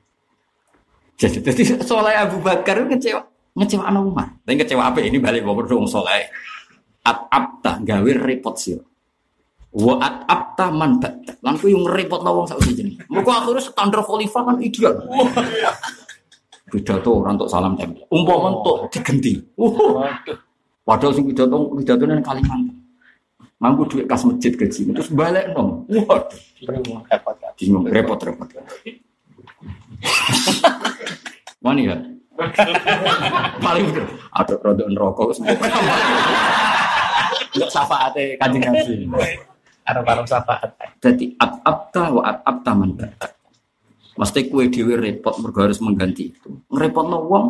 Jadi soalnya Abu Bakar ngecewa anak Umar. Tapi ngecewa apa ini balik bawa dong soalnya. At-abta gawe repot sih. Wa at-abta man ba'ta. Lan ku yang repot wong sak jenenge. Muga akhire standar khalifah kan ideal. Pidato orang untuk salam tempel. Umpama untuk digenti. Padahal sing pidato nang Kalimantan. Mampu duit kas masjid gaji. Terus balik dong. Waduh. Repot. Mana ya? Paling betul. Ada produk rokok semua. Enggak syafaate Kanjeng Nabi. Arep syafaat. Dadi at-abta wa at-abta man ba'ta. Mesti kowe dhewe repot mergo harus mengganti itu. Ngrepotno wong.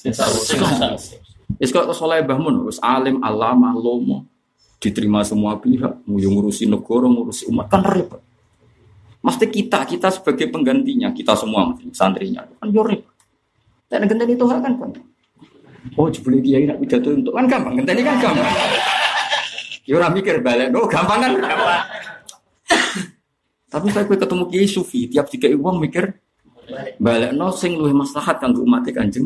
Wis kok saleh mbahmu wis alim alama lomo diterima semua pihak, ngurusi negara, ngurusi umat kan repot. Mesti kita sebagai penggantinya, kita semua santrinya kan yo repot. Dan genteni itu kan gampang. Oh, jebule kiai nak pidato untuk kan gampang, genteni kan gampang. Ya ora mikir balekno gampang kan. Tapi saya ketemu kiai sufi, tiap dikai wong mikir balekno sing luwih maslahat kanggo umat Kanjeng.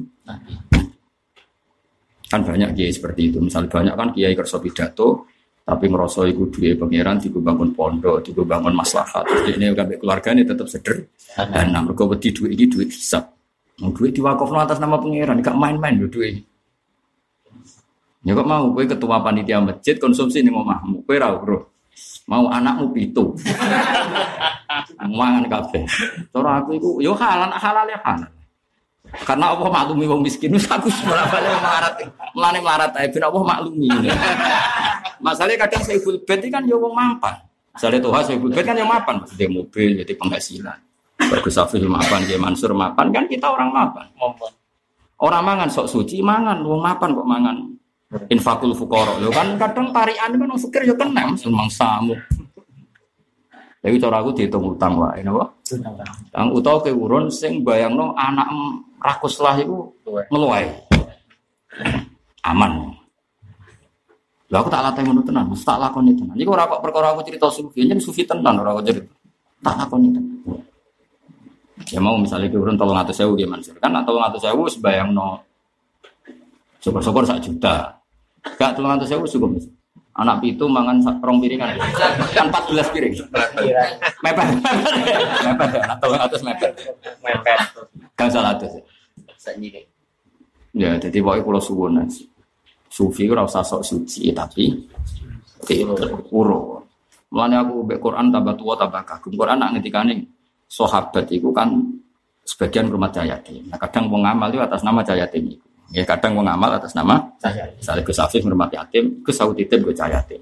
Kan banyak kiai seperti itu. Misalnya banyak kan kiai kersa pidato tapi ngerasa iku duwe pangeran digo bangun pondok, digo bangun maslahat. Terus ini kabeh keluargane tetep sederhana. Mergo wedi duit iki duit hisab. Mau duit diwakofno atas nama pangeran, gak main-main lho duit. Ya kok mau kowe ketua panitia masjid konsumsi ning omahmu. Kowe ra urus. Mau anakmu 7. Mangan kabeh. Cara aku iku yo halal ya halal. Karena Allah maklumi wong miskin wis aku bolak-balik melarat. Mulane melarat ae ben Allah maklumi. Masalahnya kadang Saiful Bait kan yo wong mampan. Misale Toha Saiful Bait kan yo mapan, maksudnya mobil, jadi penghasilan. Bagus Safil mapan, Kiai Mansur mapan, kan kita orang mapan. Orang mangan sok suci mangan, wong mapan kok mangan. Infakul fuqara. Lho kan kadang tarikan kan wong fakir yo kena memang samu. Jadi cara aku dihitung utang wae napa? Utang utawa ke urun sing bayangno anak rakus lah iku ngeluae. Aman. Lah aku tak latih ngono tenan, mesti tak lakoni tenan. Iku ora kok perkara aku cerita sufi, yen sufi tenan ora kok cerita. Tak lakoni tenan. Ya mau misalnya ke urun 300.000 nggih Mansur. Kan 300.000 sebayangno syukur-syukur 1 juta. Gak 300.000 cukup. Anak pitu mangan 2 piringan. Kan 14 piring. Mepet. Anak 300 mepet. Kan 100. Ya, jadi pokoke kula suwun. Sufi ora usah sok suci tapi uro. Mulane aku mbek Quran tambah tua tambah kagum. Quran nak ngendikane sahabat iku kan sebagian rumah yatim. Nah, kadang wong amal itu atas nama yatim iku. Ya kadang wong amal atas nama saya Gus Afif ngurmat yatim, Gus Saud titip Gus yatim.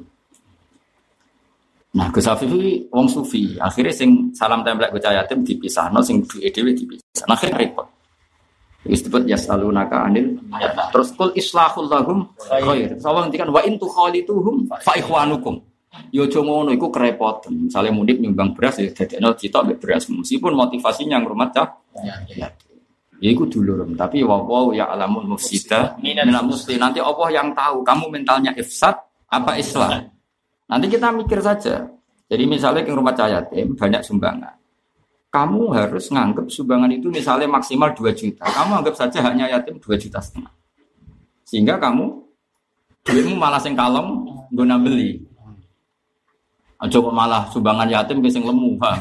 Nah, Gus Afif iki wong sufi, akhirnya sing salam tempel Gus yatim dipisahno, sing duwe dhewe dipisah. Nah, akhirnya repot. Wis disebut yasalunaka anil terus kul islahul lahum khair. Sawang ngendikan wa in tukhalituhum fa ikhwanukum. Yo aja ngono iku kerepotan. Misale mudik nyumbang beras ya dadekno cita mbek beras meskipun motivasinya ngurmat ya. Ya iku dulur, tapi wa ya alamul mufsida minal muslim. Nanti Allah yang tahu kamu mentalnya ifsad apa islah. Nanti kita mikir saja. Jadi misalnya ke rumah yatim banyak sumbangan. Kamu harus nganggap sumbangan itu misalnya maksimal 2 juta. Kamu anggap saja haknya yatim 2,5 juta. Sehingga kamu duitmu malah sing kalem nggo beli. Aja kok malah sumbangan yatim ke sing lemu, paham.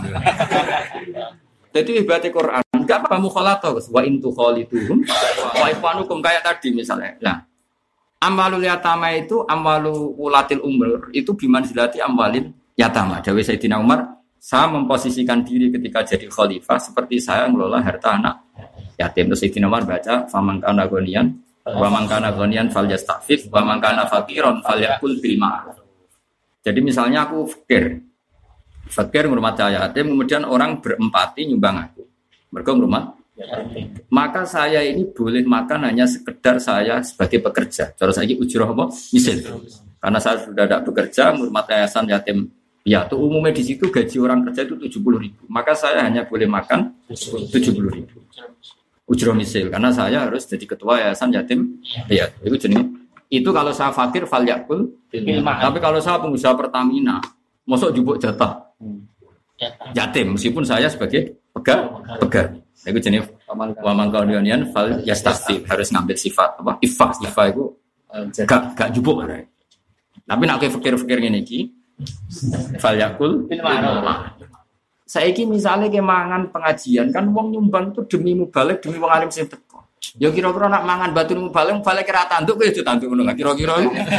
Jadi ibarat Quran, enggak apa mukhalatoh, wa in tukhalituhum wa ikhwanukum kayak tadi misalnya. Nah, amwalul yatama itu amwalu ulatil umur itu bimanzilati amwalin yatama. Dawe Sayyidina Umar, saya memposisikan diri ketika jadi khalifah seperti saya ngelola harta anak yatim. Terus Sayyidina Umar baca faman kana ghaniyan wa man kana ghaniyan falyastafif wa man kana faqiran falyakul bil ma'ruf. Jadi misalnya aku fakir ngurmat yatim, kemudian orang berempati nyumbang aku. Mereka ngurmat yatim. Maka saya ini boleh makan hanya sekedar saya sebagai pekerja. Cara saya ujroh apa? Misal. Karena saya sudah tidak bekerja, ngurmat yayasan yatim. Ya, itu umumnya di situ gaji orang kerja itu 70.000. Maka saya hanya boleh makan 70.000. Ujroh misal. Karena saya harus jadi ketua yayasan yatim. Ya, itu jenis. Itu kalau saya fakir fal yakul. Tapi kalau saya pengusaha Pertamina, mosok jupuk jatah yatim meskipun saya sebagai pegawai. Itu jenis wa man qadiyanian fal yastafif, harus ngambil sifat apa? Ifa itu gak jupuk. Tapi nek fakir-fakir ngene iki fal yakul bil ma'ruf. Saiki misale ke mangan pengajian kan wong nyumbang itu demi mubalek, demi wong alim sing teko. Ya kira-kira nak mangan batu mubalek kira tanduk kowe yo tanduk ngono kira-kira.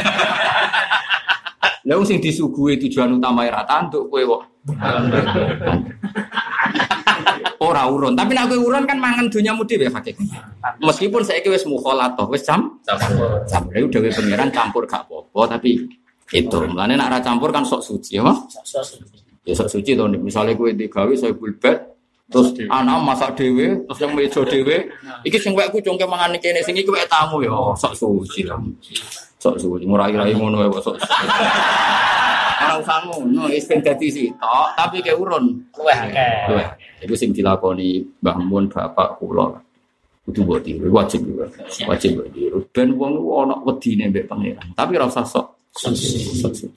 Lah sing disuguhi tujuan utama ra tanduk kowe kok. Ora urun, tapi nek kowe urun kan mangan donyamu dhewe hakik. Meskipun saiki wis mukhalatoh, wis campur. Lha dhewe pangeran campur gak apa-apa, tapi itu. Mulane nek ra campur kan sok suci, ya. Ya sok suci to, misale kowe digawe saya bulbet, terus anak masak dhewe, terus yang meja dhewe, iki sing wekku congke mangan kene, sing iki wek tamu ya, sok suci lah. Sok suci, ngurai-rai ngono wae sok. Ora usah ngono, wis ben dadi sitok, tapi ke urun luweh akeh. Iku sing dilakoni Mbah Mun bapak kula. Kudu mbok tiru, wajib juga. Wajib mbok tiru. Ben wong ana wedine mbek pangeran. Tapi ora usah sok suci.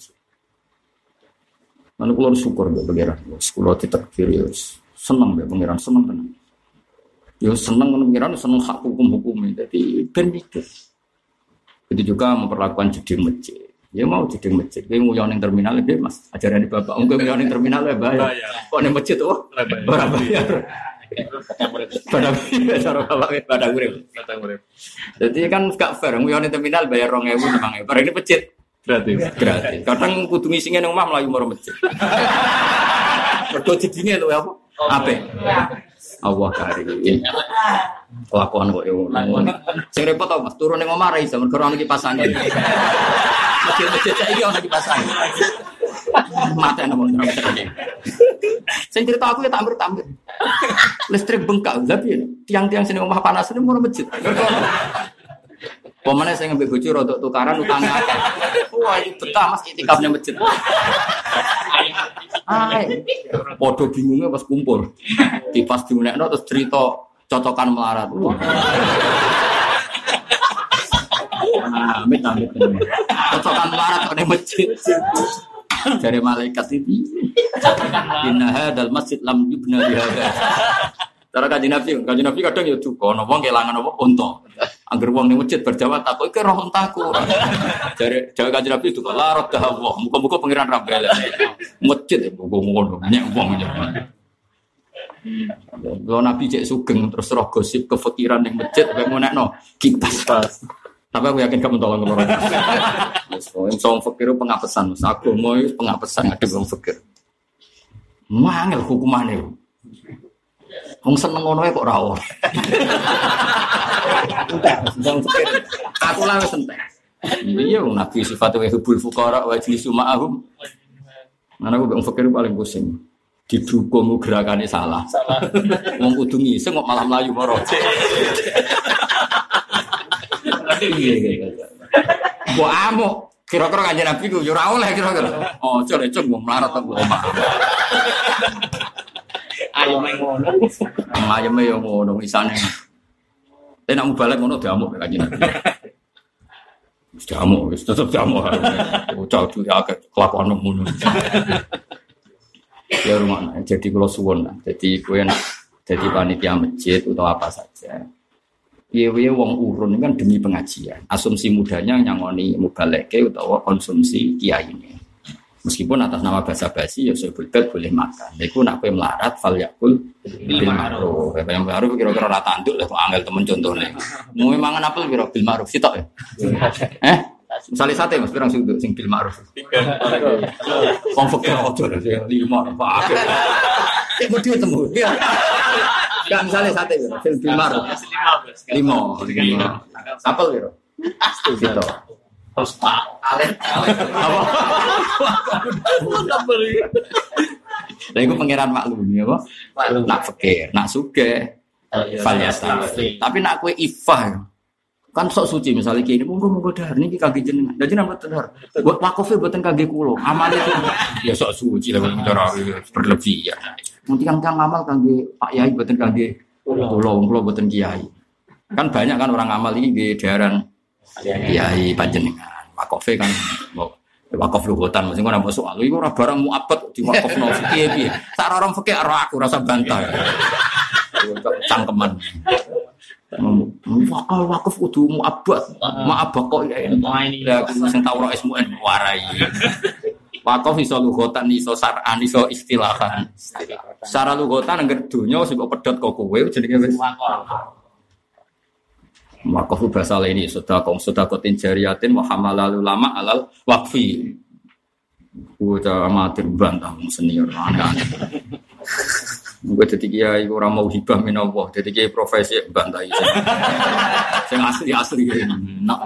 Mana kulo syukur mbek pangeran. Kulo ditakdir ya seneng mbek pangeran, seneng tenan. Ya seneng pangeran, seneng hak hukum-hukum. Jadi ben mikir. Itu juga memperlakukan jeding masjid. Ya mau jeding masjid. Kowe nguyon ning terminal iki Mas, ajaran di bapak. Kowe nguyon ning terminal ya bayar. Kok ning masjid oh ora bayar. Padang urip. Jadi kan gak fair nguyon ning terminal bayar 2.000 5.000. Bareng ini masjid gratis. Kadang kudu ngisine nang omah mlayu maro masjid. Mergo jedinge lho apa? Apik. Allah karim. Kelakuan kok yo. Sing repot apa Mas? Turun ning omah ra iso mergo ana kipas angin. Masjid saiki ana kipas angin. Mate nang omah. Sing cerita aku ya tampir. Listrik bengkak, lha piye? Tiang-tiang sing omah panas ini moro masjid. Pemane sing ngembek bojo rodok tukaran utang akeh. Wah, iki betah Mas itikafnya masjid. Ai. Padha bingunge pas kumpul. Kipas diunekno terus cerita cocokan melarat. Amit. Cocokan melarat kok ning masjid. Jare malaikat iki. Inna hadzal masjid lam yubna bi hadza. Cara Kanjeng Nabi kadang ya duka ana wong kelangan apa unta. Angger wong ning masjid berjawab takok iki roh untaku. Jare Kanjeng Nabi duka la radha Allah. Muga-muga pangeran ra balen. Masjid ngono nyek wong njaluk. Lho Nabi cek sugeng terus roh gosip kefikiran ning masjid kok ngonekno kipas. Tapi aku yakin kamu tolong orang. Wis wong fakir pengapesan, agama iki pengapesan ada wong fakir. Mangel hukumane. Wong seneng ngono kok ora ora. Entek, wong fakir. Aku lah wis entek. Iya Nabi sifatnya hubul fuqara wa jlisu ma'ahum. Mana aku wong fakir paling pusing. Didukung gerakane salah. Wong kudu ngiseng kok malah mlayu moro. Mbok amuk kira-kira Kanjeng Nabi ku yo ora oleh kira-kira. Oh, cek wong melarat kok omah. Ayome ngono. Ayeme yo ngono isane. Nek mubalek ngono diamuk Kanjeng Nabi. Wis diamuk, wis tetep diamuk. Bocah duwe akeh kelakuan ngono. Ya rumah, jadi kula suwun lah. Jadi kowe nek dadi panitia masjid atau apa saja. Piye-piye wong urun kan demi pengajian. Asumsi mudanya nyangoni mubaleke utawa konsumsi kiyaine. Meskipun atas nama basa-basi ya sebutkan boleh makan. Iku nak kowe melarat fal yakul bil ma'ruf. Yang baru kira-kira ra tanduk lah kok angel temen contone. Mau mangan apel piro bil ma'ruf sitok ya. Misale sate Mas pirang sudut sing bil ma'ruf. 3. Wong fakir ojo lho 5 Pak. Cek bodho temu. Enggak misalnya sate bil ma'ruf. 5. Apel piro? Sitok. Terus Pak Alen. Apa? Lah iku pangeran maklumi apa? Nak fakir, nak sugih. Falyasta. Tapi nak kowe ifah kan sok suci misalnya kene monggo dahar niki kangge jenengan. Lah jenengan mboten dahar. Buat wakofe mboten kangge kula. Amal itu ya sok suci lah cara berlebihan. Mungkin kang amal kangge Pak Yai mboten kangge kula mboten kiai. Kan banyak kan orang amal ini di daerah kiai panjenengan. Wakofe kan wakof luhutan mesti ora masuk alu iku ora barang muabat di wakofno piye-piye. Sak orang fikih ora aku rasa bantah. Cangkeman. Wakaf kudu muabad, muabad kok ya ini. Lah sing tau ora ismu warai. Wakaf iso lugotan, iso sar'an, iso istilahan. Secara lugotan angger donya sing kok pedhot kok kowe jenenge wis wakaf. Wakaf bahasa ini sedekah jariyatin wa hamalal ulama alal waqfi. Bocah amatir bantah senior aneh-aneh. Gue jadi kiai orang mau hibah minallah, jadi kiai profesi bantai. Yang asli nak.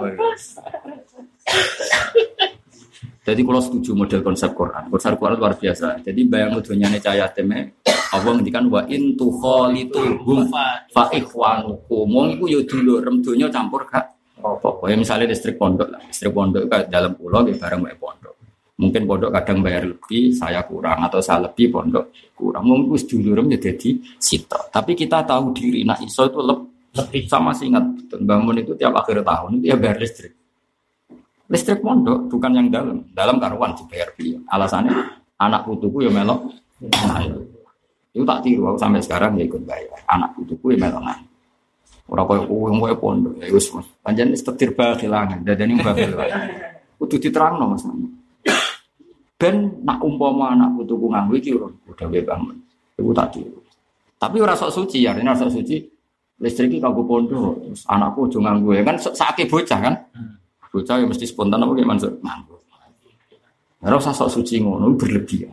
Jadi kalau setuju model konsep Quran luar biasa. Jadi bayang dunyane cahaya teme, Allah ngendikan wa in tukhalituhum fa ikhwanukum. Wong iku yo dulurem donya campur gak apa-apa. Ya misalnya listrik pondok lah, listrik pondok ke dalam pulau di bareng wae pondok. Mungkin pondok kadang bayar lebih, saya kurang atau saya lebih pondok kurang. Mungkin wis dulurem ya dadi sitok. Tapi kita tahu diri nak iso itu lebih sama sih ingat bangun itu tiap akhir tahun itu ya bayar listrik. Listrik pondok bukan yang dalam. Dalam karuan dibayar biaya. Alasannya anak putuku ya melok. Nah, itu tak tiru aku sampai sekarang ya ikut bayar. Anak putuku ya melok. Ora koyo kowe pondok. Ya wis Mas. Panjenengan setir kehilangan. Dadane bakhil. Kudu diterangno Mas. Ben nak umpama anak putuku nganggo iki udah wae bangun. Iku tak tiru. Tapi ora sok suci, artinya ora sok suci. Listrik iki kanggo pondok, terus anakku aja nganggo ya kan sakake bocah kan. Bocah ya mesti spontan apa ki mansur nganggo. Ora usah sok suci ngono berlebihan.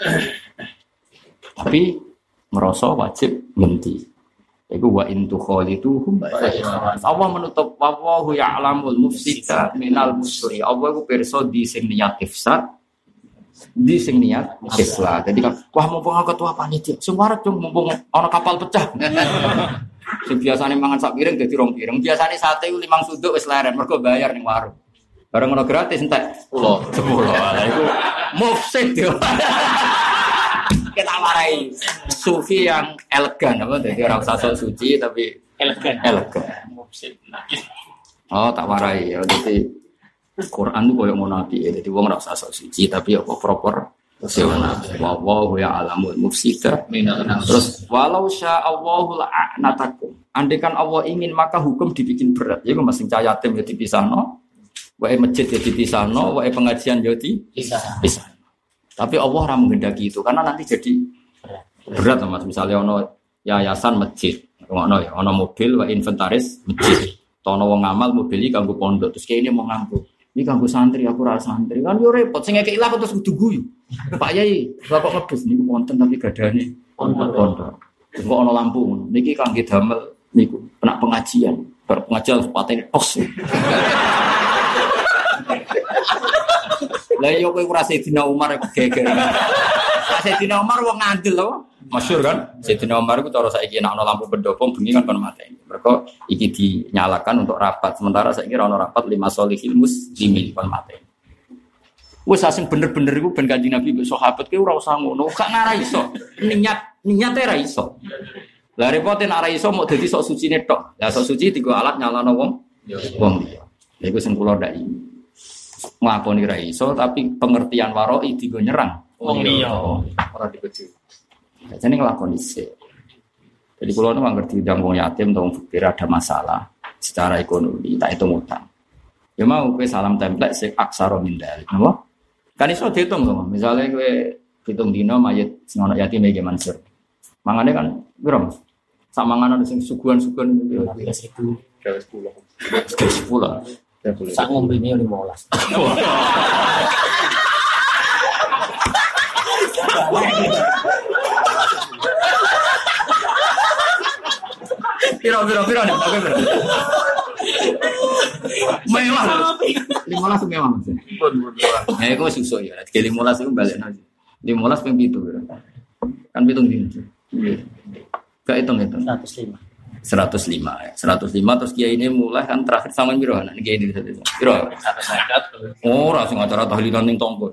Tapi ngerasa wajib ngenti. Iku wa intu khalituhum. Allah menutup wallahu ya'lamul mufsida minal musri. Allah iku pirsa di sing niat ifsad, di sing niat islah. Jadi kan wah mumpung aku ketua panitia, sing warak dong mumpung ana kapal pecah. Sing biasane mangan sak piring dadi rong piring. Biasane sate 5 suduk wis leren mergo bayar ning warung. Bareng ono gratis entek 10. Lah iku mufsid yo. Kita warai sufi yang elegan apa dadi ora usah sok suci tapi elegan. Mufsid. Oh, tak warai ya dadi Quran itu koyo ngono api, jadi wong ora usah sok suci tapi apa proper sewana. Wallahu ya'lamul mufsida. Terus walau sya Allahu la'anatakum. Andaikan Allah ingin maka hukum dibikin berat. Ya kok masing yatim ya dipisahno, wae masjid ya dipisahno, wae pengajian ya dipisah. Tapi Allah ora menghendaki itu karena nanti jadi berat Mas. Misalnya ono yayasan masjid, ono ya, ono mobil wae inventaris masjid. Tono wong ngamal mobil iki kanggo pondok, terus kene mau nganggo. Ini kanggo santri, aku rasa santri kan yo repot. Sing ngekek ilang terus kudu guyu. Pak Yai, bapak ngebus niku wonten tapi gadane pondok. Terus kok ana lampu ngono. Niki kangge damel niku kena pengajian. Bar pengajian patene tos. Lah yo kowe ora Sayyidina Umar kok geger. Sayyidina Umar wong ngandel lho. Masyhur kan? Sayyidina Umar iku cara saiki nek ana lampu pendopo bengi kan kon mateni. Mergo iki dinyalakan untuk rapat. Sementara saiki ora ana rapat 5 solihil muslimin kon mateni. Wes asing bener-bener iku ben Kanjeng Nabi mbek sahabat ki ora usah ngono. Gak ngara iso. Niate ra iso. Lah repote nek ra iso mok dadi sok sucine tok. Lah sok suci digo alat nyalano wong. Wong liya. Lha iku sing kula ndak iki. Nglakoni ra iso tapi pengertian waroi digo nyerang wong liya. Ora dikeju. Jadi ngelakoni sih. Jadi kalau orang ngerti diundang wong yatim atau wong fakir ada masalah secara ekonomi, tak itu utang. Ya mau kue salam template sih aksaro mindalik, apa? Kan iso dihitung sama. Misalnya kue hitung dino mayat sing ana yatim iki Mansur. Mangane kan piro Mas? Sak manganan sing suguhan-suguhan itu 10. Sak ngombene 15. Piro nih, oke bro. Mewah. 15 mewah Mas. Ya iku susuk ya. 15 iku balekno. 15 ping 7 bro. Kan pitung dino. Gak hitung. 105 ya. 105 terus kiai ini mulai kan terakhir sama piro anak kiai ini piro? 150. Ora sing acara tahlilan ning tonggo.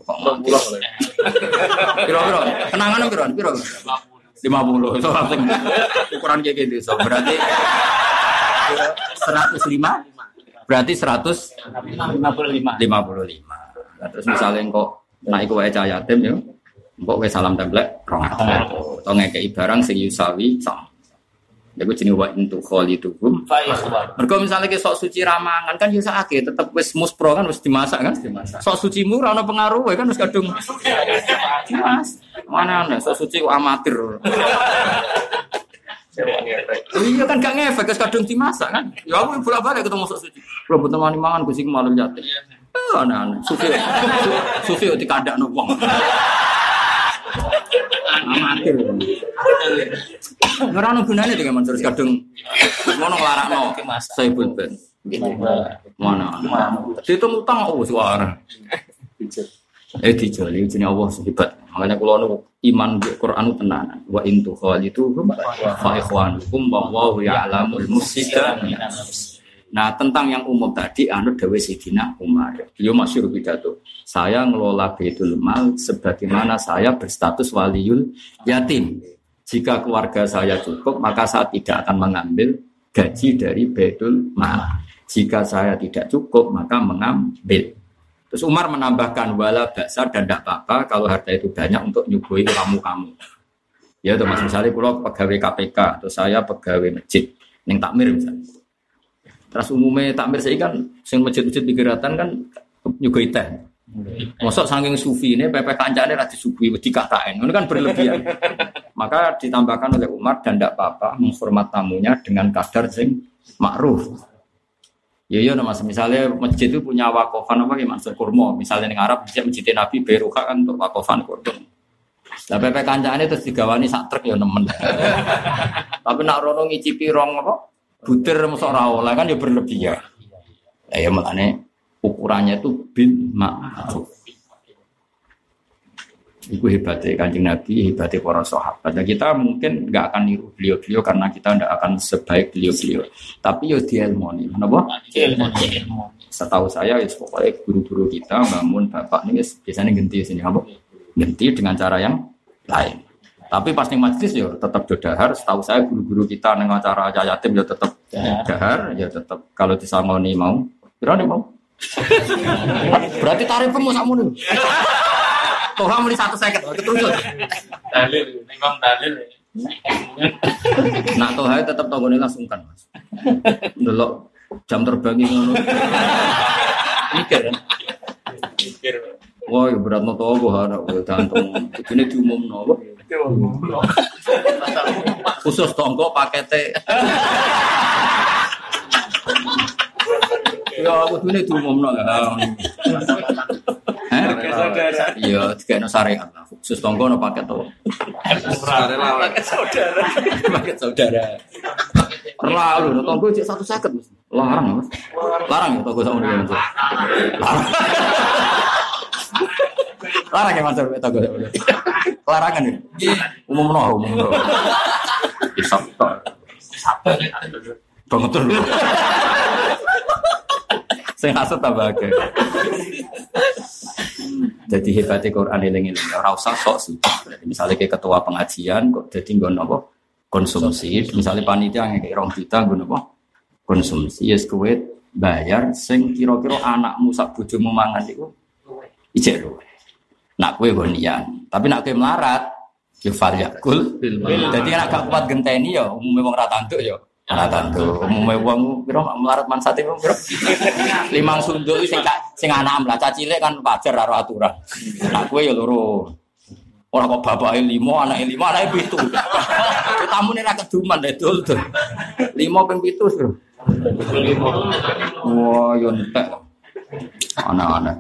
Piro. Kenangan piro? 50. So langsung ukuran kayak gitu. So berarti 105 berarti 155. Terus misalnya kok naik ke wae yatim ya. Kok wae salam template 200. Atau ngekeki barang sing yusawi sama. Iku jenenge wa intu khalituhum. Mergo misale ki sok suci ramangan kan yo sakake tetep wis muspro kan wis dimasak kan. Sok sucimu ora ono pengaruh kan wis kadung. Mas, mana sok suci kok amatir. Iya kan gak ngefek wis kadung dimasak kan. Ya aku bolak-balik ketemu sok suci. Kalau butuh mangan Gusti malu yatim. Aneh-aneh. Sufi dikandakno wong. Amatir. Ora ono gunane dengan Mansur kadung ngono nglarakno Saibul Ben. Mana? Dihitung utang oh suara. Dijoli jenenge Allah hebat. Makanya kula nu iman di Quran tenanan. Wa in tukhalitu fa ikhwanukum wallahu ya'lamul mufsida. Nah, tentang yang umum tadi anut dawuh Sayyidina Umar. Beliau masyhur pidato. Saya ngelola Baitul Mal sebagaimana saya berstatus waliul yatim. Jika keluarga saya cukup, maka saya tidak akan mengambil gaji dari Baitul Mal. Jika saya tidak cukup, maka mengambil. Terus Umar menambahkan wala baksa dan tidak apa-apa kalau harta itu banyak untuk nyuguhi kamu. Ya itu Mas, misalnya kalau pegawai KPK atau saya pegawai masjid ning takmir misalnya. Terus umumnya takmir saya kan sing masjid-masjid pikiratan kan nyuguhi teh. Mosok saking sufi ini PP kancane ra disuguhi wedi KKN. Ini kan berlebihan. Maka ditambahkan oleh Umar dan tidak apa-apa menghormat tamunya dengan kadar sing ma'ruf. Ya Mas, misalnya masjid itu punya wakofan apa gimana kurma. Misalnya di Arab masjid Nabi Beruka kan untuk wakofan kurma. Lah PP kancane terus digawani sak truk ya nemen. Tapi nak rono ngicipi rong apa? Butir mosok ora oleh kan ya berlebihan. Lah ya makane ukurannya itu bil ma'ruf. Itu hebatnya Kanjeng Nabi, hebatnya para sahabat. Dan kita mungkin nggak akan niru beliau-beliau karena kita tidak akan sebaik beliau-beliau. Tapi yo diilmoni, kenapa? Ilmu. Setahu saya, ya pokoknya guru-guru kita bangun bapak ini biasanya ganti sini, apa? Ganti dengan cara yang lain. Tapi pas ning majlis yo tetap dodahar. Setahu saya guru-guru kita ning acara yatim yo tetap dahar, ya tetap kalau disangoni mau, berani mau. Berarti tarifnya mau sakmono. Toha muli 150 keterus. Dalil, memang dalil. Nak toha tetap tanggone langsung kan, Mas. Ndelok jam terbang ngono. Mikir kan. Mikir. Wah, berat no toha anak gantung. Ini diumumno. Khusus tonggo pakete. Ya aku ini diumumno ya. Iya, dikene syariat lah. Khusus tonggo no paket to. Paket saudara. Lalu no tonggo cek 150 Mas. Larang Mas. Larang ya tonggo sakmono ya Mas. Larang ya Mas tonggo. Larangan ya. Umumno. Isap to. Banget lho. Sing hasud tambah akeh. Jadi hebatnya Quran eling-eling ora usah sok sih. Misalnya kayak ketua pengajian kok dadi nggon apa? Konsumsi. Misalnya panitia ngekek 2 juta nggon apa? Konsumsi. Yes kowe bayar sing kira-kira anakmu sak bojomu mangan iku ijek lho. Nak kowe nggon nian. Tapi nak kowe melarat ya fal yakul. Dadi nek gak kuat genteni ya umume wong ra tanduk ya. Ora tanduk. Umume wong pira melarat mansate wong pira? 5 sunduk sing anak mlaca cilik kan wajar karo aturan. Nak kowe ya loro. Ora kok bapake 5, anake 5, anake 7. Tamune ra keduman dul. 5 ping 7, Bro. 5. Wah, yo entek. Anak-anak.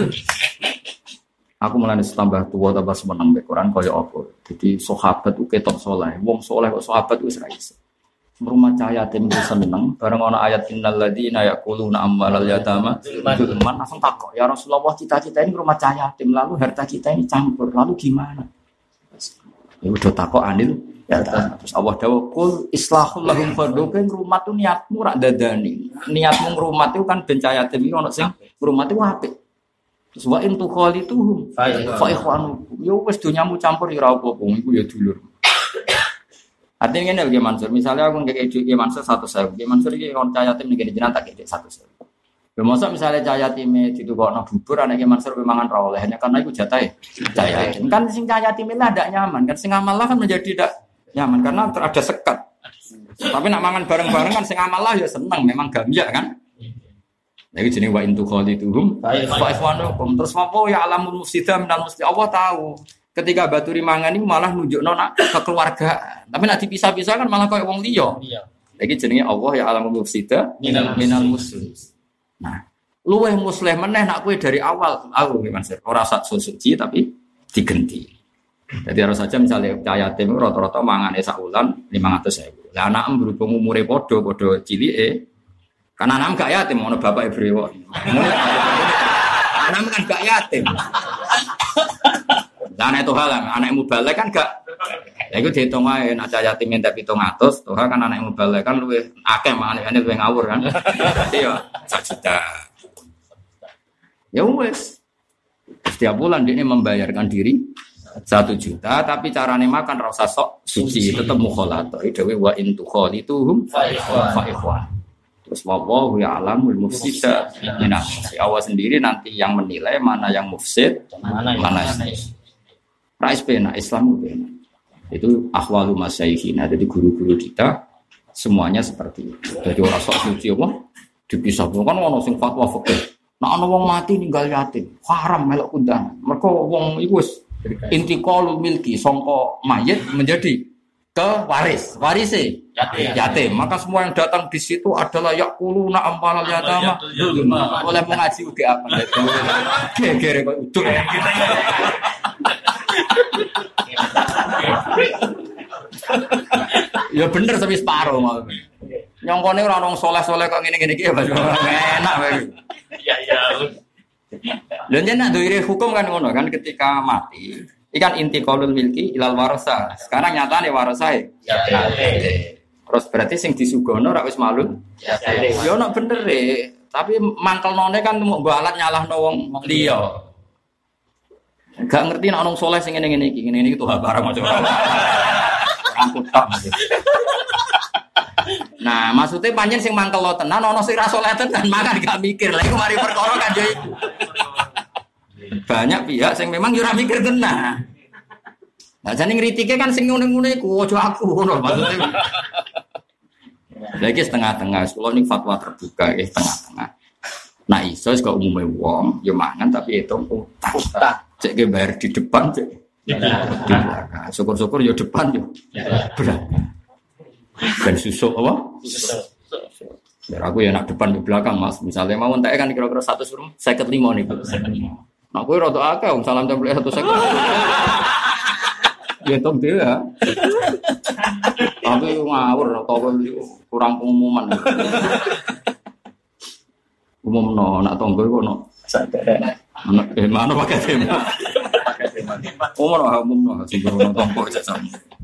Aku mulai tambah tua tambah seneng mbek Quran kaya apa. Jadi sahabat ku ketok saleh. Wong saleh kok sahabat wis ra iso. Rumah cahaya tim itu seneng bareng ana ayat innal ladzina yaquluna amwalal yatama zulman langsung takok ya Rasulullah kita ini rumah cahaya tim lalu harta kita ini campur lalu gimana ya udah takok anil ya terus Allah dawuh kul islahul lahum fardhu rumah tu niatmu rak dadani niatmu ngrumat itu kan ben cahaya tim iki ono sing ngrumat itu apik terus wa in tukhalituhum fa ikhwanukum yo wis donyamu campur ya ora apa-apa iku ya dulur. Artinya ini lagi Mansur. Misalnya aku ngekek Ki Mansur 100.000. Ki Mansur ini orang cahaya tim negeri jenang tak kekek 100.000. Bermaksud misalnya cahaya tim itu kok no bubur, anak Ki Mansur memang rawleh hanya karena itu jatah cahaya tim. Kan sing cahaya tim ini tidak nyaman. Kan sing amal kan menjadi tidak nyaman karena ada sekat. Tapi nak mangan bareng-bareng kan sing amal ya seneng. Memang gambia kan. Jadi jenis wa intu khalituhum fa ikhwanukum. Terus apa ya alamul mufsidah minal muslih. Allah tahu. Ketika Baturi mangan ini malah nunjukno nak kekeluargaan. Tapi nak dipisah-pisah kan malah koyo wong liya. Lagi jenenge Allah ya alamul mufsida minal muslim. Nah, luweh muslim meneh nak kowe dari awal aku nggih Mas. Ora sak suci tapi digenti. Jadi harus saja misalnya cahaya yatim rata-rata mangane sak wulan 500.000. Lah anak berhubung umure padha cilike. Kan anak gak yatim ono bapake brewok. Anak kan gak yatim. Lah anak toha lah, anak mubalek kan gak. Ya iku diitung wae nek cah yatim entek 700, toha kan anak mubalek kan luwih akeh mangane luwih ngawur kan. Dadi ya 1 juta. Ya wis. Setiap bulan dia membayarkan diri 1 juta tapi carane makan ra usah sok suci, tetep mukhalatah. Dewe wa in tukhalituhum fa ikhwan. Terus Terus wallahu ya'lamul mufsida minas. Allah sendiri nanti yang menilai mana yang mufsid, mana yang rais pena Islam pena. Itu ahwalu masyayikhina. Jadi guru-guru kita semuanya seperti itu. Jadi orang sok suci apa? Dipisah kan ono sing fatwa fikih. Nek ana wong mati ninggal yatim, haram melok kundangan. Mergo wong iku wis intiqalul milki sangka mayit menjadi ke warise yatim. Maka semua yang datang di situ adalah yaquluna ampalal yatama. Oleh mengaji uga apa itu. Gegere kok uduk. Ya bener sampai separuh mau. Nyongkone ora ono soleh-soleh kok ngene-ngene iki ya enak wae. Iya. Lha yen nak duwe hukum kan ngono kan ketika mati ikan intiqalul milki ilal warasa. Sekarang nyatane warasae. Ya. Terus berarti sing disugono ora wis malun. Ya ono bener tapi mangkelnone kan mau nggo alat nyalahno wong liya. Gak ngerti nek ono soleh sing ngene-ngene iki. Ngene iki tuh barang aja. Angkutak. Nah, maksudnya panjen sing mangkel lo tenan ono sing ra saleh tenan makan gak mikir. Lah iku mari perkara kan yo iku. Banyak pihak sing memang yo ora mikir tenan. Lah jane ngritike kan sing ngene-ngene iku aja aku ngono maksudnya. Lagi setengah-tengah, kula ning fatwa terbuka nggih setengah-tengah. Nah iso kok umume wong yo mangan tapi hitung utang. Cek ge bayar di depan cek. Di belakang. Syukur-syukur yo depan yo. Belakang. Dan susuk apa? Susuk. Biar aku ya nak depan di belakang mas. Misalnya mau entek kan kira-kira 100 rumah, 55 nih. Nah aku rada akeh wong salam template 150. Ya tok dia. Tapi ngawur atau kurang pengumuman. Umumno nak tonggo iku ono. Mana pakai tema. Umumno sing ono tonggo jajam.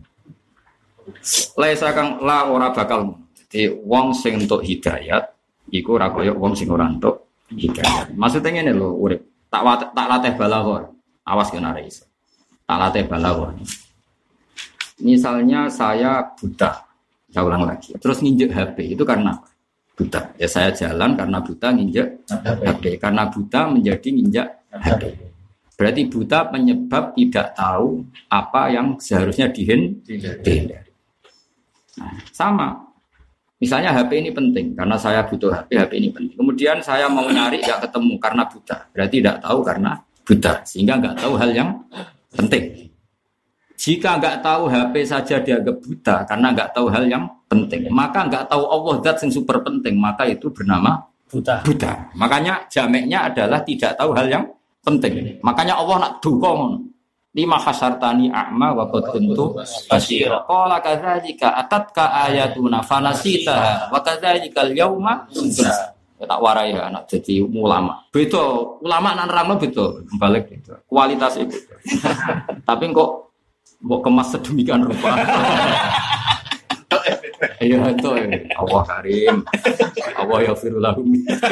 Laisa kang la ora bakal. Jadi wong sing entuk hidayat iku ora kaya wong sing ora entuk hidayat. Maksudnya ngene lho, urip tak latih balaghah. Awas kena ora iso. Tak latih balaghah. Misalnya saya buta. Saya ulang lagi. Terus nginjek HP itu karena apa? Buta. Ya saya jalan karena buta nginjek HP. Karena buta menjadi nginjek HP. Berarti buta penyebab tidak tahu apa yang seharusnya dihindari. Nah, sama. Misalnya HP ini penting karena saya butuh HP ini penting. Kemudian saya mau nyari nggak ketemu karena buta. Berarti tidak tahu karena buta sehingga nggak tahu hal yang penting. Jika nggak tahu HP saja dianggap buta karena nggak tahu hal yang penting, maka nggak tahu Allah zat yang super penting, maka itu bernama buta. Makanya jameknya adalah tidak tahu hal yang penting. Makanya Allah nak dukung. Lima hasartani a'ma wa qad kuntu basira. Qala kadzalika atatka ayatuna fanasitaha wa kadzalikal yauma tunsa. Tak warai ya anak jadi ulama. Beda ulama nang nerangno beda, balik beda. Kualitas itu. Tapi kok kemas sedemikian rupa. Iya itu. Allah Karim. Allah yaghfirul lahum.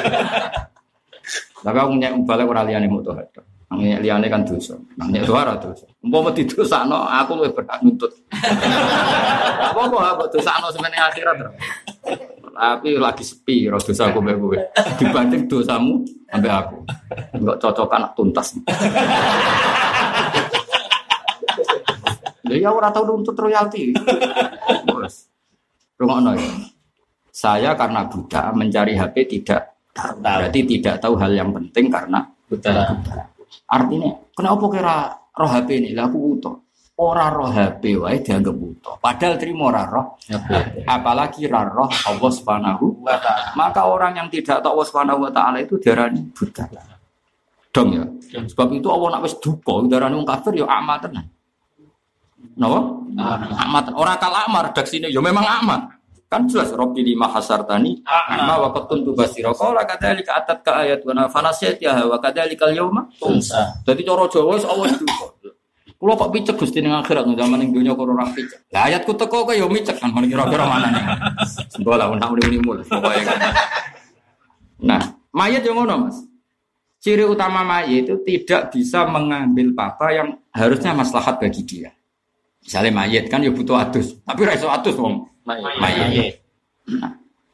Tapi aku nyek balik ora liyane mutahad. Nang liyane kan dosa. Nang nyek ora dosa. Umpama didosakno aku luwih berhak nuntut. Apa dosakno semene akhirat. Tapi lagi sepi dosa aku mbek kowe. Dibanding dosamu ambek aku. Enggak cocokan tuntas. Lha ya ora tau nuntut royalti. Bos. Rungokno ya. Saya karena buta mencari HP tidak tahu. Berarti tidak tahu hal yang penting karena buta. Artinya, kenapa kira roh HP ini? Lah aku buta. Ora roh HP wae dianggap buta. Padahal terima ora roh HP. Apalagi ra roh Allah Subhanahu wa taala. Maka orang yang tidak tahu Allah Subhanahu wa taala itu diarani buta. Dong ya. Sebab itu Allah nak wis duka diarani wong kafir ya amat tenan. Napa? Amat. Ora kal amar redaksine ya memang amat. Kan jelas Rabbi lima hasartani amma wa qad kuntu basira. Qala kadzalika atatka ayatuna fanasiyatiha wa kadzalikal yauma tunsa. Dadi cara Jawa wis Allah duka. Kulo kok picek Gusti ning akhirat zaman ning donya kok ora picek. Lah ayatku teko kok ya micek kan kira-kira manane. Sembola nak muni-muni pokoke kan. Nah, mayat yo ngono, Mas. Ciri utama mayat itu tidak bisa mengambil apa yang harusnya maslahat bagi dia. Misalnya mayat kan ya butuh adus, tapi ra iso adus wong mayat. Nah,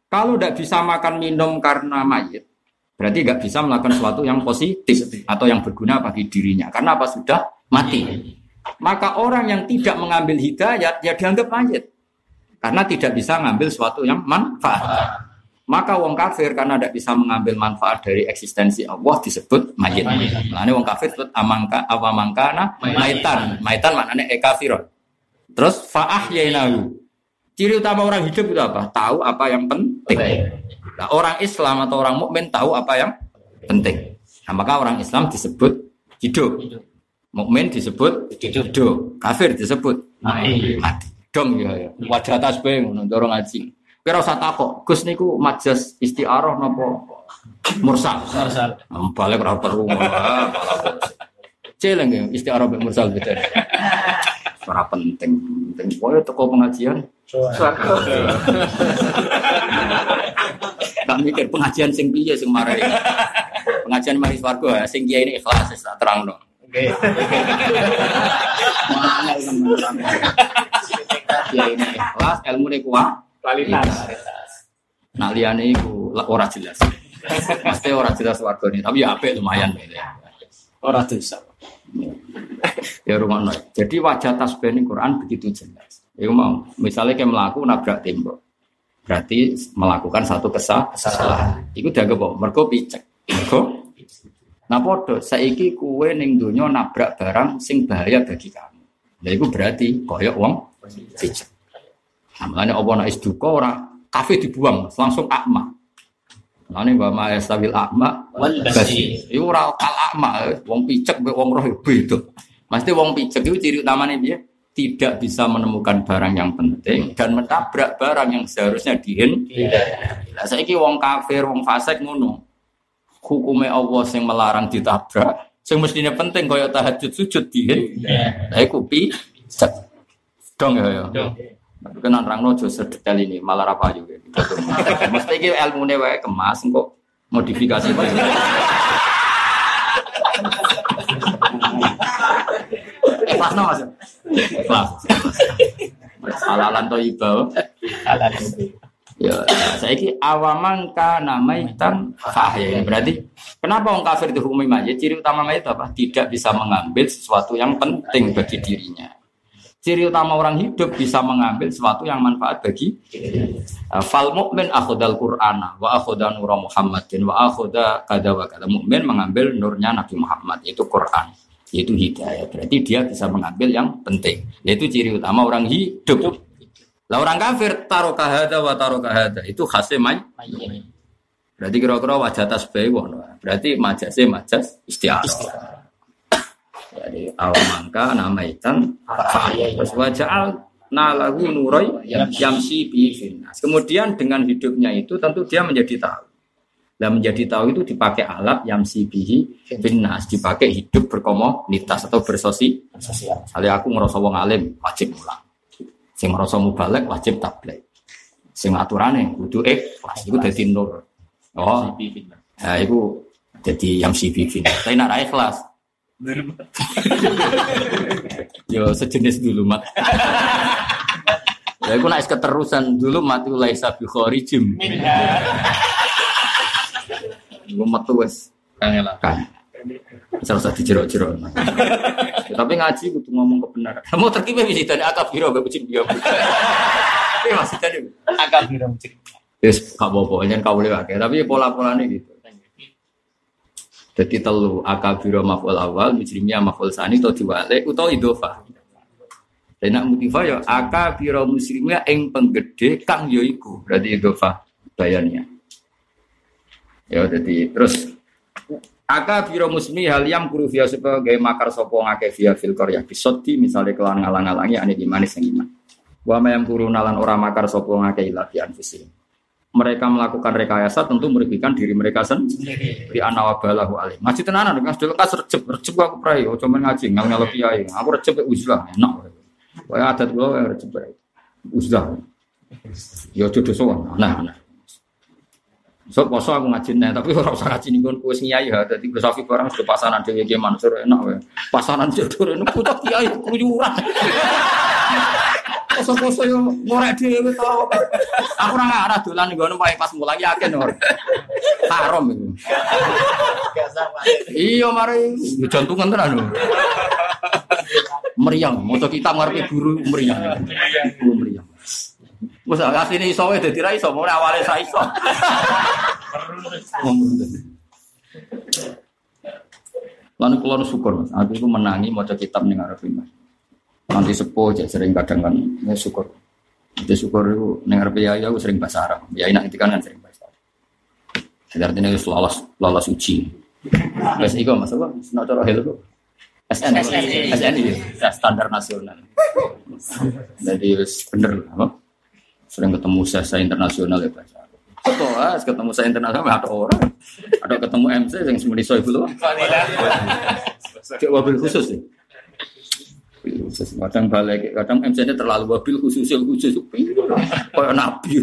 Kalau tidak bisa makan minum karena mayit, berarti nggak bisa melakukan sesuatu yang positif atau yang berguna bagi dirinya. Karena apa? Sudah mati. Maka orang yang tidak mengambil hidayat, ya dianggap mayit. Karena tidak bisa mengambil sesuatu yang manfaat. Maka wong kafir karena tidak bisa mengambil manfaat dari eksistensi Allah disebut mayit. Makanya wong kafir disebut awamangkana maitan. Maitan maknanya kafirun. Terus fa'ahyainahu. Ciri utama orang hidup itu apa? Tahu apa yang penting. Nah, orang Islam atau orang mukmin tahu apa yang penting. Nah, maka orang Islam disebut hidup. Mukmin disebut hidup. Kafir disebut mati. Dong ya. Wajah tasbih ngono cara ngaji. Kira usah takok, Gus niku majas istiarah napa mursal? Mursal. Balik ora perlu ngono. Celeng ya istiarah mek mursal beda. Ora penting. Penting koyo teko pengajian. Tak mikir pengajian sing piye sing marai. Pengajian mari swarga sing kiai ini ikhlas tak terangno. Oke. Kiai ini ikhlas, ilmune kuat, kualitas. Nah liyane iku ora jelas. Pasti ora jelas wargane, tapi ya apik lumayan ya. Ora dosa. Ya rumono. Jadi wajah tasbih ning Quran begitu jelas. Iku mau, misalnya kayak melaku nabrak tembok. Berarti melakukan satu kesalahan. Iku dianggap apa? Mergo picek. Mergo. Nah podo, saiki kuwe ning donya nabrak barang sing bahaya bagi kamu. Lha iku berarti koyok wong picek. Namanya apa nek is duka ora kafe dibuang, langsung akma. Nane wa ma yastabil akma wal basir. Iku ora kal akma, wong picek mek wong roh beda. Mesti wong picek iku ciri utamane piye? Tidak bisa menemukan barang yang penting dan menabrak barang yang seharusnya dihindari. Lah saiki wong kafir, wong fasik ngono. Hukume Allah sing melarang ditabrak. Sing mestine penting kaya tahajud sujud dihindari. Lah iku picek. Dong ya. Tapi kan nerangno aja sedetail ini, malah ra payu. Mesti iki ilmune wae kemas kok modifikasi. Ikhlas no mas? Ikhlas. Halalan thayyibah. Halalan. Ya, saiki awaman kana maitan fahya. Berarti kenapa orang kafir dihukumi mayit? Ciri utama mayit apa? Tidak bisa mengambil sesuatu yang penting bagi dirinya. Ciri utama orang hidup bisa mengambil sesuatu yang manfaat bagi fal mukmin akhadal qur'ana wa akhadha nur Muhammadin wa akhadha kada wa kada. Mukmin mengambil nurnya Nabi Muhammad, yaitu Quran, yaitu hidayah. Berarti dia bisa mengambil yang penting, yaitu ciri utama orang hidup. Lah orang kafir taroka hada wa taroka hada, itu khasnya mayit. Berarti kira-kira wajah tasbih wono. Berarti majase majas istiarah. Jadi awamangka namaitan terus waja'al nalahu nurai yamsi bi finnas. Kemudian dengan hidupnya itu tentu dia menjadi tahu. Dan menjadi tahu itu dipakai alat yamsi bihi finnas, dipakai hidup berkomunitas atau bersosial. Misalnya aku ngerasa wong alim wajib mulang. Sing ngerasa mubalek wajib tabligh. Sing aturane kudu ikhlas iku dadi nur. Oh. Nah iku dadi yamsi bi finnas. Tapi nek ra ikhlas yo sejenis dulu mat. Ya aku naik keterusan dulu mati laisa bi kharijim. Gua metu wis kangelan. Usah dijerok-jerok. Tapi ngaji kudu ngomong kebenaran. Mau terkipe wis dadi akabiro mbek kucing dia. Tapi masih tadi akabiro kucing. Wis gak apa-apa yen kawule wae, tapi pola-polane gitu. Jadi telu akabiro maf'ul awal, mujrimiyah maf'ul tsani atau diwale utawa idhofah. Dan nak mutifah ya akabiro muslimiyah ing penggede kang ya iku, berarti idhofah bayannya. Ya jadi terus akabiro muslimiyah liyam kurufia supaya gawe makar sapa ngake via fil qaryah bisoddi misale kelan ngalang-alangi ane dimane sing iman. Wa mayam kurunalan ora makar sapa ngake ila fi anfusihim. Mereka melakukan rekayasa tentu merugikan diri mereka sendiri. Di anawabalahu alim. Ngaji tenanan dengan sedulur kas recep aku prai, ojo men ngaji ngal kiai. Aku recep uzlah enak. Kaya adat kula recep uzlah. Ya jodoh sowan. Nah. So poso aku ngaji tapi ora usah ngaji ning kono wis kiai ha. Dadi Gus Safi barang sudah pasanan dhewe iki mansur enak wae. Pasanan jodoh nek pucuk kiai keluyuran. Koso-koso yo ngorek dhewe tau. Aku ora ngarah dolan nggono pas mulai yakin ora. Haram iku. Iya mari jantungan tenan lho. Meriang, maca kitab ngarepe guru meriang. Meriang. Wes asline iso wae dadi ra iso, mulai awale sa iso. Lan kula syukur Mas, aku iku menangi maca kitab ning ngarepe Mas. Nanti sepuh cek sering kadang kan ya syukur. Itu syukur itu ning arep ya aku sering bahasa Arab. Ya enak itu kan sering bahasa Arab. Artinya wis lolos uji. Wis iku Mas apa? Nek cara hel kok. SN ya standar nasional. Jadi wis bener apa? Sering ketemu saya internasional ya bahasa Arab. Betul, ketemu saya internasional ada orang. Ada ketemu MC yang semeni soal dulu. Cek wabil khusus sih. Khusus kadang balik kadang MC-nya terlalu wabil khusus kayak nabi.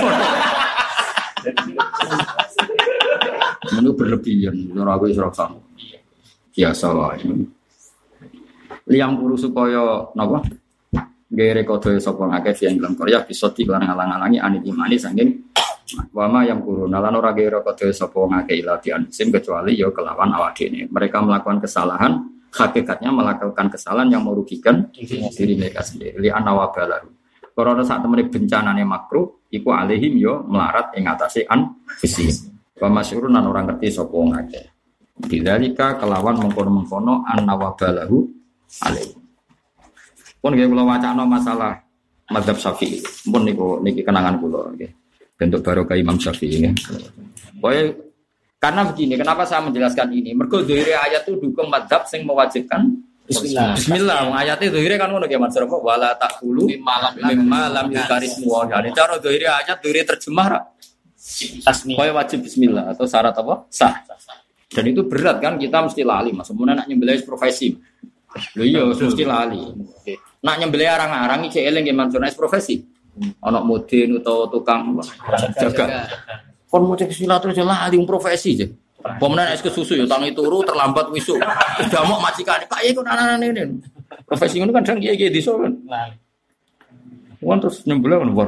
Menu berlebihan, ora aku isra sama. Biasa wae. Liang puru supaya napa? Gawe rekodo sapa ngakeh yang dalam Korea bisa diklan ngalang-alangi anime saking wama yang kuruna lan ora gawe rekodo sapa ngakeh ilatian sim kecuali ya kelawan awak dhewe. Mereka melakukan kesalahan hakikatnya melakukan kesalahan yang merugikan diri mereka sendiri. Li anawabalahu. Karena saat temene bencanane makruh iku alihim yo melarat ing atase anfisi. Wa masyhurun lan ora ngerti sapa ngakeh. Bidzalika kelawan mengkono-mengkono anawabalahu alih. Pun nggih kula wacana masalah mazhab Syafi'i. Pun niki kenangan kula nggih. Bentuk barokah Imam Syafi'i nggih. Pokoke karena begini, kenapa saya menjelaskan ini? Mergo zahire ayat itu dukung mazhab sing mewajibkan bismillah. Ayatnya zahire kan ngono ya Mas Rafa, wala taqulu mimma lam yukarismu wa. Jadi cara zahire ayat zahire terjemah tasmi. Kowe wajib bismillah atau syarat apa? Sah. Dan itu berat kan kita mesti lali Mas. Semono nak nyembelih profesi. Lho iya mesti lali. Nak nyembelih arang-arang iki eling nggih Mansur profesi. Ana mudin utawa tukang jaga. Kon mau cek silat terus lah alim profesi je. Pemenang es kesusu ya tangi turu terlambat wisuk. Udah mau majikan Pak ya kon anak-anak ini. Profesi ngono kan sang kiai-kiai desa kan. Wong terus nyembelih kan war.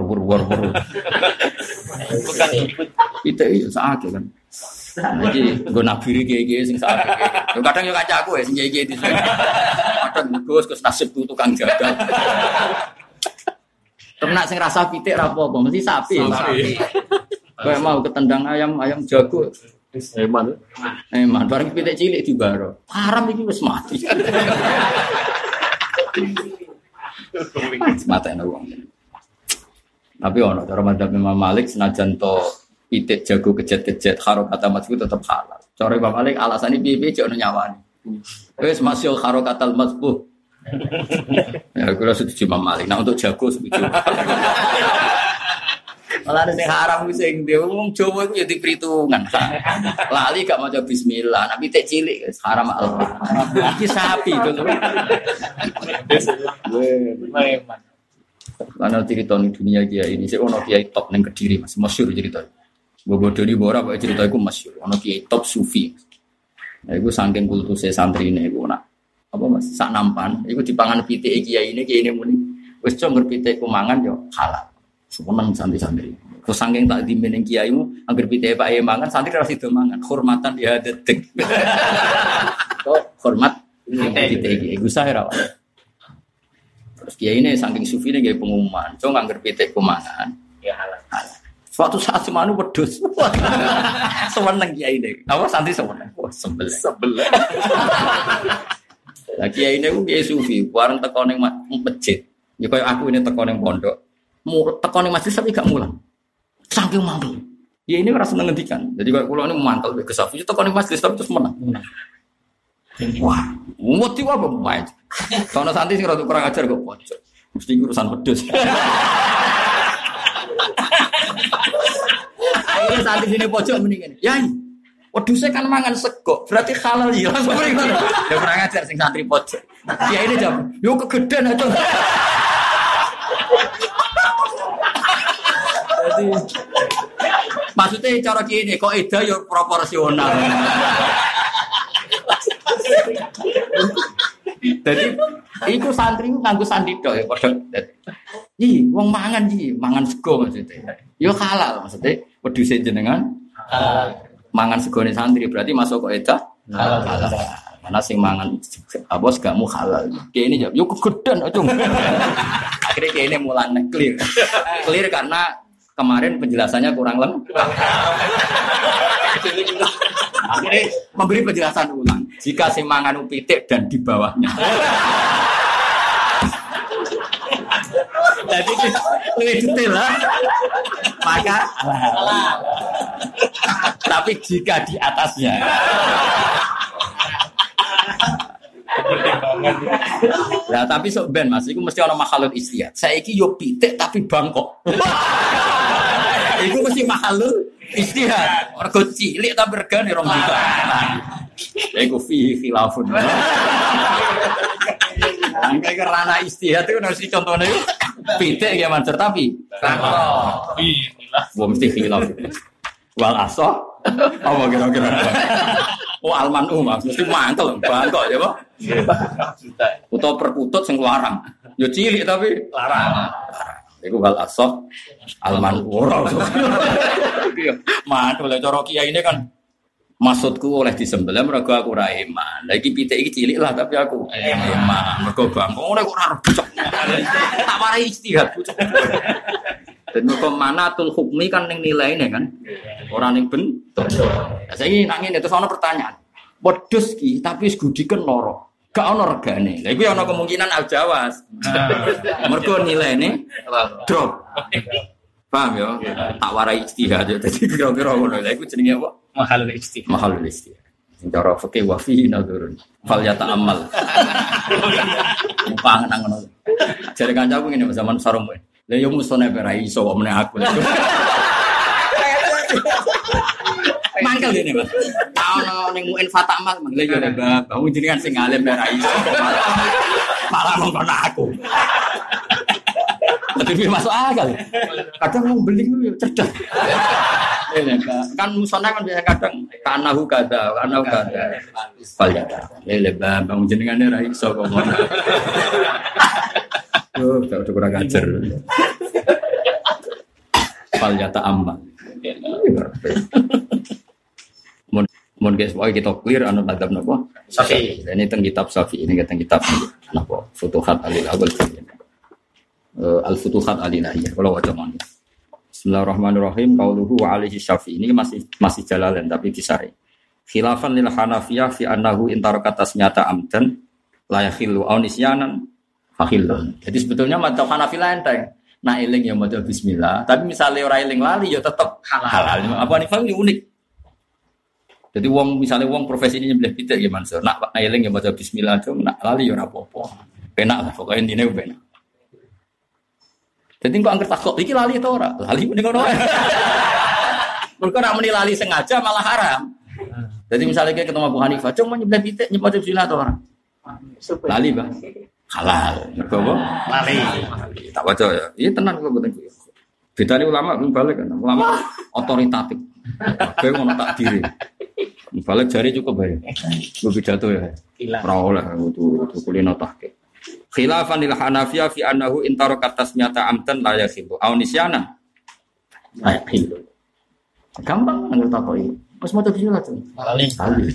Bukan ikut. Itu ya sakake kan. Iki nggo nabiri kiai-kiai sing sakake. Kadang yo kancaku ya sing kiai-kiai desa. Kadang Gus nasib tukang jagal. Ternak sing rasa pitik ra apa-apa mesti sapi. Kayak mau ketendang ayam jago. Eman bareng pitik cilik dibaro. Haram iki wis mati. Mate ana wong. Tapi ono cara madzhab Imam Malik senajan to pitik jago kejet-kejet harokata mazbu tetep halal. Cara Imam Malik alasane piye-piye jek ono nyawane. Wis masyhur harokatal mazbu. Ya kula setuju Imam Malik. Nah untuk jago setuju. Malah sing haram sing dhewe wong Jawa iku ya dipritungan. Lali gak maca bismillah, nek pitik cilik haram Allah. Iki sapi to. Memang. Lan cerita ning dunia kiai ini sik ono kiai top ning Kediri Mas, masyhur cerita. Bobodoni ora kok cerita iku masyhur. Ono kiai top sufi. Nah iku saking kultuse santrine iku nak apa Mas, sak nampan iku dipangan pitik kiai ini muni. Wis cong pitikku mangan yo halal. Semeneng santri-santri. Terus saking tak dimeneng kiaimu, angger pitike Pak mangan, santri ora sida mangan. Hormatan ya dedek. Kok hormat pitike iki iku sae ra. Terus kiai ini saking sufine gawe pengumuman, "Cung angger pitikku mangan, ya halal." Suatu saat semanu wedhus. Semeneng kiai ini. Apa santri semeneng? Wah, sebelah. Lah kiai ini ku kiai sufi, bareng teko ning masjid. Ya kaya aku ini teko ning pondok. Tekone masjid tapi gak mulang. Saking mantul. Ya ini ora seneng ngendikan. Jadi kalau kula ini mantul ke Safi tekone masjid tapi terus menang. Wah, mesti apa main. Sono santri sing rada kurang ajar kok pojok. Mesti urusan wedhus. Akhirnya santri sini pojok mendingan. Yai, wedhuse kan mangan sego, berarti halal ya. Langsung ngono. Ya kurang ajar sing santri pojok. Ya ini jam. Yo kegedean aja. Jadi maksudnya cara gini kok eda yo proporsional. Jadi iku santri nganggo sandi tok ya padha. wong mangan mangan sego maksudnya. Yo halal maksudnya wedhuse jenengan halal. Mangan segone santri berarti masuk kok edah halal. Mana sing mangan apa segamu halal. Kene yo kegedan aja. Akhirnya kene mulane clear. Clear karena kemarin penjelasannya kurang lengkap. Akhirnya memberi penjelasan ulang. Jika sing mangan pitik dan di bawahnya. Jadi lebih detail lah. Maka halal. Tapi jika di atasnya. Nah, tapi sok ben Mas, iku mesti ana makhalul istihad. Saiki yo pitik tapi bangkok. Iku mesti makhalul istihad. Mergo cilik tapi regane 2 juta. Iku fi khilafun. Angka kerana istihad itu harus dicontohnya itu pitik ya Mansur tapi bangkok. Wah mesti khilaf. Wal asoh apa kira-kira? Oh almanu mas, mesti mantel bangkok ya Pak. Utawa perkutut sing larang. Yo cilik tapi larang. Iku wal asoh almanu ora. Mantul cara kiai ini kan maksudku oleh disembelih mergo aku ora iman. Lah iki pitik iki cilik lah tapi aku iman. Mergo bangkok ora kok ora bocok. Tak warai istihad bocok. Dan manatul hukmi kan ning nilaine kan. Ora ning bentuk. Lah saiki nak ngene terus ana pertanyaan. Wedhus ki tapi wis gudhiken lara. Gak ana regane. Lah iku ya ana kemungkinan aljawas. Mergo nilaine drop. Paham ya? Tak warai ijtihad ya. Dadi kira-kira ngono. Lah iku jenenge apa? Mahalul istihad. Mahalul istihad. Sing cara fikih wa fi nadurun. Fal yata'ammal. Mupangen nang ngono. Jare kancaku ngene zaman sarung. Lah yo musone ora iso kok meneh aku. Mangkel dene, Mas. Ono ning muin fatamal, lha yo Mbak, bangun jenengan sing alim ora iso malah mongkon aku. Tapi masuk akal. Kadang mau beli yo cerdas. Kan musone kan biasa kadang kanahu kada. Palyata. Lele bangun jenengan ora iso kok. Oh, tak kurang ajar. Palyata amma. Mun guys, kita clear anu madhab napa? Syafi'i. Ini teng kitab Syafi'i, ini teng kitab napa? Futuhat Al-Awwal. Al-Futuhat Al-Ilahiyah. Kalau waca mawon. Bismillahirrahmanirrahim. Qauluhu wa alaihi Syafi'i. Ini masih jalalan tapi disari. Khilafan lil Hanafiyah fi annahu intaraka tasnyata amdan la yakhillu aw nisyanan fakhilun. Jadi sebetulnya madzhab Hanafi enteng. Nah eling ya maca bismillah, tapi misalnya ora eling lali ya tetep halal. Apa nih Fahmi unik. Jadi misalnya wong profesi ini nyembelih pitik ya Mansur. Nak eling ya maca bismillah aja, nak lali ya ora apa-apa. Penak lah pokoke intine penak. Jadi kok angker takok iki lali to ora? Lali mending ngono. Mergo nak muni lali sengaja malah haram. Jadi misalnya kayak ketemu Abu Hanifah, cuma nyembelih pitik nyembelih bismillah to ora? Lali, Bang. Halal, mergo apa? Lali. Tak baca ya. Iya tenan kok mboten kuwi. Bedane ulama balik kan. Ulama otoritatif. Kayak ngono takdiri. Balik jari cukup bae. Ku pidato ya. Ora oleh kudu kulino tahqiq. Khilafan lil Hanafiyah fi annahu intaraka tasmiyata amdan la yakhibu aw nisyana. La yakhibu. Gampang nang takoki. Wis maca bismillah tuh. Lali.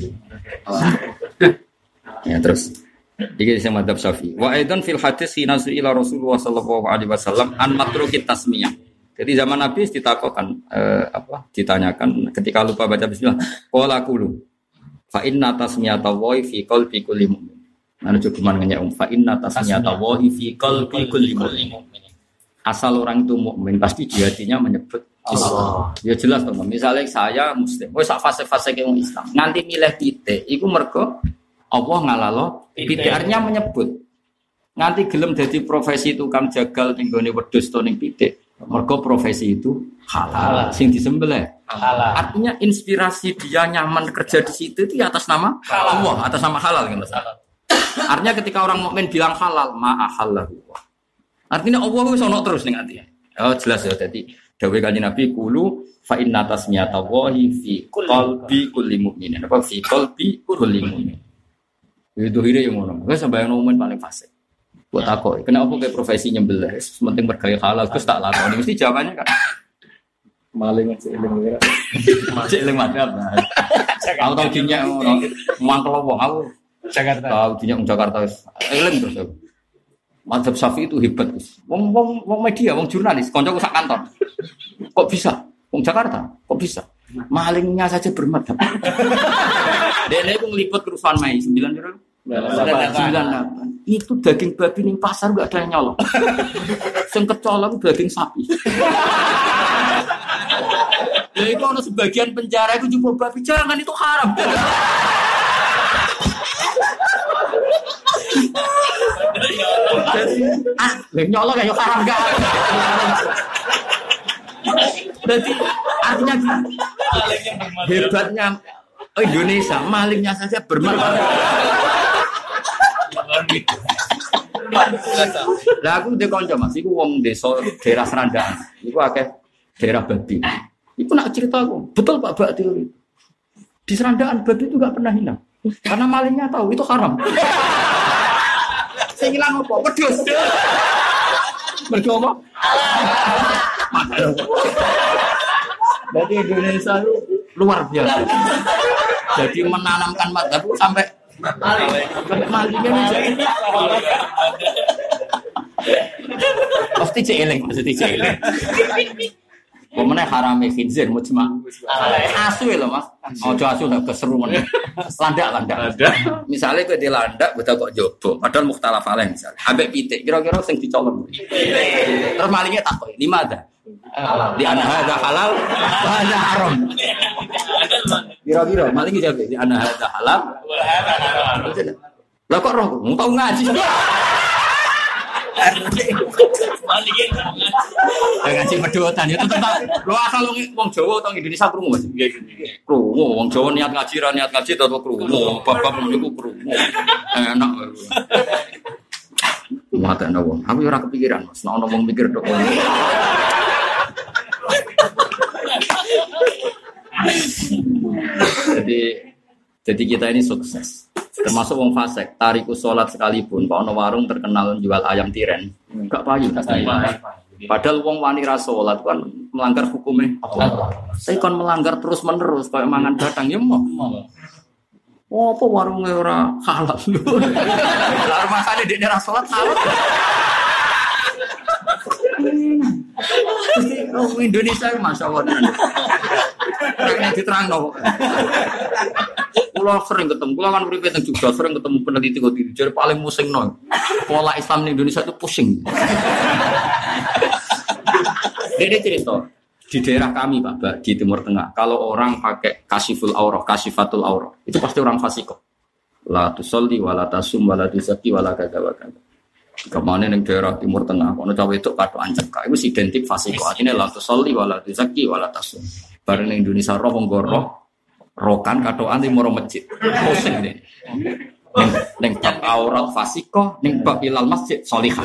Ya terus iki sing madzhab Syafi'i. Wa aidan fil hadis hina ila Rasulullah sallallahu alaihi wasallam an matruki tasmiyah. Jadi zaman Nabi ditakokkan ditanyakan ketika lupa baca bismillah, qala qulu fa inna tasmiyata wa fi qalbi kulli mu'min. Ana cukup nanya fa inna tasmiyata wa fi qalbi kulli mu'min. Asal orang itu mukmin pasti di hatinya menyebut Allah. Ya jelas to, misalnya saya muslim, wis sak fase-fase ke Islam. Nganti milih titik iku mergo Allah ngalalo pitik-arnya menyebut. Nganti gelem dadi profesi tukang jagal ning gone wedhus to ning pitik. Mergo profesi itu halal. Sing disembelih halal. Artinya inspirasi dia nyaman kerja di situ itu atas nama Allah, atas nama halal kan Mas. Artinya ketika orang mukmin bilang halal, ma'ahallahu. Artinya Allah wis ono terus ning ati. Oh jelas ya dadi dawuh Kanjeng Nabi qulu fa inna tasmiyata wahi fi qalbi kulli mu'minin. Apa fi qalbi kulli mu'min. Itu hire yang ngono. Wes sampeyan mukmin paling fasik. Buat takok, kenapa kayak profesi nyembelih? Penting bergaya halal, Gus tak lakoni. Mesti jawabannya kan Maling aja eling. cek eling madhab. Aku tau dinya mangkel wong aku Jakarta. tahu dinya Jakarta eling terus aku. Madhab Syafi'i itu hebat, Gus. Wong media, wong jurnalis, kancaku sak kantor. Kok bisa? Wong Jakarta, kok bisa? Malingnya saja bermadhab. Dene aku ngeliput kerusuhan Mei 9 berapa? 98. Itu daging babi ning pasar enggak ada yang nyolong. Sing kecolong daging sapi. Ya itu ada sebagian penjara itu jumpa babi, jangan itu haram. Jadi nyolong ya haram enggak. Berarti artinya hebatnya Indonesia, malingnya saja bermartabat. Lah aku ndek kanca Mas, iku wong desa daerah Serandaan. Iku akeh daerah babi. Iku nak cerita aku, betul Pak Bak teori. Di Serandaan babi itu enggak pernah hilang. Karena malingnya tahu itu haram. Saya hilang apa? Wedhus. Mergo apa? Berarti Indonesia itu luar biasa. Jadi menanamkan mazhab sampai malingnya nih. Pasti celing, maksudnya celing. Pemenang harame khinzir mujma. Asu lho Mas. Ojo asu nek keseruan. Landak. Misalnya kowe dilandak betul kok jobo, padahal mukhtalaf alaih misal. Ambek pitik kira-kira sing dicolong. Terus malingnya takok, "Lima ada?" Di ana hadza halal wa hadza haram. Kira-kira malingnya jawab, "Di ana hadza halal wa hadza haram." Lah kok roh, mau tau ngaji. Ngaji pedotan itu tentang lo asal wong Jawa atau Indonesia krungu Mas. Krungu wong Jawa niat ngaji ra niat ngaji tetep krungu. Bab-bab niku krungu. Enak. Mata ana wong. Aku ora kepikiran Mas, nek ana wong mikir tok. Jadi kita ini sukses. Termasuk wong fasik, tarikus sholat sekalipun, kalau ono warung terkenal jual ayam tiren, enggak payu. Padahal wong wani ra sholat kan melanggar hukumnya. Saya kan melanggar terus menerus, kayak mangan batang ya mau. Oh, apa warungnya ora halal? Lalu makanya dia ra sholat halal. Indonesia masya Allah. Yang diterang no. Pulau sering ketemu, pulau kan berikut yang juga sering ketemu peneliti kok diri. Jadi paling pusing no. Pola Islam di Indonesia itu pusing. Dia cerita di daerah kami Pak, di Timur Tengah. Kalau orang pakai kasiful aurah, kasifatul aurah, itu pasti orang fasikoh. La tusolli, wala tasum, wala tusaki, wala kata-kata. Kemana yang daerah Timur Tengah, kalau cawe itu kado ancek, itu identik fasikoh. Artinya la tusolli, wala tusaki, wala tasum. Bareng Indonesia roh menggoroh. Rokan kadoan di moro masjid. Pusing deh. Ning bab aurat fasikoh, ning bab ilal masjid solihah.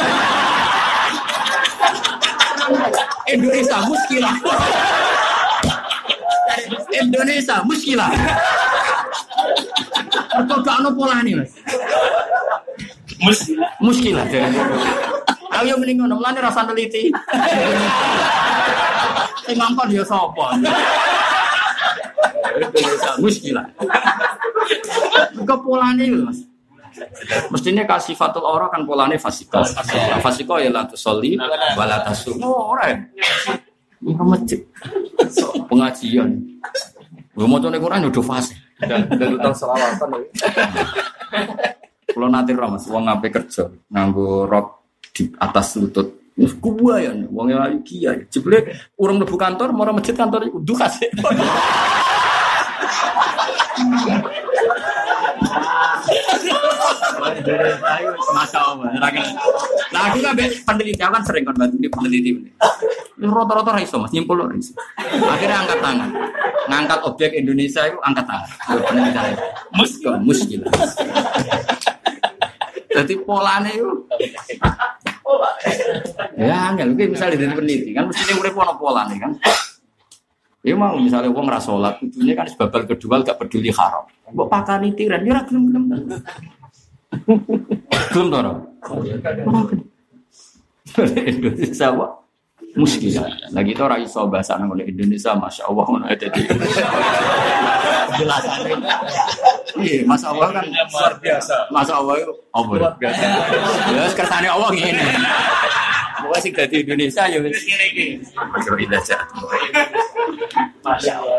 Indonesia muskilah. Indonesia muskilah. Mergo gak ono polane, Mas. Muskilah. Ayo mending ngono, mulane rasa teliti. Sing ngongkon ya sapa? Muskilah. Ke polane lho Mas. Mestinya kasih fatul aurah kan polane fasikoh. Fasikoh ya la tusolli wa la tasum. Ora. Ini masjid. Pengajian. Lu macane Quran udah fasih. Dan tahun selawatan lho. Kulo nate ora Mas, wong ape kerja nganggo rok di atas lutut. Wis kuwayan, wong ayu kiai. Jebule urung mlebu kantor, mara masjid kantor iku dukas. Masya Allah. Nah aku kan peneliti, aku kan sering kan bantu di peneliti. Rata-rata iso Mas, nyimpul loh iso. Akhirnya angkat tangan, ngangkat objek Indonesia itu angkat tangan. Penelitian, muskil. Jadi polanya itu. Ya, enggak mungkin misalnya dari peneliti kan mestinya urip ono polane kan. Ya mau misalnya wong ra salat, tujuannya kan sebabal kedua gak peduli haram. Mbok pakani tiran ya ora gelem-gelem. Gelem to ora? Indonesia apa? Muskilah. Lagi itu orang iso bahasa nang Indonesia, masya Allah ngono ada di penjelasan. Iya, masya Allah kan luar biasa. Masya Allah itu apa? Luar biasa. Ya kersane Allah ngene. Pokoknya sing dadi Indonesia ya wis Ini. kira ida jatuh. Masya Allah.